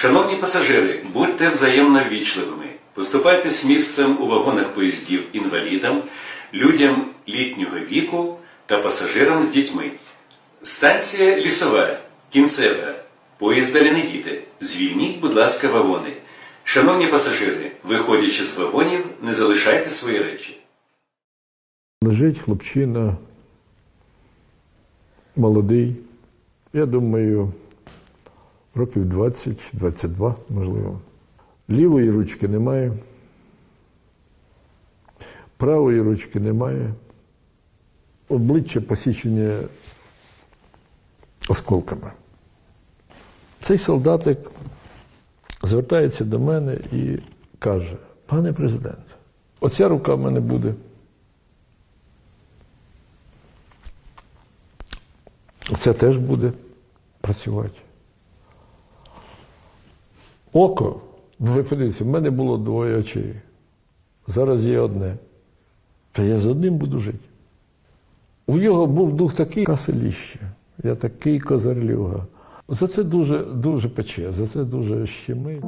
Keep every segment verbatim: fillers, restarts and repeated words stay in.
Шановні пасажири, будьте взаємно ввічливими. Поступайте з місцем у вагонах поїздів інвалідам, людям літнього віку та пасажирам з дітьми. Станція Лісова, кінцева. Поїзд далі не їде. Звільніть, будь ласка, вагони. Шановні пасажири, виходячи з вагонів, не залишайте свої речі. Лежить хлопчина, молодий, я думаю, років двадцять-двадцять два, можливо. Лівої ручки немає, правої ручки немає, обличчя посічене осколками. Цей солдатик звертається до мене і каже: пане президент, оця рука в мене буде. Це теж буде працювати. Око, ви подивіться, в мене було двоє очей. Зараз є одне. Та я з одним буду жити. У його був дух такий каселіще. Я такий козарлюга. За це дуже, дуже пече, за це дуже щемить.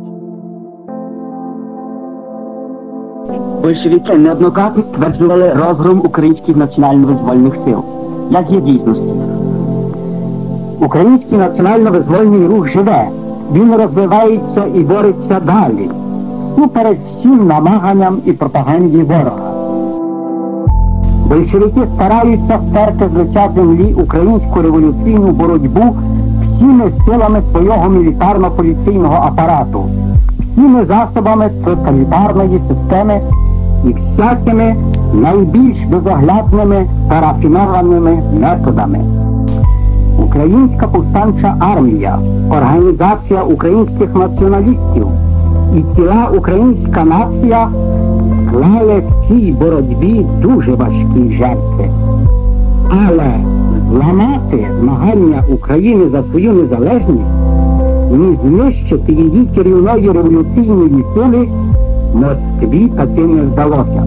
Большевики неоднократно стверджували розгром українських національно-визвольних сил. Як є дійсності? Український національно-визвольний рух живе. Він розвивається і бореться далі, супереч всім намаганням і пропаганді ворога. Большевики стараються стерти з лиця землі українську революційну боротьбу всіми силами свого мілітарно-поліційного апарату, всіми засобами тоталітарної системи і всякими найбільш безоглядними та рафінованими методами. Українська повстанча армія, організація українських націоналістів і ціла українська нація склали в цій боротьбі дуже важкі жертви. Але зламати змагання України за свою незалежність, ні знищити її керівної революційної сили Москві таки не вдалося.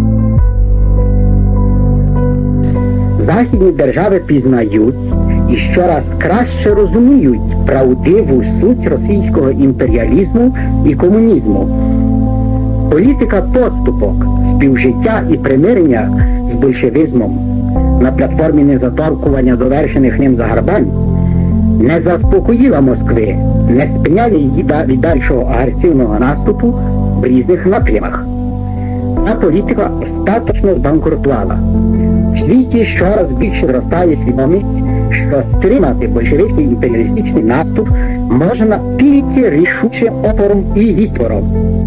Західні держави пізнають і щораз краще розуміють правдиву суть російського імперіалізму і комунізму. Політика поступок, співжиття і примирення з большевизмом на платформі незаторкування довершених ним загарбань не заспокоїла Москви, не спиняла її від дальшого агресивного наступу в різних напрямах. Та політика остаточно збанкрутувала. В світі щораз більше зростає свідомість, що стримати большевицький імперіалістичний наступ можна тільки рішучим опором і відпором.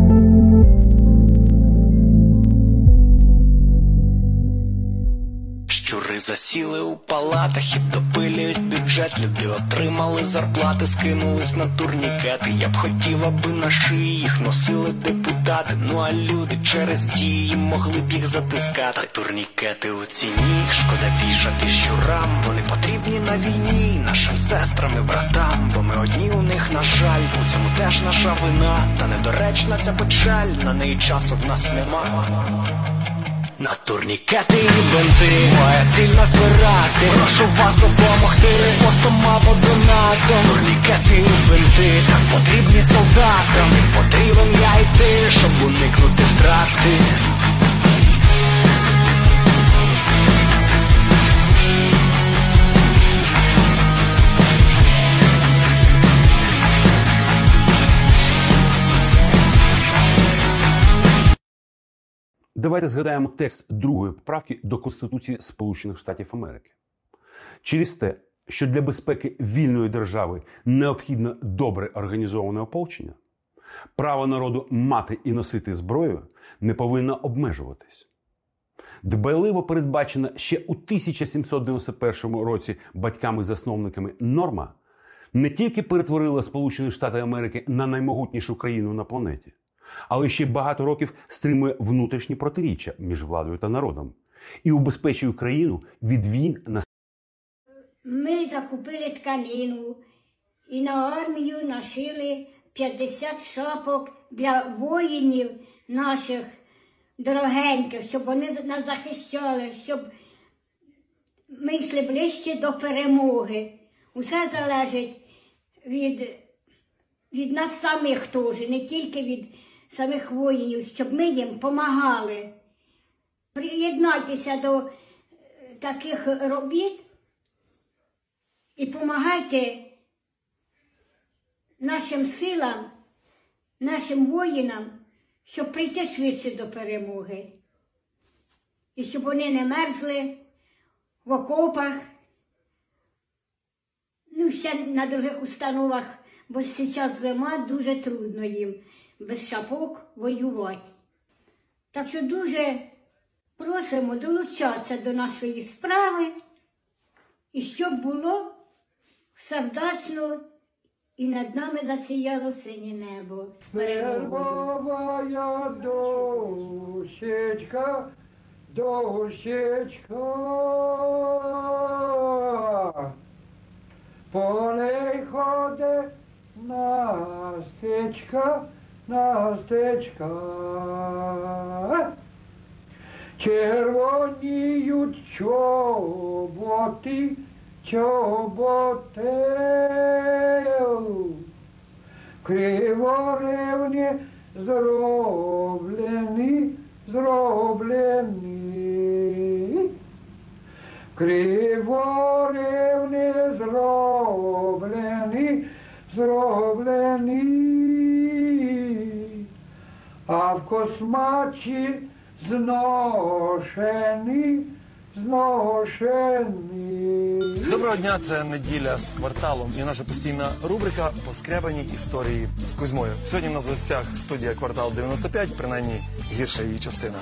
Щури засіли у палатах і допилюють бюджет. Люди отримали зарплати, скинулись на турнікети. Я б хотів, аби на шиї їх носили депутати. Ну а люди через дії могли б їх затискати. Турнікети у ціні, їх шкода вішати щурам. Вони потрібні на війні нашим сестрам і братам. Бо ми одні у них, на жаль, у цьому теж наша вина. Та недоречна ця печаль, на неї часу в нас нема. На турнікети і бинти моя ціль назбирати. Прошу вас допомогти репостом або донатом. Турнікети і бинти так потрібні солдатам. Потрібен я й ти, щоб уникнути втрати. Давайте згадаємо текст другої поправки до Конституції Сполучених Штатів Америки. Через те, що для безпеки вільної держави необхідно добре організоване ополчення, право народу мати і носити зброю не повинно обмежуватись. Дбайливо передбачена ще у тисяча сімсот дев'яносто першому році батьками-засновниками норма не тільки перетворила Сполучені Штати Америки на наймогутнішу країну на планеті, але ще багато років стримує внутрішні протиріччя між владою та народом і убезпечує країну від війн на... Ми закупили тканину і на армію нашили п'ятдесят шапок для воїнів наших дорогеньких, щоб вони нас захищали, щоб ми йшли ближче до перемоги. Усе залежить від від нас самих теж, не тільки від самих воїнів, щоб ми їм допомагали. Приєднайтеся до таких робіт і допомагайте нашим силам, нашим воїнам, щоб прийти швидше до перемоги. І щоб вони не мерзли в окопах, ну, ще на других установах, бо зараз зима, дуже трудно їм без шапок воювати. Так що дуже просимо долучатися до нашої справи, і щоб було все вдачно, і над нами засіяло синє небо з перемогою. Моя дощечка, дощечка, по ней ходить Настечка, Настечка. Червоніють чоботи, чоботи, криворевні зроблені, зроблені, криворевні зроблені, зроблені, а в космачі зношені, зношені. Доброго дня, це неділя з кварталом і наша постійна рубрика «Поскребані історії з Кузьмою». Сьогодні в нас в гостях студія «Квартал дев'яносто п'ять», принаймні гірша її частина.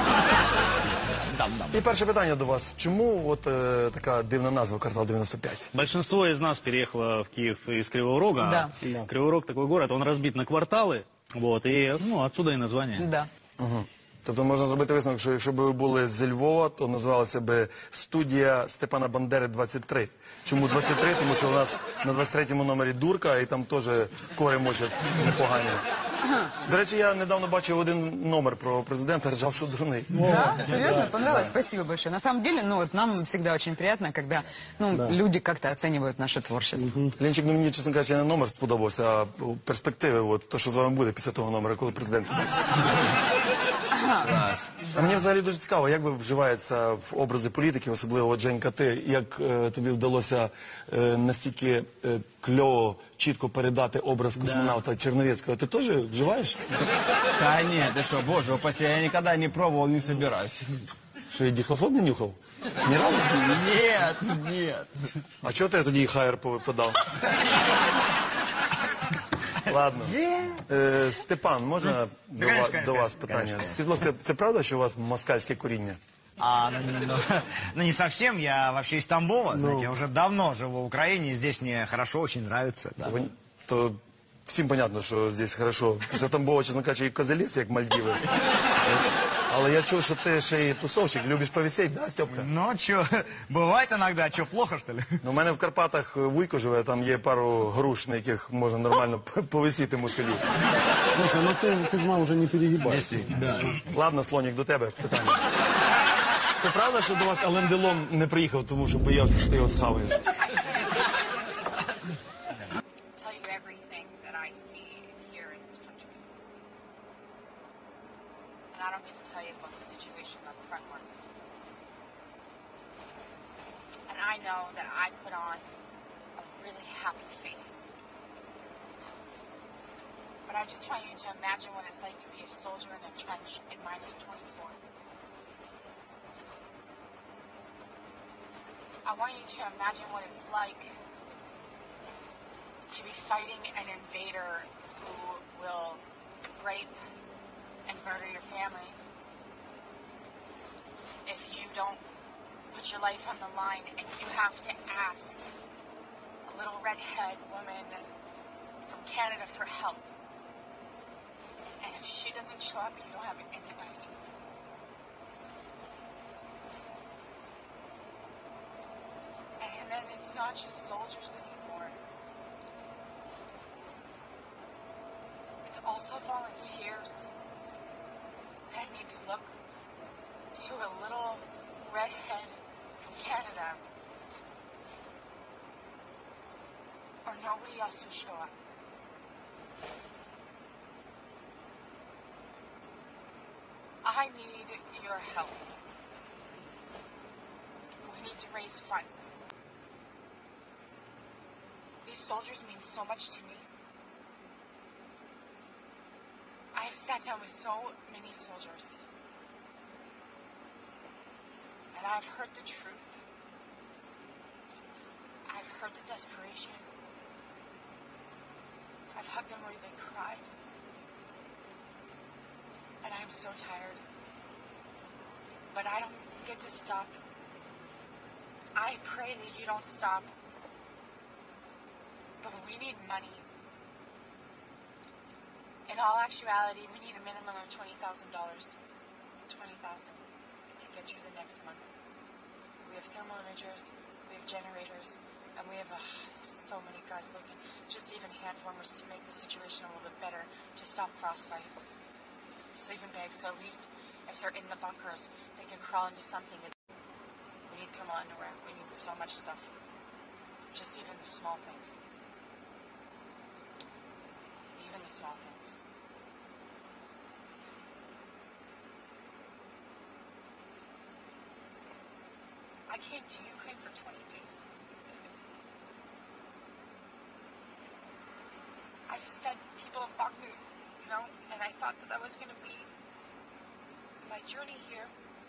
І перше питання до вас. Чому от е, така дивна назва «Квартал дев'яносто п'ять»? Большинство из нас переехало в Киев из Кривого Рога. Да. Кривой Рог такой город, он разбит на кварталы, вот, и ну, отсюда и название. Да. Угу. Тобто можна зробити висновок, що якщо б ви були зі Львова, то називалася б студія Степана Бандери двадцять три. Чому двадцять три? Тому що у нас на двадцять третьому номері дурка, і там теж кори мочать непогані. До речі, я недавно бачив один номер про президента, ржав, що дурний. Да? Серьезно? Понравилось? Спасибо большое. На самом деле, ну вот нам всегда очень приятно, когда ну, люди как-то оценивают наше творчество. Ленчик, ну мені, чесно кажучи, не номер сподобався, а перспективи, от, то, що з вами буде після того номера, коли президент буде. А мені взагалі дуже цікаво, як ви вживаєтеся в образи політиків, особливо от, Женька, ти, як е, тобі вдалося е, настільки е, кльово, чітко передати образ космонавта Черновецкого. Ты тоже вживаешь? Да нет, ты что, боже упаси, я никогда не пробовал, не собираюсь. Что, и дихлофон не нюхал? Ни разу? Нет, нет. А чого ти тоді хайер подав? Ладно. Е, Степан, можна до, конечно, ва- конечно, до вас конечно, питання? конечно. Скажіть, будь ласка, це правда, що у вас москальське коріння? А, ну, ну, ну, ну, не совсем, я вообще из Тамбова, знаете, я уже давно живу в Украине, и здесь мне хорошо, очень нравится. Да. То, то всім понятно, що здесь хорошо. Після Тамбова, чесно кажучи, і козелець, як Мальдіви. Але я чув, що ти ще й тусовщик, любиш повисеть, да, Степка? Ну, что, бывает иногда, что, плохо, что ли? Ну, у мене в Карпатах вуйко живе, там є пару груш, на яких можна нормально повисіти москалів. Слушай, ну ты, Кузьма, уже не перегибай. Да. Ладно, Слонік, до тебе питання. Це правда, що до вас Ален Делон не приїхав, тому що боявся, що ти його схаваєш? Tell you everything that I see here in this country. And I don't get to tell you about the situation on the front lines. And I know that I put on a really happy face. But I just want you to imagine what it's like to be a soldier in a trench in minus twenty-four. I want you to imagine what it's like to be fighting an invader who will rape and murder your family if you don't put your life on the line, and you have to ask a little redhead woman from Canada for help. And if she doesn't show up, you don't have anybody. And then it's not just soldiers anymore. It's also volunteers that need to look to a little redhead from Canada, or nobody else will show up. I need your help. We need to raise funds. These soldiers mean so much to me. I have sat down with so many soldiers. And I've heard the truth. I've heard the desperation. I've hugged them where they cried. And I'm so tired. But I don't get to stop. I pray that you don't stop. But we need money. In all actuality, we need a minimum of twenty thousand dollars. twenty thousand dollars to get through the next month. We have thermal imagers, we have generators, and we have uh, so many guys looking. Just even hand warmers to make the situation a little bit better, to stop frostbite. Sleeping bags, so at least if they're in the bunkers, they can crawl into something. We need thermal underwear. We need so much stuff. Just even the small things. Even the small things. I came to Ukraine for twenty days. I just fed people in Bakhmut, you know, and I thought that that was going to be my journey here.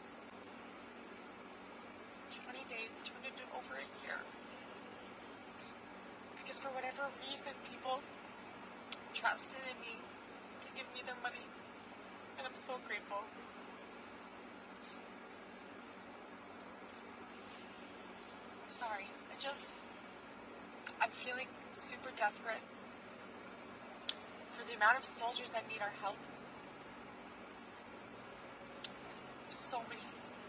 twenty days turned into over a year. Because for whatever reason, people trusted in me to give me their money. And I'm so grateful. Sorry, I just, I'm feeling super desperate for the amount of soldiers that need our help. There's so many.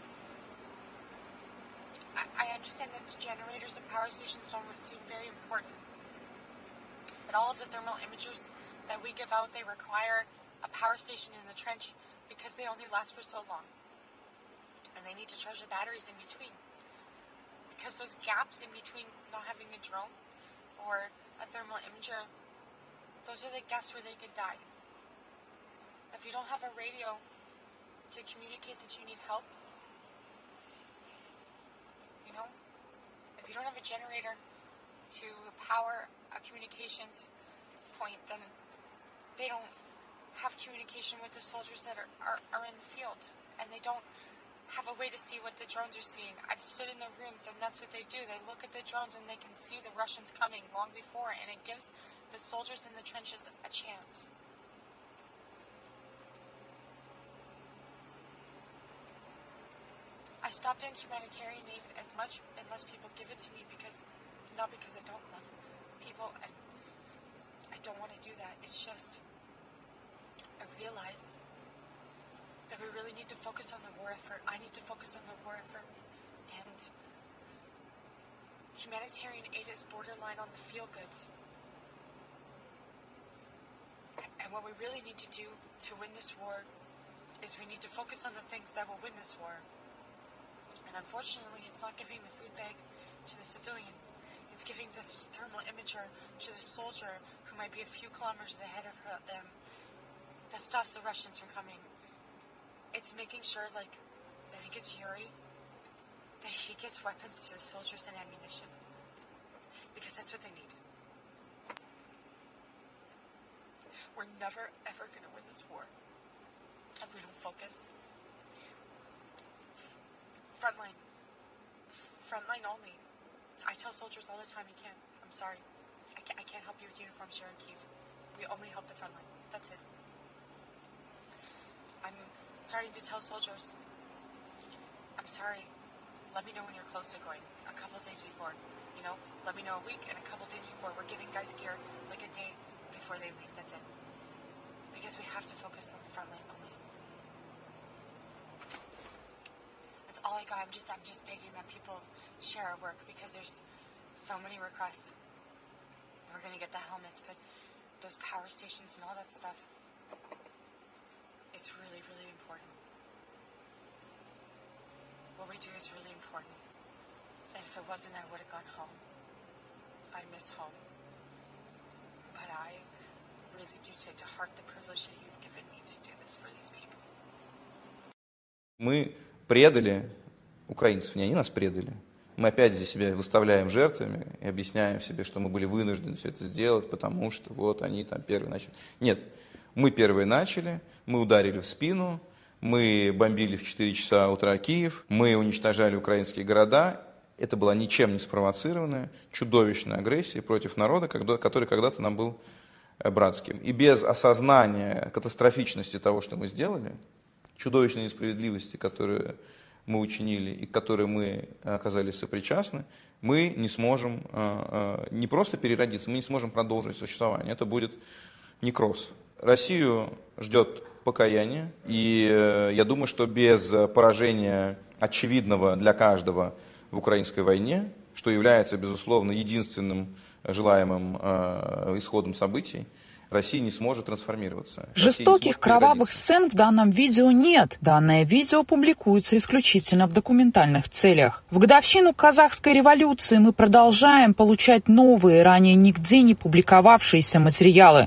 I, I understand that generators and power stations don't seem very important, but all of the thermal imagers that we give out, they require a power station in the trench because they only last for so long. And they need to charge the batteries in between. Because those gaps in between not having a drone or a thermal imager, those are the gaps where they could die. If you don't have a radio to communicate that you need help, you know, if you don't have a generator to power a communications point, then they don't have communication with the soldiers that are, are, are in the field, and they don't have a way to see what the drones are seeing. I've stood in the rooms, and that's what they do. They look at the drones and they can see the Russians coming long before, and it gives the soldiers in the trenches a chance. I stopped doing humanitarian aid as much unless people give it to me, because not because I don't love people. I, I don't want to do that. It's just I realize that we really need to focus on the war effort. I need to focus on the war effort. And humanitarian aid is borderline on the feel goods. And what we really need to do to win this war is we need to focus on the things that will win this war. And unfortunately, it's not giving the food bag to the civilian. It's giving the thermal imager to the soldier who might be a few kilometers ahead of her, them that stops the Russians from coming. It's making sure, like, I think it's Yuri, that he gets weapons to the soldiers and ammunition. Because that's what they need. We're never, ever going to win this war if we don't focus. Frontline. Frontline only. I tell soldiers all the time, you can't. I'm sorry. I can't, I can't help you with uniforms here in Kyiv. We only help the frontline. That's it. I'm starting to tell soldiers, I'm sorry, let me know when you're close to going. A couple of days before, you know, let me know a week and a couple of days before. We're giving guys gear like a day before they leave. That's it. Because we have to focus on the front line only. That's all I got. I'm just, I'm just begging that people share our work because there's so many requests. We're gonna get the helmets, but those power stations and all that stuff, it's really, really important. What we do is really important. And if it wasn't, I would have gone home. I miss home. But I really take to heart the privilege that you've given me to do this for these people. Мы предали украинцев, не они нас предали. Мы опять здесь себя выставляем жертвами и объясняем себе, что мы были вынуждены все это сделать, потому что вот они там первые начали. Нет, мы первые начали, мы ударили в спину, мы бомбили в четыре часа утра Киев, мы уничтожали украинские города. Это была ничем не спровоцированная, чудовищная агрессия против народа, который когда-то нам был братским. И без осознания катастрофичности того, что мы сделали, чудовищной несправедливости, которую мы учинили и к которой мы оказались сопричастны, мы не сможем не просто переродиться, мы не сможем продолжить существование. Это будет некроз. Россию ждет покаяние, и я думаю, что без поражения очевидного для каждого в украинской войне, что является, безусловно, единственным желаемым исходом событий, Россия не сможет трансформироваться. Жестоких, кровавых сцен в данном видео нет. Данное видео публикуется исключительно в документальных целях. В годовщину казахской революции мы продолжаем получать новые, ранее нигде не публиковавшиеся материалы.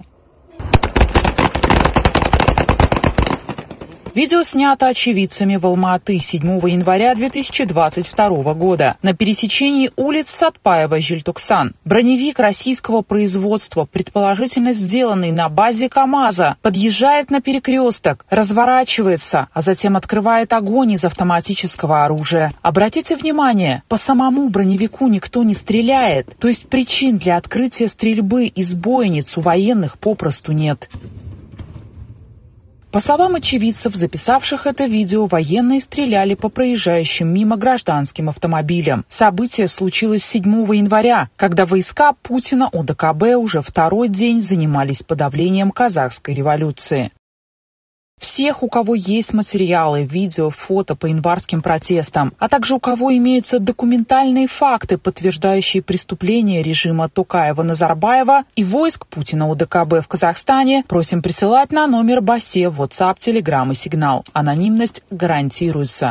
Видео снято очевидцами в Алма-Аты седьмого января две тысячи двадцать второго года на пересечении улиц Сатпаева-Жильтоксан. Броневик российского производства, предположительно сделанный на базе КАМАЗа, подъезжает на перекресток, разворачивается, а затем открывает огонь из автоматического оружия. Обратите внимание, по самому броневику никто не стреляет, то есть причин для открытия стрельбы из бойниц у военных попросту нет. По словам очевидцев, записавших это видео, военные стреляли по проезжающим мимо гражданским автомобилям. Событие случилось седьмого января, когда войска Путина о дэ ка бэ уже второй день занимались подавлением казахской революции. Всех, у кого есть материалы, видео, фото по январским протестам, а также у кого имеются документальные факты, подтверждающие преступления режима Токаева-Назарбаева и войск Путина о дэ ка бэ в Казахстане, просим присылать на номер БАСЕ в WhatsApp, Telegram и Signal. Анонимность гарантируется.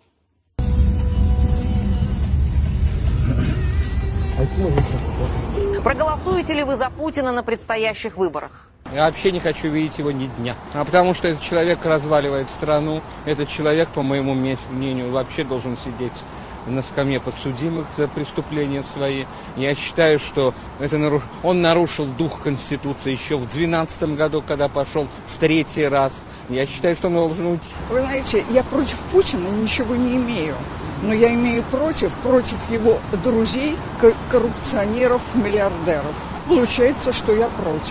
Проголосуете ли вы за Путина на предстоящих выборах? Я вообще не хочу видеть его ни дня. А потому что этот человек разваливает страну. Этот человек, по моему мнению, вообще должен сидеть на скамье подсудимых за преступления свои. Я считаю, что это наруш... он нарушил дух Конституции еще в двенадцатом году, когда пошел в третий раз. Я считаю, что он должен уйти. Вы знаете, я против Путина ничего не имею. Но я имею против, против его друзей, коррупционеров, миллиардеров. Получается, что я против.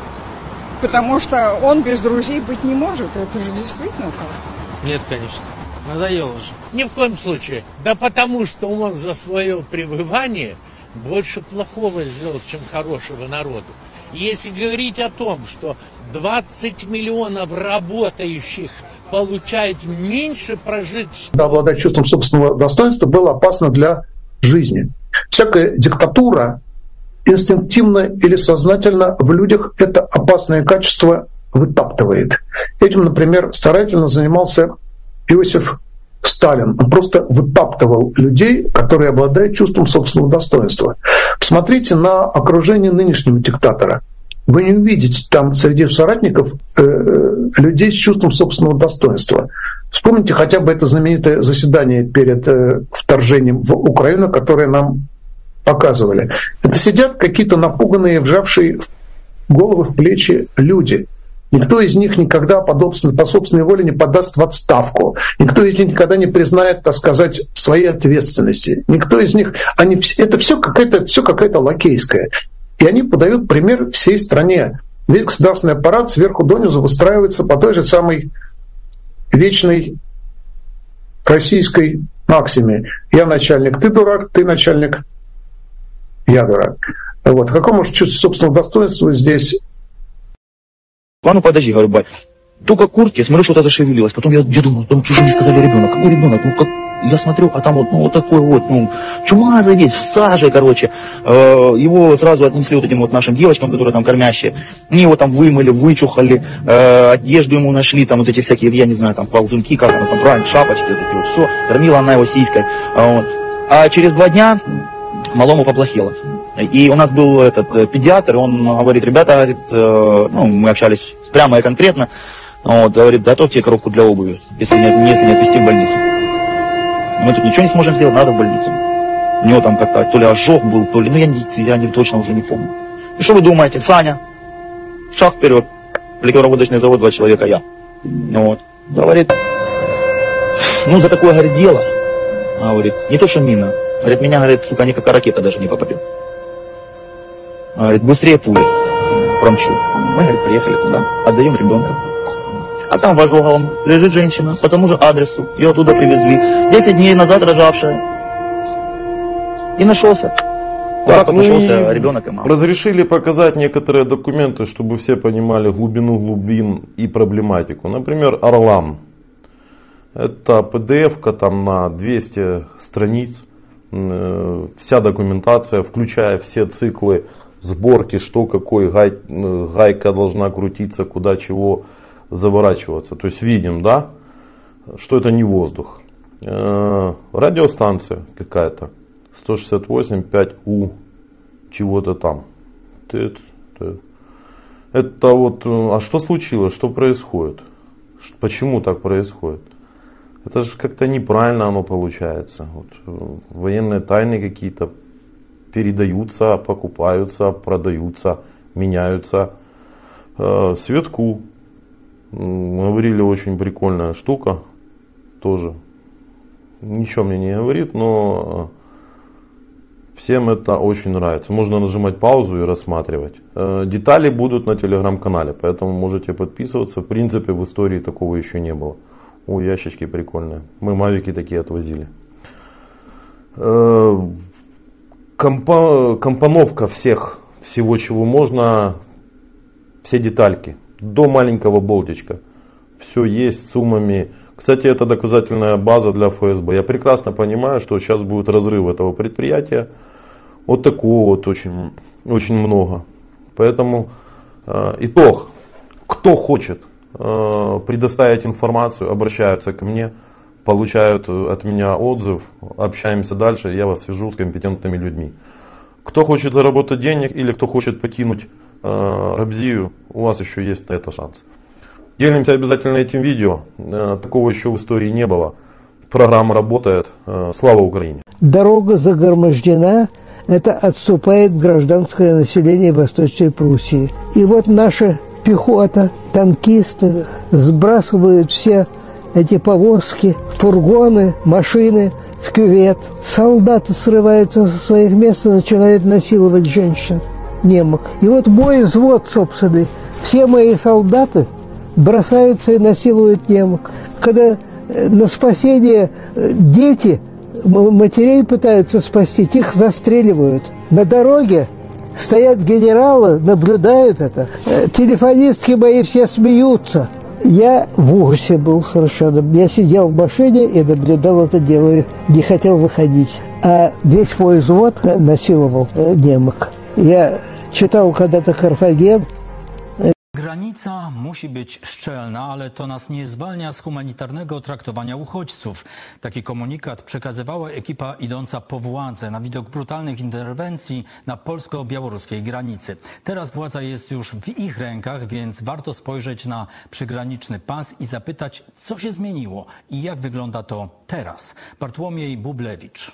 Потому что он без друзей быть не может. Это же действительно так. Нет, конечно. Надоело же. Ни в коем случае. Да потому что он за свое пребывание больше плохого сделал, чем хорошего народу. Если говорить о том, что двадцать миллионов работающих получают меньше прожить... Обладать чувством собственного достоинства было опасно для жизни. Всякая диктатура инстинктивно или сознательно в людях это опасное качество вытаптывает. Этим, например, старательно занимался Иосиф Сталин. Он просто вытаптывал людей, которые обладают чувством собственного достоинства. Посмотрите на окружение нынешнего диктатора. Вы не увидите там среди соратников э, людей с чувством собственного достоинства. Вспомните хотя бы это знаменитое заседание перед э, вторжением в Украину, которое нам показывали. Это сидят какие-то напуганные, вжавшие головы в плечи люди. Никто из них никогда по собственной воле не подаст в отставку. Никто из них никогда не признает, так сказать, своей ответственности. Никто из них... Они, это все какая-то, все какая-то лакейская. И они подают пример всей стране. Весь государственный аппарат сверху донизу выстраивается по той же самой вечной российской максиме. Я начальник, ты дурак, ты начальник, я дурак. Вот. Какому же чувству собственного достоинства здесь? А ну подожди, говорю, бать. Только куртки, смотрю, что-то зашевелилось. Потом я, я думаю, там чужие сказали ребенок. Какой ребенок? Ну как? Я смотрю, а там вот, ну, вот такой вот, ну, чумазый весь, в саже, короче. Э, его сразу отнесли вот этим вот нашим девочкам, которые там кормящие. Они его там вымыли, вычухали, э, одежду ему нашли, там вот эти всякие, я не знаю, там ползунки, как оно там правильно, шапочки, вот эти вот, все. Кормила она его сиськой. А, вот. А через два дня малому поплохело. И у нас был этот педиатр, он говорит, ребята, говорит, э, ну, мы общались прямо и конкретно, вот, говорит, готовьте коробку для обуви, если не, если не отвезти в больницу. Мы тут ничего не сможем сделать, надо в больницу. У него там как-то то ли ожог был, то ли, ну я, не, я не, точно уже не помню. И что вы думаете, Саня, шаг вперед, ликероводочный завод, два человека, я. Вот, говорит, ну за такое, говорит, дело, говорит, не то что мина, говорит, меня, говорит, сука, никакая ракета даже не попадет. Говорит, быстрее пули промчу. Мы, говорит, приехали туда, отдаем ребенка. А там в ожоговом лежит женщина по тому же адресу. Ее оттуда привезли. Десять дней назад рожавшая. И нашелся. Так, вот ну нашелся ребенок и мама. Разрешили показать некоторые документы, чтобы все понимали глубину глубин и проблематику. Например, Орлан. Это пи ди эф-ка там на двести страниц. Вся документация, включая все циклы сборки, что какой гай, гайка должна крутиться, куда чего заворачиваться. То есть видим, да, что это не воздух. Э, радиостанция какая-то. сто шестьдесят восемь пять У чего-то там. Это вот, а что случилось, что происходит? Почему так происходит? Это же как-то неправильно оно получается. Вот, военные тайны какие-то передаются, покупаются, продаются, меняются. Э, Светку. Говорили, очень прикольная штука. Тоже. Ничего мне не говорит, но всем это очень нравится. Можно нажимать паузу и рассматривать. Э, детали будут на телеграм-канале, поэтому можете подписываться. В принципе, в истории такого еще не было. О, ящички прикольные. Мы мавики такие отвозили. Э, компо- компоновка всех, всего, чего можно, все детальки. До маленького болтичка. Все есть с суммами. Кстати, это доказательная база для эф эс бэ. Я прекрасно понимаю, что сейчас будет разрыв этого предприятия. Вот такого вот очень, очень много. Поэтому э, итог. Кто хочет э, предоставить информацию, обращаются ко мне, получают от меня отзыв, общаемся дальше, я вас свяжу с компетентными людьми. Кто хочет заработать денег или кто хочет покинуть э, Рабзию, у вас еще есть на это шанс. Делимся обязательно этим видео. Э, такого еще в истории не было. Программа работает. Э, слава Украине! Дорога загромождена. Это отступает гражданское население Восточной Пруссии. И вот наша пехота, танкисты сбрасывают все эти повозки, фургоны, машины в кювет. Солдаты срываются со своих мест и начинают насиловать женщин, немок. И вот мой взвод собственный, все мои солдаты бросаются и насилуют немок. Когда на спасение дети, матерей пытаются спасти, их застреливают. На дороге стоят генералы, наблюдают это. Телефонистки мои все смеются. Я в ужасе был совершенно. Я сидел в машине и наблюдал это дело, не хотел выходить. А весь мой взвод насиловал немок. Я читал когда-то Карфаген. Granica musi być szczelna, ale to nas nie zwalnia z humanitarnego traktowania uchodźców. Taki komunikat przekazywała ekipa idąca po władzę na widok brutalnych interwencji na polsko-białoruskiej granicy. Teraz władza jest już w ich rękach, więc warto spojrzeć na przygraniczny pas i zapytać, co się zmieniło i jak wygląda to teraz. Bartłomiej Bublewicz.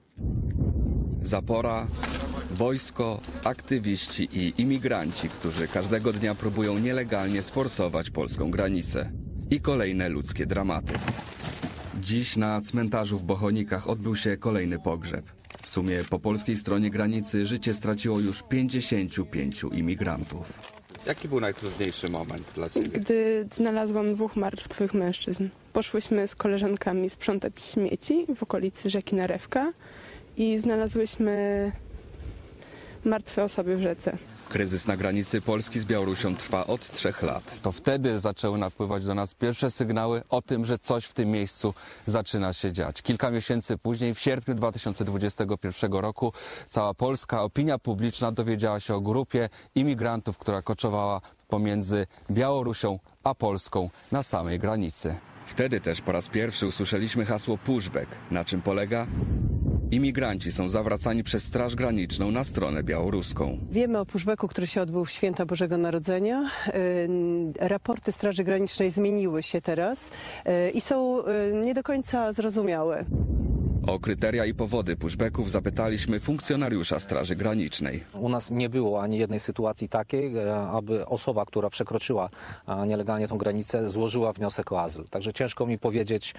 Zapora, wojsko, aktywiści i imigranci, którzy każdego dnia próbują nielegalnie sforsować polską granicę. I kolejne ludzkie dramaty. Dziś na cmentarzu w Bochonikach odbył się kolejny pogrzeb. W sumie po polskiej stronie granicy życie straciło już pięćdziesięciu pięciu imigrantów. Jaki był najtrudniejszy moment dla Ciebie? Gdy znalazłam dwóch martwych mężczyzn. Poszłyśmy z koleżankami sprzątać śmieci w okolicy rzeki Narewka i znalazłyśmy martwe osoby w rzece. Kryzys na granicy Polski z Białorusią trwa od trzech lat. To wtedy zaczęły napływać do nas pierwsze sygnały o tym, że coś w tym miejscu zaczyna się dziać. Kilka miesięcy później, w sierpniu dwa tysiące dwudziestego pierwszego roku, cała polska opinia publiczna dowiedziała się o grupie imigrantów, która koczowała pomiędzy Białorusią a Polską na samej granicy. Wtedy też po raz pierwszy usłyszeliśmy hasło pushback. Na czym polega? Imigranci są zawracani przez Straż Graniczną na stronę białoruską. Wiemy o pushbacku, który się odbył w święta Bożego Narodzenia. Raporty Straży Granicznej zmieniły się teraz i są nie do końca zrozumiałe. O kryteria i powody pushbacków zapytaliśmy funkcjonariusza Straży Granicznej. U nas nie było ani jednej sytuacji takiej, aby osoba, która przekroczyła nielegalnie tą granicę, złożyła wniosek o azyl. Także ciężko mi powiedzieć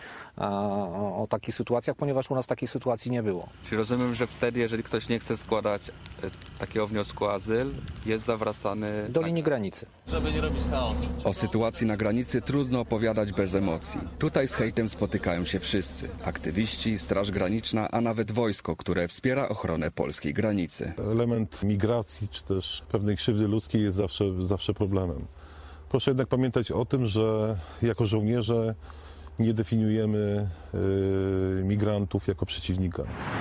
o, o takich sytuacjach, ponieważ u nas takiej sytuacji nie było. Czyli rozumiem, że wtedy, jeżeli ktoś nie chce składać takiego wniosku o azyl, jest zawracany do linii granicy. Żeby nie robić chaosu. O sytuacji na granicy trudno opowiadać bez emocji. Tutaj z hejtem spotykają się wszyscy. Aktywiści, Straż Graniczna, a nawet wojsko, które wspiera ochronę polskiej granicy. Element migracji czy też pewnej krzywdy ludzkiej jest zawsze, zawsze problemem. Proszę jednak pamiętać o tym, że jako żołnierze nie definiujemy yy, migrantów jako przeciwnika.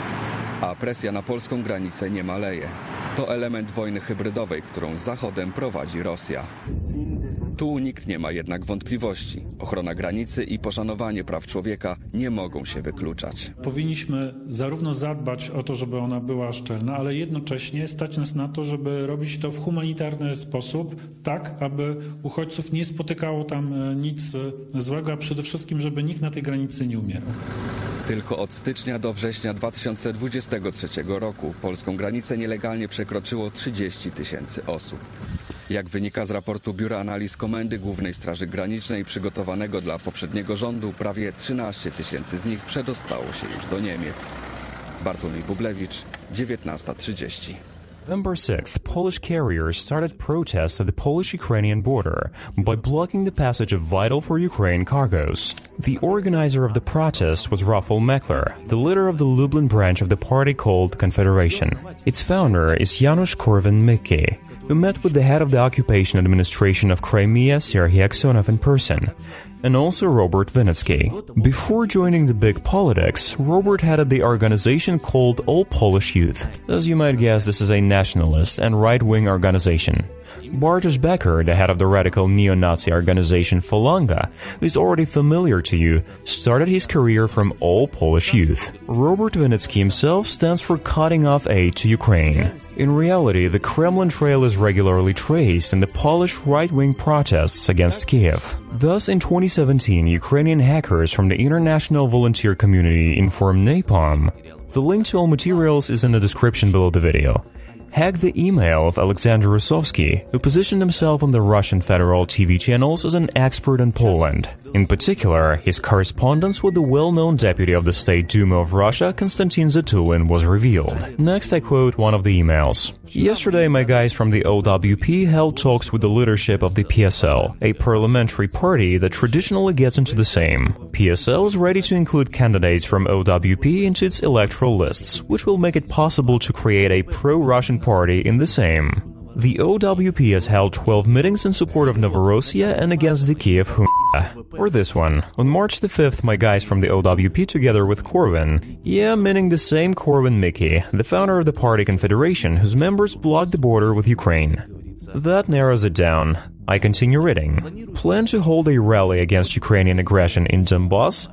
A presja na polską granicę nie maleje. To element wojny hybrydowej, którą z Zachodem prowadzi Rosja. Tu nikt nie ma jednak wątpliwości. Ochrona granicy i poszanowanie praw człowieka nie mogą się wykluczać. Powinniśmy zarówno zadbać o to, żeby ona była szczelna, ale jednocześnie stać nas na to, żeby robić to w humanitarny sposób, tak aby uchodźców nie spotykało tam nic złego, a przede wszystkim, żeby nikt na tej granicy nie umierał. Tylko od stycznia do września dwa tysiące dwudziestego trzeciego roku polską granicę nielegalnie przekroczyło trzydzieści tysięcy osób. Jak wynika z raportu Biura Analiz Komendy Głównej Straży Granicznej przygotowanego dla poprzedniego rządu, prawie trzynaście tysięcy z nich przedostało się już do Niemiec. Bartłomiej Bublewicz, dziewiętnasta trzydzieści. November sixth, Polish carriers started protests at the Polish-Ukrainian border by blocking the passage of vital for Ukraine cargoes. The organizer of the protest was Rafał Mekler, the leader of the Lublin branch of the party called Confederation. Its founder is Janusz Korwin-Mikke, who met with the head of the occupation administration of Crimea, Serhiy Aksyonov, in person, and also Robert Vinnicki. Before joining the big politics, Robert headed the organization called All Polish Youth. As you might guess, this is a nationalist and right-wing organization. Bartosz Becker, the head of the radical neo-Nazi organization Falanga, who is already familiar to you, started his career from All Polish Youth. Robert Vinnicki himself stands for cutting off aid to Ukraine. In reality, the Kremlin trail is regularly traced in the Polish right-wing protests against Kiev. Thus, in twenty seventeen, Ukrainian hackers from the international volunteer community informed Napalm. The link to all materials is in the description below the video. Hacked the email of Alexander Rusovsky, who positioned himself on the Russian federal T V channels as an expert in Poland. In particular, his correspondence with the well-known deputy of the State Duma of Russia, Konstantin Zatulin, was revealed. Next, I quote one of the emails. Yesterday, my guys from the O W P held talks with the leadership of the P S L, a parliamentary party that traditionally gets into the same. P S L is ready to include candidates from O W P into its electoral lists, which will make it possible to create a pro-Russian party in the same. The O W P has held twelve meetings in support of Novorossiya and against the Kiev Junta. Or this one. On March the fifth, my guys from the O W P together with Korwin, yeah, meaning the same Korwin-Mikke, the founder of the party Confederation, whose members blocked the border with Ukraine. That narrows it down. I continue reading. Plan to hold a rally against Ukrainian aggression in Donbass,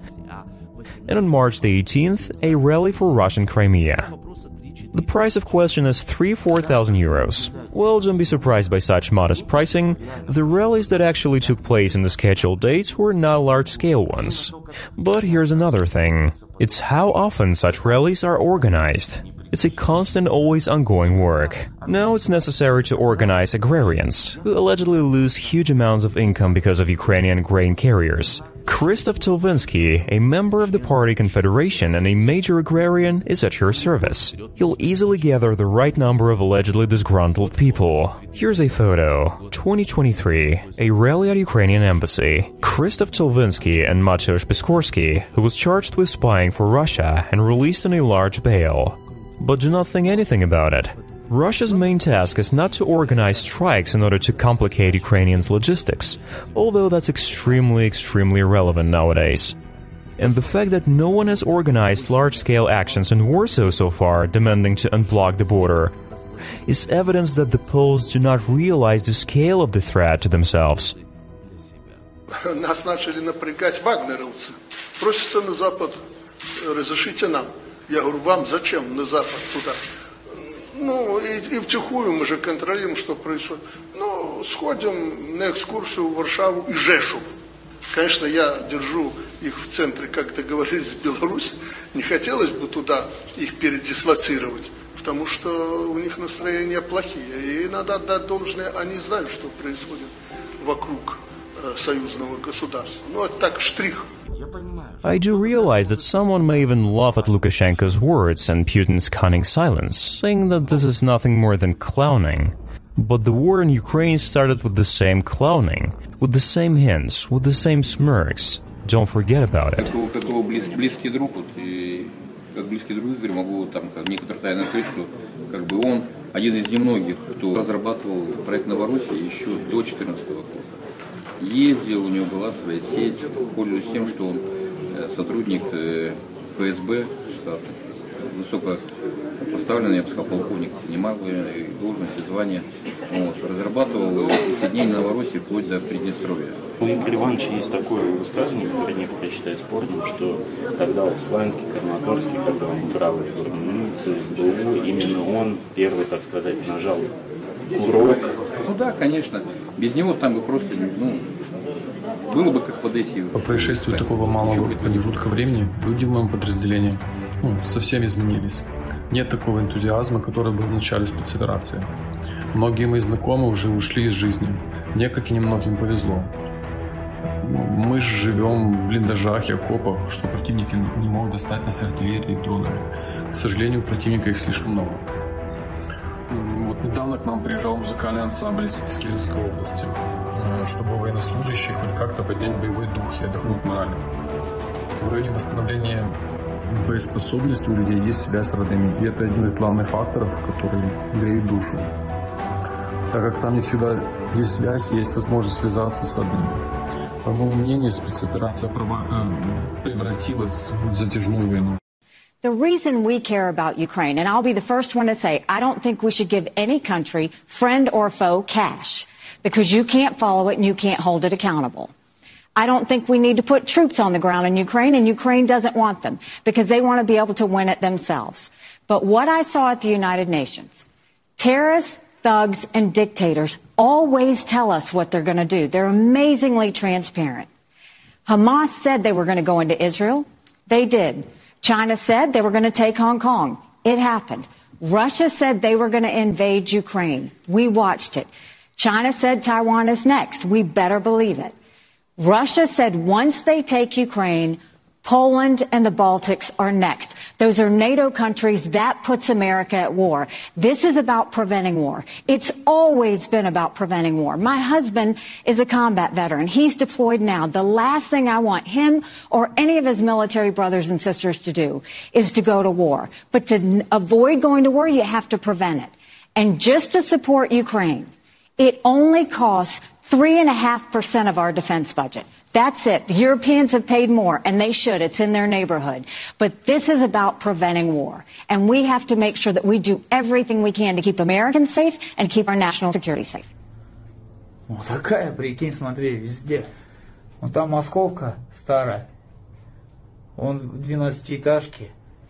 and on March the eighteenth, a rally for Russian Crimea. The price of question is three to four thousand euros. Well, don't be surprised by such modest pricing. The rallies that actually took place in the scheduled dates were not large-scale ones. But here's another thing. It's how often such rallies are organized. It's a constant, always ongoing work. Now it's necessary to organize agrarians, who allegedly lose huge amounts of income because of Ukrainian grain carriers. Krzysztof Tilvinsky, a member of the party Confederation and a major agrarian, is at your service. He'll easily gather the right number of allegedly disgruntled people. Here's a photo. twenty twenty-three. A rally at Ukrainian embassy. Krzysztof Tilvinsky and Mateusz Piskorski, who was charged with spying for Russia and released on a large bail. But do not think anything about it. Russia's main task is not to organize strikes in order to complicate Ukrainians' logistics, although that's extremely, extremely relevant nowadays. And the fact that no one has organized large-scale actions in Warsaw so far demanding to unblock the border is evidence that the Poles do not realize the scale of the threat to themselves. Нас начали напрягать вагнеровцы. Просятся на Запад, разрешите нам. Я говорю, вам зачем на Запад туда? Ну, и, и втихую мы же контролируем, что происходит. Ну, сходим на экскурсию в Варшаву и Жешув. Конечно, я держу их в центре, как договорились, в Беларусь. Не хотелось бы туда их передислоцировать, потому что у них настроения плохие. И надо отдать должное, они знают, что происходит вокруг э, союзного государства. Ну, это так, штрих. I do realize that someone may even laugh at Lukashenko's words and Putin's cunning silence, saying that this is nothing more than clowning. But the war in Ukraine started with the same clowning, with the same hints, with the same smirks. Don't forget about it. Как его близкий друг, вот, и как близкий друг Игорь, могу там как некоторые тайны открыть, что как бы он один из немногих, кто разрабатывал проект Новороссии еще до две тысячи четырнадцатого года. Ездил, у него была своя сеть, пользуясь тем, что он сотрудник эф эс бэ штата, высоко поставленный, я бы сказал, полковник, немалые должности, звания. Вот, разрабатывал присоединение Новороссии вплоть до Приднестровья. У Игоря Ивановича есть такое высказывание, которое некоторые считают спорным, что тогда в Славянске, Краматорске, когда он брал СБУ, именно он первый, так сказать, нажал курок. Ну да, конечно. Без него там бы просто, ну, было бы как в Одессе. По происшествию такого малого промежутка времени люди в моем подразделении ну, совсем изменились. Нет такого энтузиазма, который был в начале спецоперации. Многие мои знакомые уже ушли из жизни. Мне, как и немногим, повезло. Мы же живем в блиндажах и окопах, что противники не могут достать нас артиллерией и дронами. К сожалению, у противника их слишком много. Вот недавно к нам приезжал музыкальный ансамбль из Киевской области, чтобы военнослужащие хоть как-то поднять боевой дух и отдохнуть морально. В районе восстановления боеспособности у людей есть связь с родными, и это один из главных факторов, который греет душу. Так как там не всегда есть связь, есть возможность связаться с родными. По моему мнению, спецоперация превратилась в затяжную войну. The reason we care about Ukraine, and I'll be the first one to say, I don't think we should give any country, friend or foe, cash, because you can't follow it and you can't hold it accountable. I don't think we need to put troops on the ground in Ukraine, and Ukraine doesn't want them, because they want to be able to win it themselves. But what I saw at the United Nations, terrorists, thugs, and dictators always tell us what they're going to do. They're amazingly transparent. Hamas said they were going to go into Israel. They did. China said they were going to take Hong Kong. It happened. Russia said they were going to invade Ukraine. We watched it. China said Taiwan is next. We better believe it. Russia said once they take Ukraine, Poland and the Baltics are next. Those are NATO countries. That puts America at war. This is about preventing war. It's always been about preventing war. My husband is a combat veteran. He's deployed now. The last thing I want him or any of his military brothers and sisters to do is to go to war. But to avoid going to war, you have to prevent it. And just to support Ukraine, it only costs three and a half percent of our defense budget. That's it. The Europeans have paid more, and they should. It's in their neighborhood. But this is about preventing war. And we have to make sure that we do everything we can to keep Americans safe and keep our national security safe. Вот такая, прикинь, смотри, везде. Вон там Московка старая. Вон двенадцатиэтажки.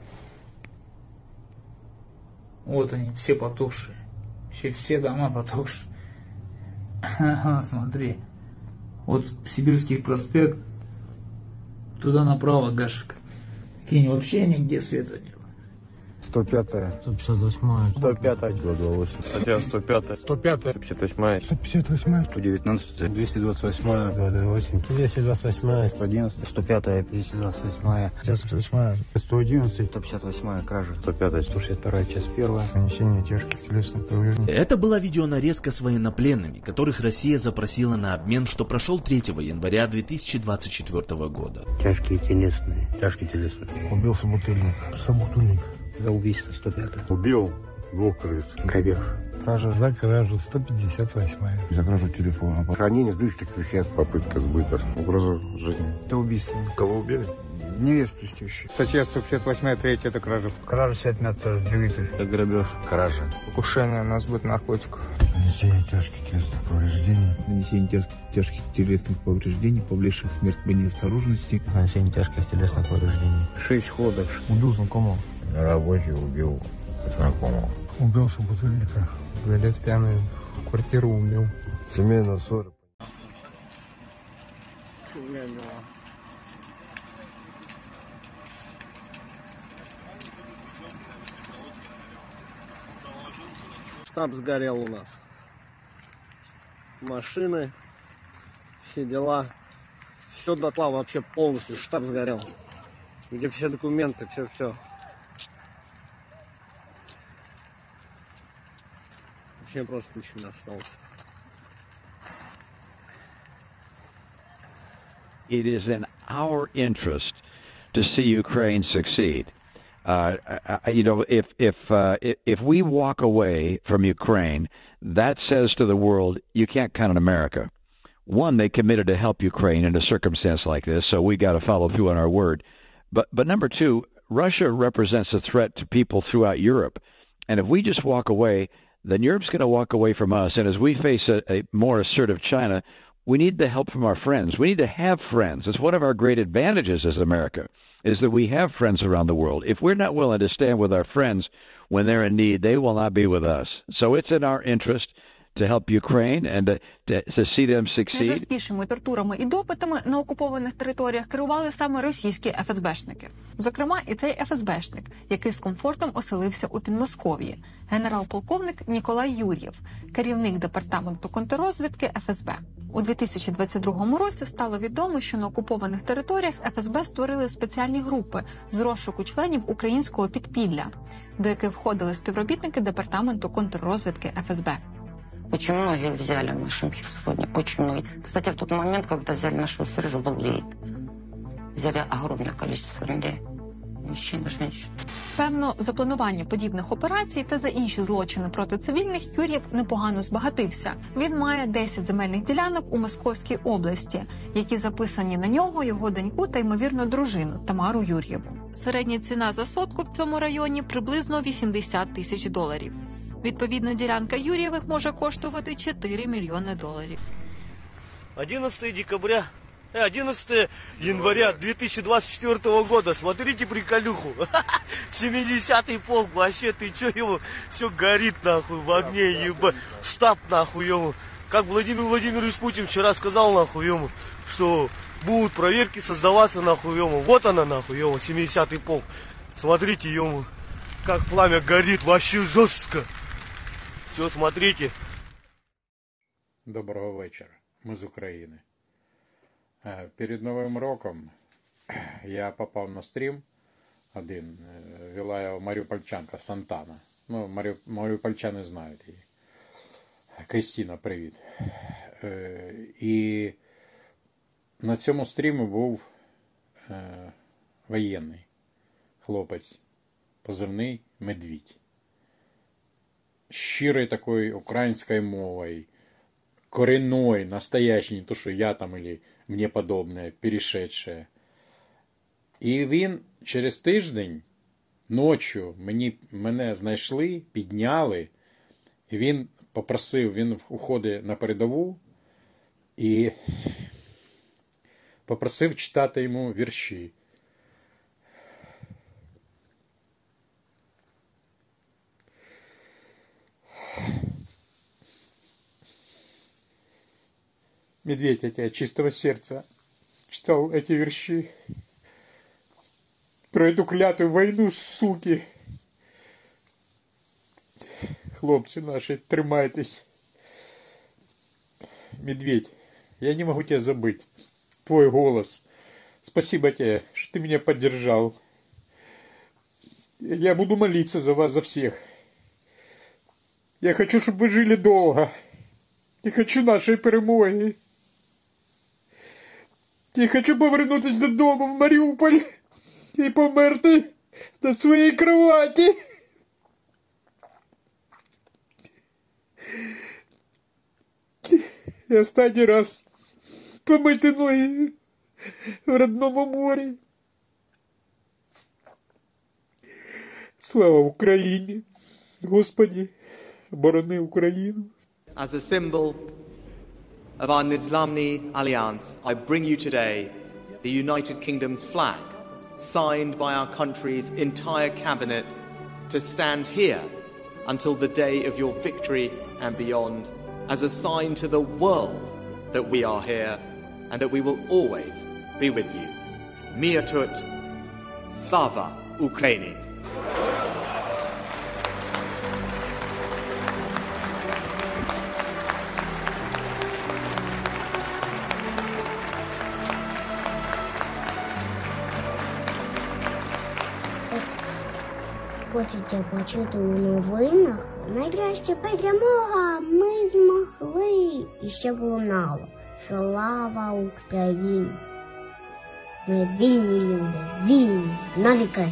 Вот они, все потухшие. Все, все дома потухшие. Смотри. Вот Сибирский проспект, туда направо Гашек. Кинь, вообще нигде света нет. сто пятая. сто пятьдесят восьмая. сто пятая. сто двадцать восемь. Статья сто пятая. сто пятая. сто пятьдесят восьмая. сто пятьдесят восьмая. сто девятнадцатая. двести двадцать восьмая. сто двадцать восемь. двести двадцать восьмая. сто одиннадцатая. сто пятая. двести двадцать восьмая. сто двадцать восьмая. сто одиннадцатая. сто пятьдесят восьмая. Кража. сто пятая. сто шестьдесят вторая. Часть первая. Нанесение тяжких телесных повреждений. Это была видеонарезка с военнопленными, которых Россия запросила на обмен, что прошел третьего января две тысячи двадцать четвёртого года. Тяжкие телесные. Тяжкие телесные. Убил собутыльник. Собутыльник. За убийство сто пятая. Убил двух крыс. Грабеж. Кража за кражу сто пятьдесят восьмая. За кражу телефона. Хранение взрывчатых веществ. Попытка сбыта. Угроза жизни. Это убийство. Кого убили? Невесту с тещей. Статья сто пятьдесят восьмая, третья, это кража. Кража пятнадцать девятый. Это грабеж. Кража. Покушение на сбыт наркотиков. Нанесение тяжких телесных повреждений. Нанесение тяж- тяжких телесных повреждений, повлекших смерть по неосторожности. Нанесение тяжких телесных повреждений. Шесть ходов. Убил знакомого. На работе убил знакомого. Убил собутыльника. Говорят, пьяный в квартиру убил. Семейная ссора. Штаб сгорел у нас. Машины, все дела. Все дотла вообще полностью. Штаб сгорел. Где все документы, все-все. Вообще просто ничего не осталось. It is in our interest to see Ukraine succeed. Uh, you know, if if uh, if we walk away from Ukraine, that says to the world, you can't count on America. One, they committed to help Ukraine in a circumstance like this, so we got to follow through on our word. But but number two, Russia represents a threat to people throughout Europe, and if we just walk away, then Europe's going to walk away from us. And as we face a, a more assertive China, we need the help from our friends. We need to have friends. It's one of our great advantages as America, is that we have friends around the world. If we're not willing to stand with our friends when they're in need, they will not be with us. So it's in our interest to help Ukraine and to, to, to see them succeed. Найжорсткішими тортурами і допитами на окупованих територіях керували саме російські еф ес бешники. Зокрема, і цей еф ес бешник, який з комфортом оселився у Підмосков'ї, генерал-полковник Ніколай Юр'єв, керівник департаменту контррозвідки еф ес бе. У дві тисячі двадцять другому році стало відомо, що на окупованих територіях еф ес бе створили спеціальні групи з розшуку членів українського підпілля, до яких входили співробітники департаменту контррозвідки еф ес бе. Очень многих взяли в нашем Херсоне, очень многие. Кстати, в тот момент, когда взяли нашего Сержа, был рейд. Взяли огромное количество людей. Мужчин и женщин. Певно, за планування подібних операцій та за інші злочини проти цивільних Юр'єв непогано збагатився. Він має десять земельних ділянок у Московській області, які записані на нього, його доньку та, ймовірно, дружину Тамару Юр'єву. Середня ціна за сотку в цьому районі приблизно вісімдесят тисяч доларів. Відповідно, ділянка Юр'євих може коштувати чотири мільйони доларів. одиннадцатого декабря, одиннадцатого января две тысячи двадцать четвёртого года. Смотрите приколюху. семидесятый полк, вообще, ты чё, ему все горит нахуй в огне, ебать. Штаб нахуй ему. Как Владимир Владимирович Путин вчера сказал нахуй ему, что будут проверки создаваться нахуй ему. Вот она нахуй ему, семидесятый полк. Смотрите ему, как пламя горит, вообще жестко. Все, смотрите. Доброго вечора. Ми з України. Перед Новим роком я попав на стрім один. Вела його маріупольчанка Сантана. Ну, марі... маріупольчани знають її. Крістіна, привіт. І на цьому стрімі був воєнний хлопець, позивний Медвідь. Щирой такой украинской мовой, коренной, настоящий, не то, что я там или мне подобное, перешедшее. І він через тиждень, ночі, мені, мене знайшли, підняли, і він попросив, він уходить на передову, і попросив читати йому вірші. Медведь, я тебя от чистого сердца читал эти верши про эту клятую войну, суки. Хлопцы наши, тримайтесь. Медведь, я не могу тебя забыть. Твой голос. Спасибо тебе, что ты меня поддержал. Я буду молиться за вас, за всех. Я хочу, чтобы вы жили долго. Я хочу нашей перемоги. Я хочу повернутися додому в Маріуполь і померти на своїй кроваті. І останній раз помити ноги в родному морі. Слава Україні! Господи, борони Україну! As a symbol of our Nizlamni alliance, I bring you today the United Kingdom's flag, signed by our country's entire cabinet, to stand here until the day of your victory and beyond, as a sign to the world that we are here and that we will always be with you. Mir tut, slava Ukraini. Хочете почути у новинах? Нарешті перемога ми змогли. І ще лунало. Слава Україні! Ми вільні люди, вільні, навіки.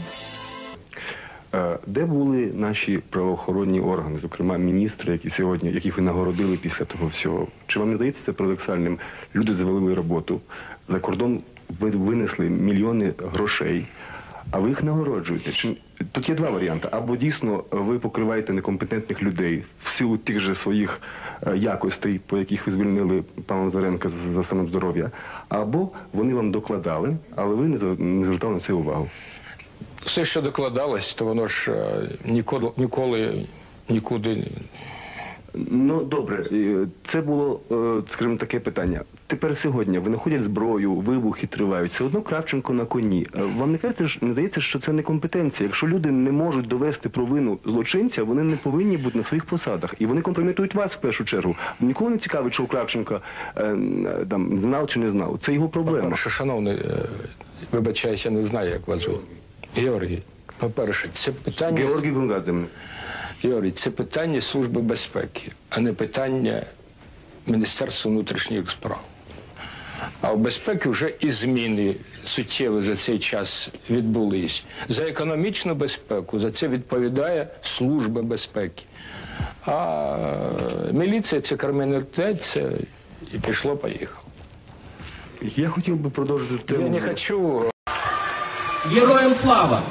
Де були наші правоохоронні органи, зокрема міністри, які сьогодні, яких ви нагородили після того всього? Чи вам не здається це парадоксальним? Люди завалили роботу, за кордон винесли мільйони грошей, а ви їх нагороджуєте. Чи... Тут є два варіанти. Або дійсно ви покриваєте некомпетентних людей в силу тих же своїх якостей, по яких ви звільнили пана Лазаренка за станом здоров'я, або вони вам докладали, але ви не звертали на це увагу. Все, що докладалось, то воно ж ніколи, ніколи нікуди... Ну, добре. Це було, скажімо, таке питання. Тепер сьогодні винаходять зброю, вибухи тривають. Все одно Кравченко на коні. Вам не кажеться, не здається, що це не компетенція? Якщо люди не можуть довести провину злочинця, вони не повинні бути на своїх посадах. І вони компрометують вас в першу чергу. Ніколи не цікавить, що у Кравченка е, там, знав чи не знав. Це його проблема. По-перше, шановний, вибачаюся, я не знаю, як вас звуть. Георгій, по-перше, це питання... Георгій Гонгадзе. Георгій, це питання Служби безпеки, а не питання Міністерства внутрішніх справ. А в безпеці вже і зміни суттєві за цей час відбулись. За економічну безпеку за це відповідає Служба безпеки. А міліція – це криміналітет, це і пішло-поїхало. Я хотів би продовжити тему. Я не хочу... Героям слава!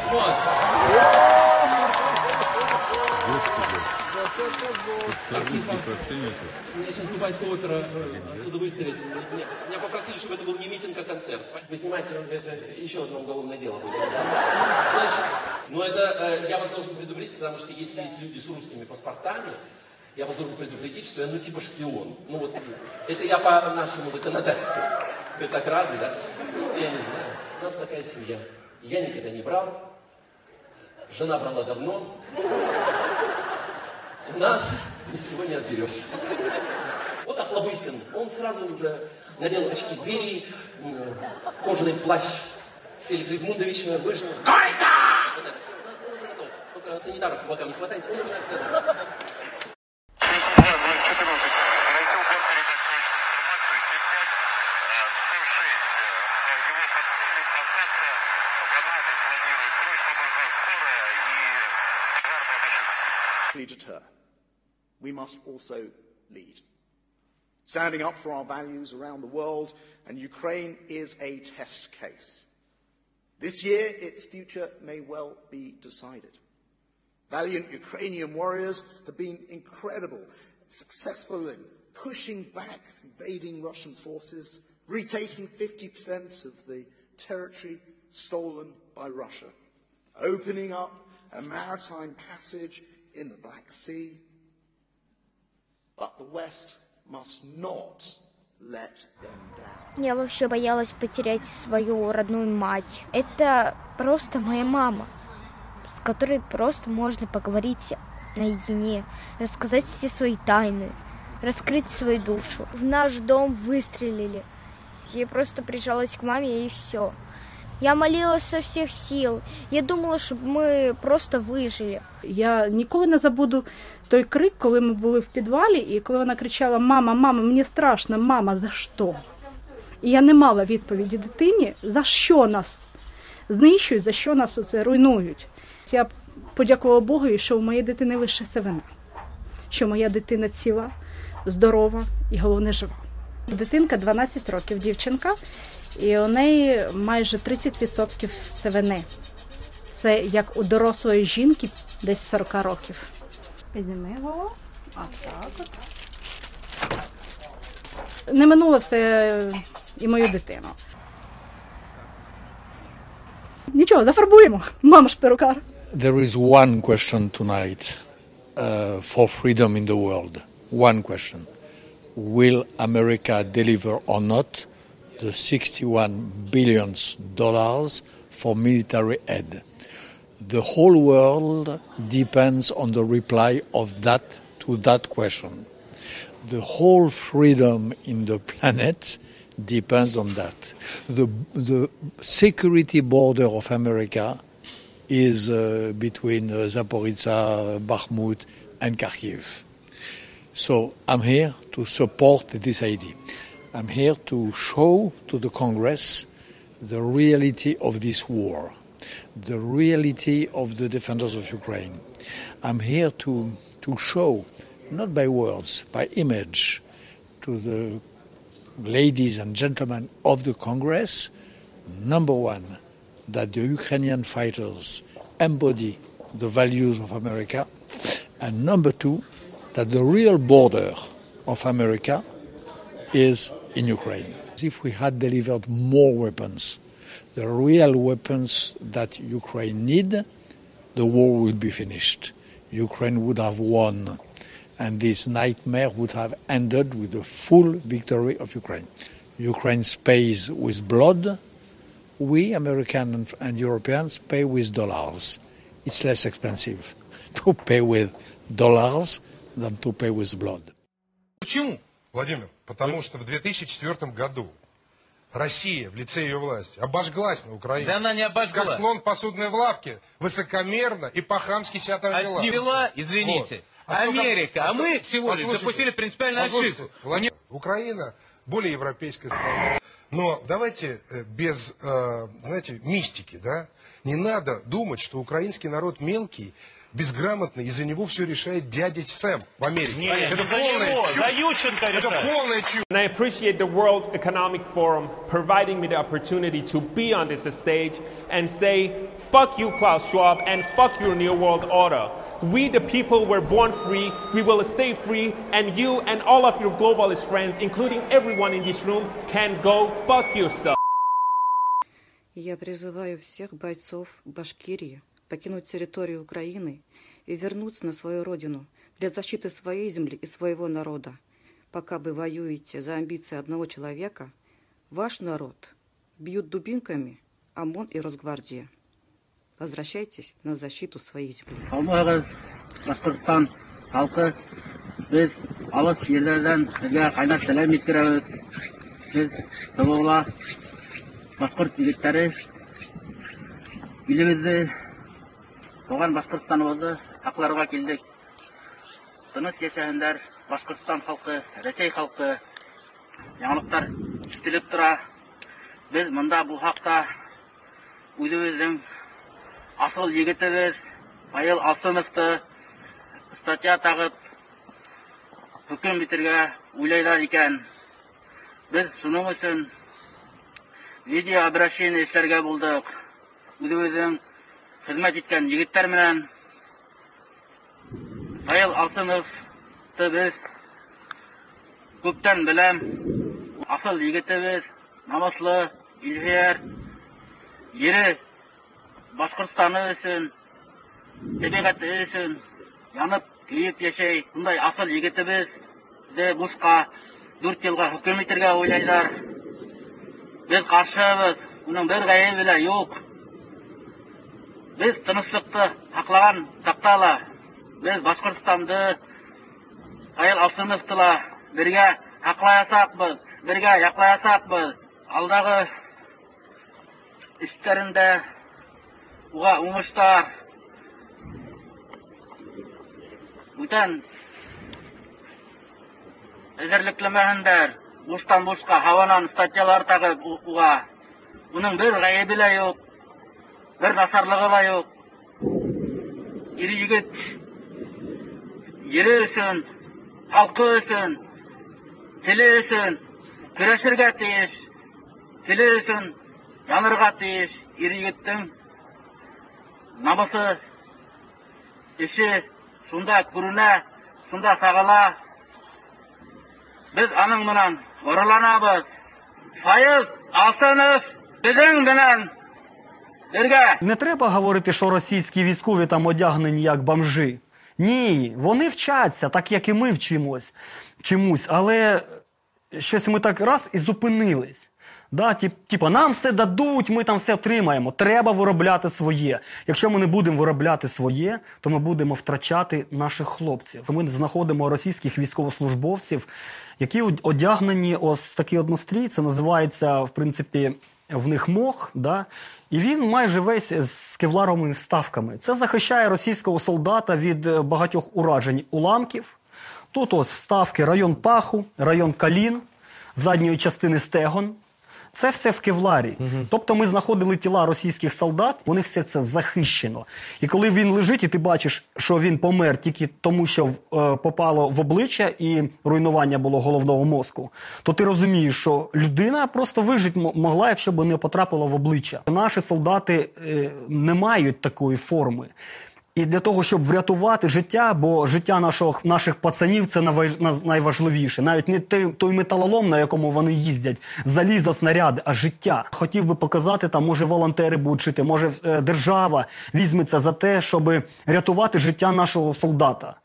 Меня сейчас Дубайская опера отсюда выставить. Меня, меня попросили, чтобы это был не митинг, а концерт. Вы снимаете, это еще одно уголовное дело будет. Значит, ну это я вас должен предупредить, потому что если есть люди с русскими паспортами, я вас должен предупредить, что я ну типа шпион. Ну вот, это я по нашему законодательству. Вы так рады, да? Я не знаю. У нас такая семья. Я никогда не брал. Жена брала давно. У нас ничего не отберешь. Вот Охлобыстин, он сразу уже надел очки двери, кожаный плащ Феликса Эдмундовича, вышел. Гайда! Он уже готов. Только санитаров по бокам не хватает, он уже готов. Deter. We must also lead. Standing up for our values around the world, and Ukraine is a test case. This year, its future may well be decided. Valiant Ukrainian warriors have been incredible, successful in pushing back invading Russian forces, retaking fifty percent of the territory stolen by Russia, opening up a maritime passage in the Black Sea. But the West must not let them down. Я вообще боялась потерять свою родную мать. Это просто моя мама, с которой просто можно поговорить наедине, рассказать все свои тайны, раскрыть свою душу. В наш дом выстрелили. Я просто прижалась к маме и все. Я молилась со всіх сил. Я думала, щоб ми просто вижили. Я ніколи не забуду той крик, коли ми були в підвалі, і коли вона кричала: "Мама, мама, мені страшно, мама, за що?" І я не мала відповіді дитині, за що нас знищують, за що нас оце руйнують. Я подякувала Богу, що у моєї дитини лише вина, що моя дитина ціла, здорова і, головне, жива. Дитинка дванадцять років, дівчинка, і у неї майже тридцять відсотків сивини. Це як у дорослої жінки десь сорок років. Підніми його. А так от. Не минуло все і мою дитину. нічого, зафарбуємо. Мама ж перукар. There is one question tonight uh, for freedom in the world. One question. Will America deliver or not the sixty-one billion dollars for military aid? The whole world depends on the reply of that to that question. The whole freedom in the planet depends on that. The, the security border of America is uh, between uh, Zaporizhzhia, Bakhmut, and Kharkiv. So I'm here to support this idea. I'm here to show to the Congress the reality of this war, the reality of the defenders of Ukraine. I'm here to, to show, not by words, by image, to the ladies and gentlemen of the Congress, number one, that the Ukrainian fighters embody the values of America, and number two, that the real border of America is in Ukraine. If we had delivered more weapons, the real weapons that Ukraine need, the war would be finished. Ukraine would have won, and this nightmare would have ended with the full victory of Ukraine. Ukraine pays with blood. We, Americans and Europeans, pay with dollars. It's less expensive to pay with dollars than to pay with blood. Почему, Владимир? Потому что в две тысячи четвёртом году Россия в лице ее власти обожглась на Украине. Да она не обожгла. Как слон в посудной лавке, высокомерно и по-хамски себя там вела. Отвела, извините, вот. Америка, а, а мы всего лишь допустили принципиальную ошибку. Владимир, Украина более европейская страна. Но давайте без, знаете, мистики, да? Не надо думать, что украинский народ мелкий, безграмотный, из-за него все решает дядя Сэм в Америке. Нет, это полная чушь. Это полная чушь. And I appreciate the World Economic Forum providing me the opportunity to be on this stage and say, fuck you, Klaus Schwab, and fuck your New World Order. We, the people, were born free. We will stay free. And you and all of your globalist friends, including everyone in this room, can go fuck yourself. Я призываю всех бойцов Башкирии покинуть территорию Украины и вернуться на свою родину для защиты своей земли и своего народа. Пока вы воюете за амбиции одного человека, ваш народ бьют дубинками ОМОН и Росгвардия. Возвращайтесь на защиту своей земли. Алмагыз, Башкортстан халкы, biz алыс жерлерден sizga кайнар сәлам еткерәбез. Biz Сабыгла башкорт егетләре илебезне, туган Башкортстаныбызны хакларга килдек. Тыныч яшәһеннәр Башкортстан халкы, Рәсәй халкы. Яңалыктар ишетелеп тора. Без монда бу хакта үзебезнең асыл егетебез Павел Алсыновты статья тагып хөкем битергә уйлайлар икән. Без шуның өчен видео обращение эшләргә булдык. Үзебезнең хезмәт иткән егетләр белән Павел Алсыновты без күптән беләм. Асыл егетебез, намыслы, илһәр, ере Башкортстаны өчен, табигаты өчен янып, көйеп яшәй. Шундай асыл егетебез дә бушка дүрт елга хөкем итәргә уйлайлар. Без каршыбыз, уның бер гаебе белән юк. Без тынычлыкты саклаган сактала. Без Башкортстанды Павел Алсыновтыла бергә аклаясакбыз, бергә яклаясакбыз. Алдагы эшләрендә уга уңыштар. Бүтән әзерлекләмәһендәр, буштан бушка һаванан статьялар тагып уга. Уның бер гаебе лә юк, бер насарлыгы ла юк. Ире егет ере өчен, халкы өчен, теле өчен көрәшергә тиеш, теле өчен янырга тиеш. Ире егеттең намысы, эше шунда күренә, шунда сагыла. Без аның менән горурланабыз. Павел Алсынов безнең белән Не треба говорити, що російські військові там одягнені як бомжи. Ні, вони вчаться, так як і ми вчимось, чомусь, але щось ми так раз і зупинились. Да, тип, типа, нам все дадуть, ми там все отримаємо. Треба виробляти своє. Якщо ми не будемо виробляти своє, то ми будемо втрачати наших хлопців. Ми знаходимо російських військовослужбовців, які одягнені ось такий однострій, це називається, в принципі, в них мох, да? І він майже весь з кевларовими вставками. Це захищає російського солдата від багатьох уражень уламків. Тут ось вставки район паху, район колін, задньої частини стегон. Це все в кевларі. Угу. Тобто ми знаходили тіла російських солдат, у них все це захищено. І коли він лежить, і ти бачиш, що він помер тільки тому, що е, попало в обличчя і руйнування було головного мозку, то ти розумієш, що людина просто вижити могла, якщо б не потрапила в обличчя. Наші солдати е, не мають такої форми. І для того, щоб врятувати життя, бо життя нашого, наших пацанів – це найважливіше. Навіть не той, той металолом, на якому вони їздять, залізо, снаряди, а життя. Хотів би показати, там, може волонтери будуть жити, може держава візьметься за те, щоб рятувати життя нашого солдата.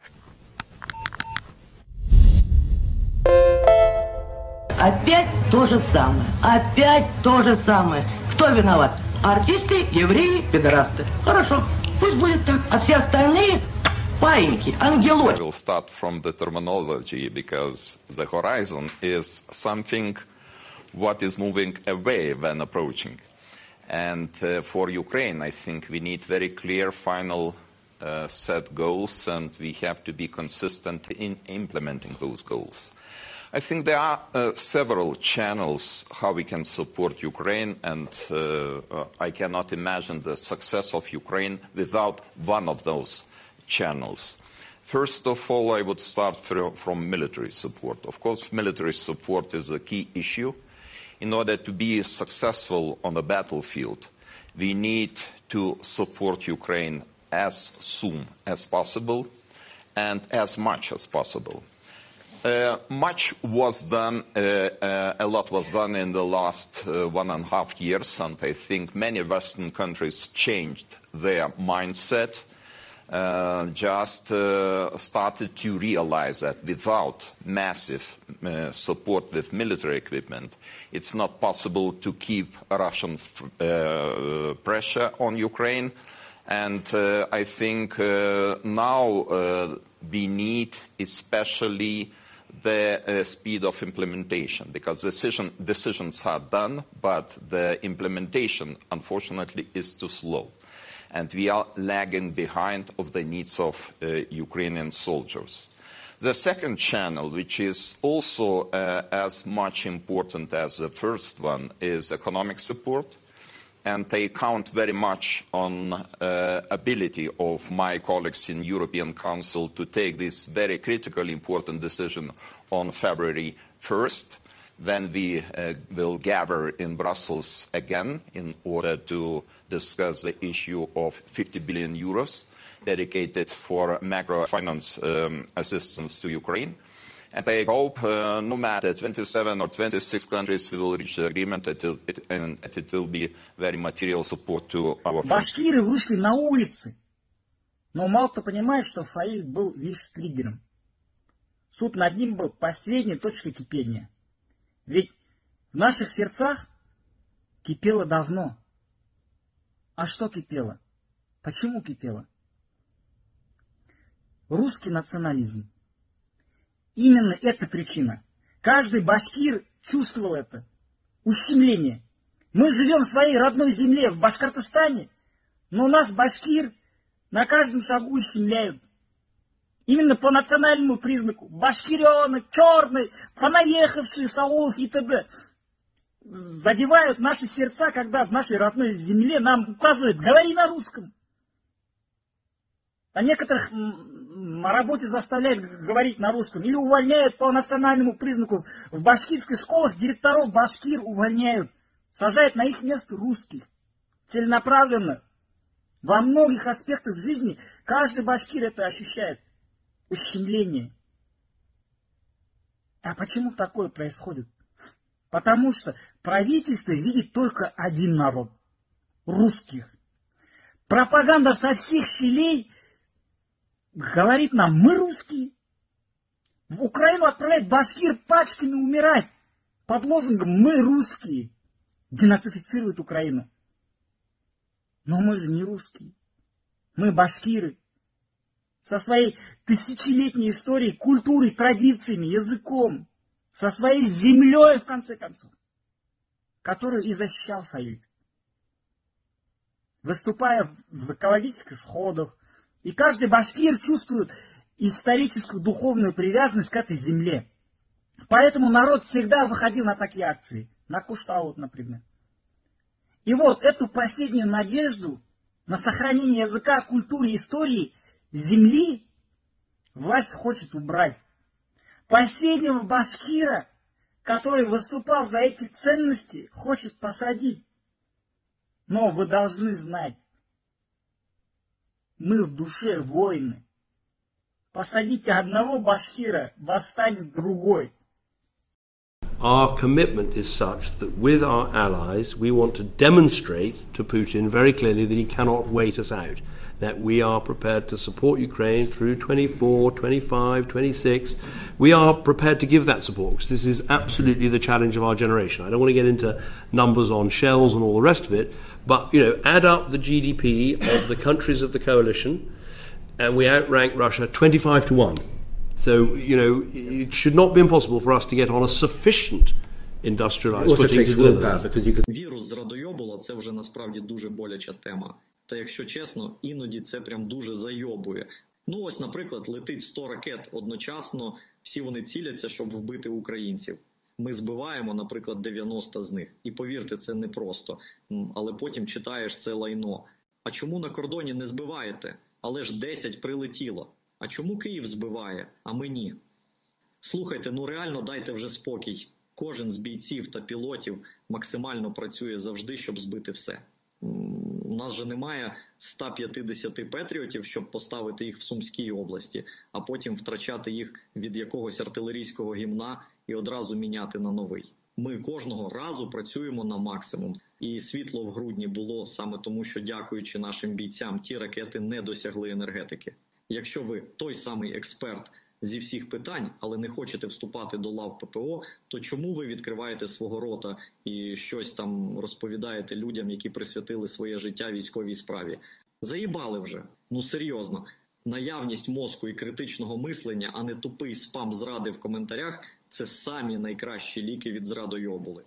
Опять то же самое. Опять то же самое. Кто виноват? Артисты, евреи, пидорасты. Хорошо. Пусть будет так, а все остальные паиньки, ангелочки. We'll start from the terminology because the horizon is something what is moving away when approaching. And uh, for Ukraine, I think we need very clear final uh, set goals, and we have to be consistent in implementing those goals. I think there are uh, several channels how we can support Ukraine, and uh, uh, I cannot imagine the success of Ukraine without one of those channels. First of all, I would start from, from military support. Of course, military support is a key issue. In order to be successful on the battlefield, we need to support Ukraine as soon as possible and as much as possible. Uh, much was done, uh, uh, a lot was done in the last uh, one and a half years, and I think many Western countries changed their mindset, uh, just uh, started to realize that without massive uh, support with military equipment, it's not possible to keep Russian uh, pressure on Ukraine. And uh, I think uh, now uh, we need especially the uh, speed of implementation, because decision, decisions are done, but the implementation, unfortunately, is too slow. And we are lagging behind of the needs of uh, Ukrainian soldiers. The second channel, which is also uh, as much important as the first one, is economic support. And they count very much on uh, ability of my colleagues in European Council to take this very critically important decision on February first, when we uh, will gather in Brussels again in order to discuss the issue of fifty billion euros dedicated for macrofinance um, assistance to Ukraine. And I hope uh, no matter twenty-seven or twenty-six countries, we will reach the agreement that it, and it will be very material support to our friends. Башкиры вышли на улицы, но мало кто понимает, что Фаиль был лишь триггером. Суд над ним был последней точкой кипения. Ведь в наших сердцах кипело давно. А что кипело? Почему кипело? Русский национализм. Именно эта причина. Каждый башкир чувствовал это. Ущемление. Мы живем в своей родной земле, в Башкортостане, но нас, башкир, на каждом шагу ущемляют. Именно по национальному признаку. Башкиренок, черный, понаехавший с аулов и т.д. Задевают наши сердца, когда в нашей родной земле нам указывают: говори на русском. А некоторых на работе заставляют говорить на русском. Или увольняют по национальному признаку. В башкирских школах директоров башкир увольняют. Сажают на их место русских. Целенаправленно. Во многих аспектах жизни каждый башкир это ощущает. Ущемление. А почему такое происходит? Потому что правительство видит только один народ. Русских. Пропаганда со всех щелей говорит нам, мы русские. В Украину отправляют башкир пачками умирать под лозунгом «Мы русские». Денацифицируют Украину. Но мы же не русские. Мы башкиры. Со своей тысячелетней историей, культурой, традициями, языком. Со своей землей, в конце концов. Которую и защищал Фаиль. Выступая в экологических сходах. И каждый башкир чувствует историческую духовную привязанность к этой земле. Поэтому народ всегда выходил на такие акции. На Куштау, например. И вот эту последнюю надежду на сохранение языка, культуры, истории земли власть хочет убрать. Последнего башкира, который выступал за эти ценности, хочет посадить. Но вы должны знать, мы в душе воины. Посадите одного башкира, восстанет другой. Our commitment is such that with our allies we want to demonstrate to Putin very clearly that he cannot wait us out, that we are prepared to support Ukraine through twenty-four, twenty-five, twenty-six. We are prepared to give that support because this is absolutely the challenge of our generation. I don't want to get into numbers on shells and all the rest of it, but you know, add up the G D P of the countries of the coalition and we outrank Russia twenty-five to one. So, you know, it should not be impossible for us to get on a sufficient industrialized footing to deliver that. Вірус зрадойобула – це вже насправді дуже боляча тема. Та якщо чесно, іноді це прям дуже зайобує. Ну ось, наприклад, летить сто ракет одночасно, всі вони ціляться, щоб вбити українців. Ми збиваємо, наприклад, дев'яносто з них. І повірте, це непросто. Але потім читаєш це лайно. А чому на кордоні не збиваєте? Але ж десять прилетіло. А чому Київ збиває, а ми ні? Слухайте, ну реально дайте вже спокій. Кожен з бійців та пілотів максимально працює завжди, щоб збити все. У нас же немає ста п'ятдесяти патріотів, щоб поставити їх в Сумській області, а потім втрачати їх від якогось артилерійського гімна і одразу міняти на новий. Ми кожного разу працюємо на максимум. І світло в грудні було саме тому, що, дякуючи нашим бійцям, ті ракети не досягли енергетики. Якщо ви той самий експерт зі всіх питань, але не хочете вступати до лав ППО, то чому ви відкриваєте свого рота і щось там розповідаєте людям, які присвятили своє життя військовій справі? Заїбали вже. Ну серйозно. Наявність мозку і критичного мислення, а не тупий спам зради в коментарях – це самі найкращі ліки від зрадойобули.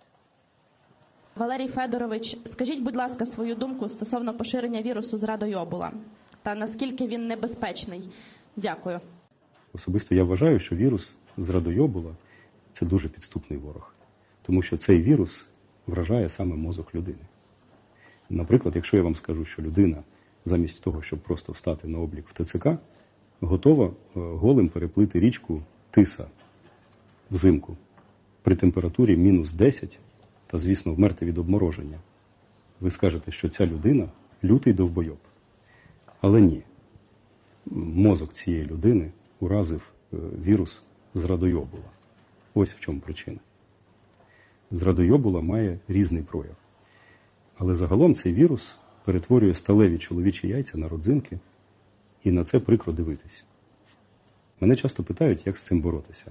Валерій Федорович, скажіть, будь ласка, свою думку стосовно поширення вірусу зрадойобула та наскільки він небезпечний. Дякую. Особисто я вважаю, що вірус зрадойобула – це дуже підступний ворог. Тому що цей вірус вражає саме мозок людини. Наприклад, якщо я вам скажу, що людина замість того, щоб просто встати на облік в ТЦК, готова голим переплити річку Тиса взимку при температурі мінус десять та, звісно, вмерти від обмороження. Ви скажете, що ця людина – лютий довбойоб. Але ні. Мозок цієї людини уразив вірус зрадойобула. Ось в чому причина. Зрадойобула має різний прояв. Але загалом цей вірус перетворює сталеві чоловічі яйця на родзинки, і на це прикро дивитись. Мене часто питають, як з цим боротися.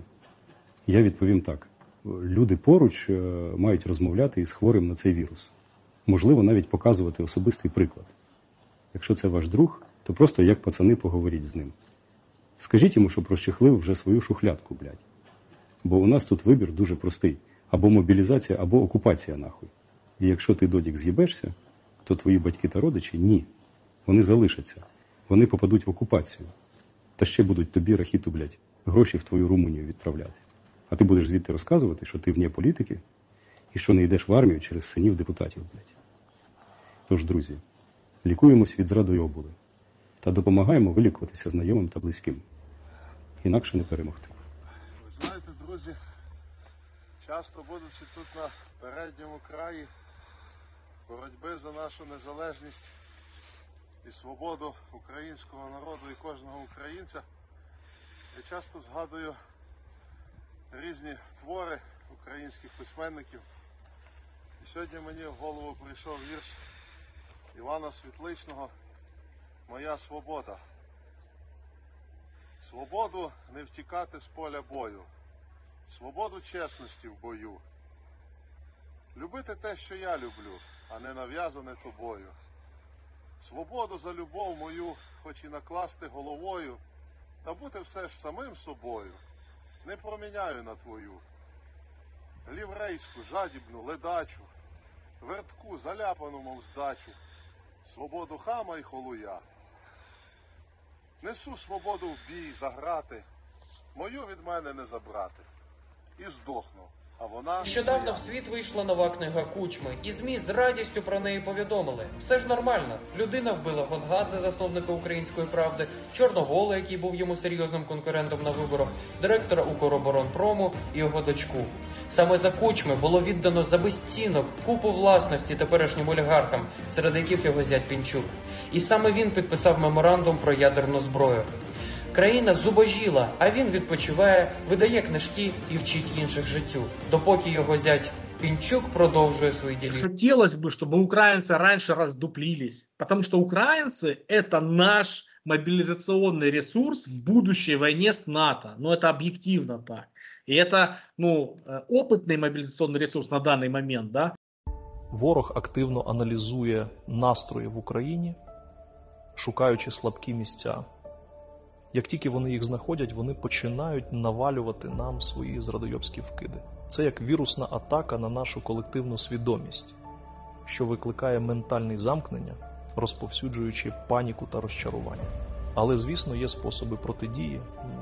Я відповім так. Люди поруч мають розмовляти із хворим на цей вірус. Можливо, навіть показувати особистий приклад. Якщо це ваш друг, то просто як пацани поговоріть з ним. Скажіть йому, щоб розчехлив вже свою шухлядку, блядь. Бо у нас тут вибір дуже простий. Або мобілізація, або окупація, нахуй. І якщо ти, додік, з'їбешся, то твої батьки та родичі – ні. Вони залишаться. Вони попадуть в окупацію. Та ще будуть тобі, рахіту, блядь, гроші в твою Румунію відправляти. А ти будеш звідти розказувати, що ти вне політики і що не йдеш в армію через синів депутатів, блядь. Тож, друзі, лікуємось від зрадойобули та допомагаємо вилікуватися знайомим та близьким. Інакше не перемогти. Ви знаєте, друзі, часто будучи тут на передньому краї боротьби за нашу незалежність і свободу українського народу і кожного українця, я часто згадую різні твори українських письменників. І сьогодні мені в голову прийшов вірш Івана Світличного моя свобода. Свободу не втікати з поля бою. Свободу чесності в бою. Любити те, що я люблю, а не нав'язане тобою. Свободу за любов мою, хоч і накласти головою, та бути все ж самим собою, не проміняю на твою. Ліврейську, жадібну, ледачу, вертку, заляпану, мов здачу, свободу хама й холуя. Несу свободу в бій, заграти, мою від мене не забрати. І здохну, а вона... Нещодавно в світ вийшла нова книга Кучми, і ЗМІ з радістю про неї повідомили. Все ж нормально. Людина вбила Гонгадзе, засновника «Української правди», Чорновола, який був йому серйозним конкурентом на виборах, директора «Укроборонпрому» і його дочку. Саме за Кучми було віддано за безцінок купу власності теперішнім олігархам, серед яких його зять Пінчук. І саме він підписав меморандум про ядерну зброю. Країна зубожіла, а він відпочиває, видає книжки і вчить інших життю, допоки його зять Пінчук продовжує свої ділі. Хотелось бы, чтобы украинцы раньше раздуплились, потому что украинцы – это наш мобилизационный ресурс в будущей войне с НАТО. Ну, это объективно так. И это, ну, опытный мобилизационный ресурс на данный момент, да? Ворог активно аналізує настрої в Україні, шукаючи слабкі місця. Як тільки вони їх знаходять, вони починають навалювати нам свої зрадойобські вкиди. Це як вірусна атака на нашу колективну свідомість, що викликає ментальне замкнення, розповсюджуючи паніку та розчарування. Але, звісно, є способи протидії.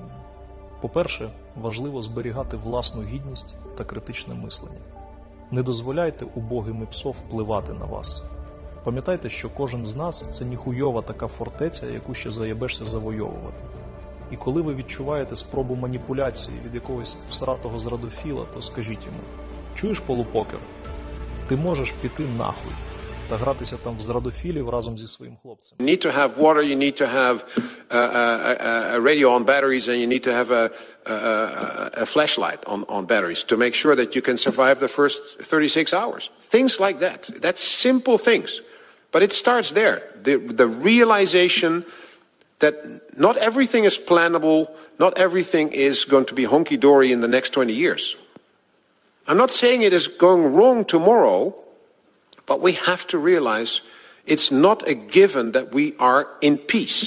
По-перше, важливо зберігати власну гідність та критичне мислення. Не дозволяйте убогим і псов впливати на вас. Пам'ятайте, що кожен з нас – це ніхуйова така фортеця, яку ще заєбешся завойовувати. І коли ви відчуваєте спробу маніпуляції від якогось всратого зрадофіла, то скажіть йому: чуєш, полупокер, ти можеш піти нахуй та гратися там в зрадофілів разом зі своїм хлопцем. You need to have water, you need to have a, a, a radio on batteries, and you need to have a, a, a flashlight on, on batteries to make sure that you can survive the first thirty-six hours. Things like that. That's simple things. But it starts there. The, the realization that not everything is plannable, not everything is going to be honky-dory in the next twenty years. I'm not saying it is going wrong tomorrow, but we have to realize it's not a given that we are in peace.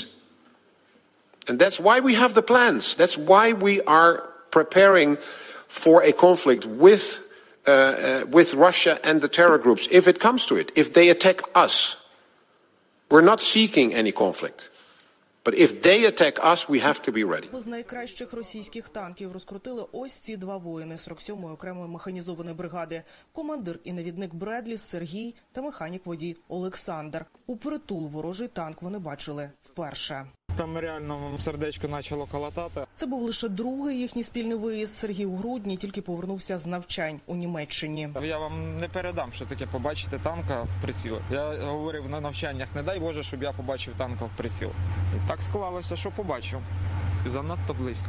And that's why we have the plans. That's why we are preparing for a conflict with, uh, uh, with Russia and the terror groups, if it comes to it, if they attack us. We're not seeking any conflict. But if they attack us, we have to be ready. З найкращих російських танків розкрутили ось ці два воїни сорок сьомої окремої механізованої бригади. Командир і навідник Бредлі Сергій та механік-водій Олександр. Упритул ворожий танк вони бачили вперше. Там реально сердечко почало колотати. Це був лише другий їхній спільний виїзд. Сергій у грудні тільки повернувся з навчань у Німеччині. Я вам не передам, що таке побачити танка в прицілах. Я говорив на навчаннях, не дай Боже, щоб я побачив танка в приціл. І так склалося, що побачив. І занадто близько.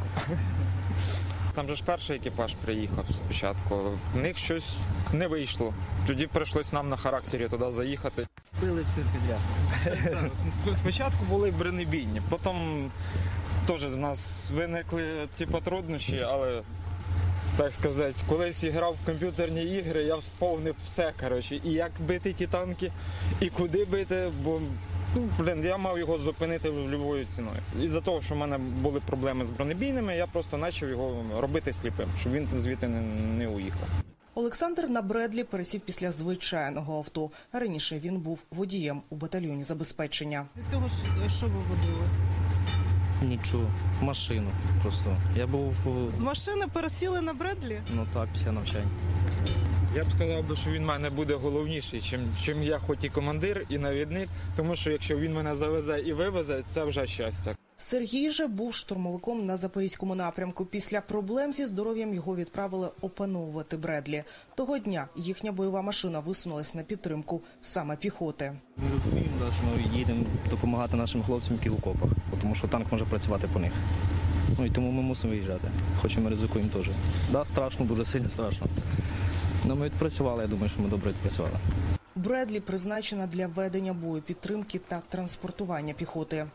Там же ж перший екіпаж приїхав спочатку. В них щось не вийшло. Тоді прийшлось нам на характері туди заїхати. Били все підряд. Спочатку були бронебійні, потім теж в нас виникли типу, труднощі, але, так сказати, колись грав в комп'ютерні ігри, я сповнив все, коротше, і як бити ті танки, і куди бити, бо ну, блин, я мав його зупинити любою ціною. Із-за того, що в мене були проблеми з бронебійними, я просто почав його робити сліпим, щоб він звідти не, не уїхав. Олександр на Бредлі пересів після звичайного авто. Раніше він був водієм у батальйоні забезпечення. Від цього що ви водили? Нічого. Машину просто. Я був... З машини пересіли на Бредлі? Ну так, після навчань. Я б сказав, що він в мене буде головніший, чим, чим я хоч і командир, і навідник, тому що якщо він мене завезе і вивезе, це вже щастя. Сергій же був штурмовиком на Запорізькому напрямку. Після проблем зі здоров'ям його відправили опановувати Бредлі. Того дня їхня бойова машина висунулась на підтримку саме піхоти. Ми розуміємо, що ми їдемо допомагати нашим хлопцям, які в окопах, тому що танк може працювати по них. Ну і тому ми мусимо виїжджати, хоч і ми ризикуємо теж. Да, страшно, дуже сильно страшно. Але ми відпрацювали, я думаю, що ми добре відпрацювали. Бредлі призначена для ведення бою, підтримки та транспортування піхоти.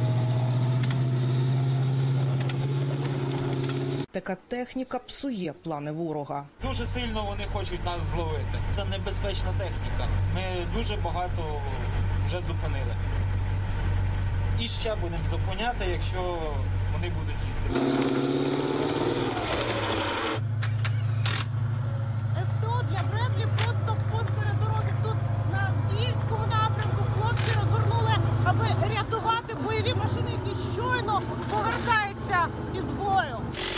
Така техніка псує плани ворога. Дуже сильно вони хочуть нас зловити. Це небезпечна техніка. Ми дуже багато вже зупинили. І ще будемо зупиняти, якщо вони будуть їздити. СТО для Бредлі просто посеред дороги. Тут на Авдіївському напрямку хлопці розгорнули, аби рятувати бойові машини, які щойно повертаються із бою.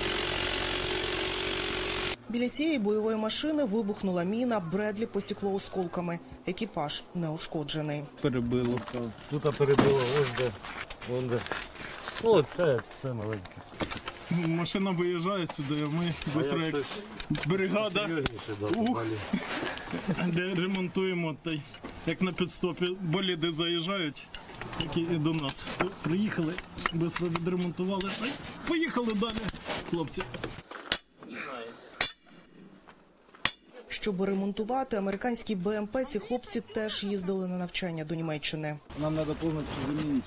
Біля цієї бойової машини вибухнула міна, Бредлі посікло осколками. Екіпаж не ушкоджений. Перебило. Тут перебило, ось де, вон де. Ну, це, це маленьке. Машина виїжджає сюди, а ми швидко як бригада, ух, де ремонтуємо, та як на підстопі боліди заїжджають, так і до нас. Приїхали, швидко відремонтували, та й поїхали далі, хлопці. Щоб ремонтувати американські Б М Пе, ці хлопці теж їздили на навчання до Німеччини. Нам треба повністю замінити.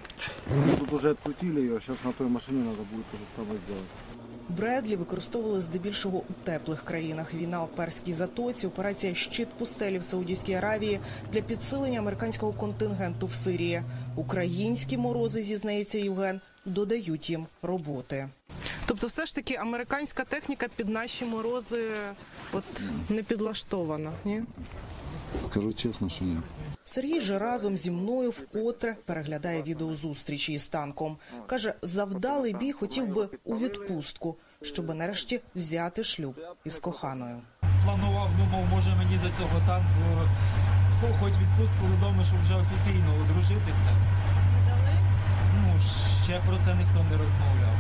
Тут вже відкрутили її, а зараз на той машині треба буде те саме зробити. Бредлі використовували здебільшого у теплих країнах. Війна у Перській затоці, операція «Щит пустелі» в Саудівській Аравії для підсилення американського контингенту в Сирії. Українські морози, зізнається Євген, додають їм роботи. Тобто все ж таки американська техніка під наші морози от не підлаштована, ні? Скажу чесно, що ні. Сергій же разом зі мною вкотре переглядає відеозустрічі із танком. Каже, завдалий бій хотів би у відпустку, щоб нарешті взяти шлюб із коханою. Планував, думав, може мені за цього танку хоч відпустку додому, щоб вже офіційно одружитися. Не дали? Ну, ще про це ніхто не розмовляв.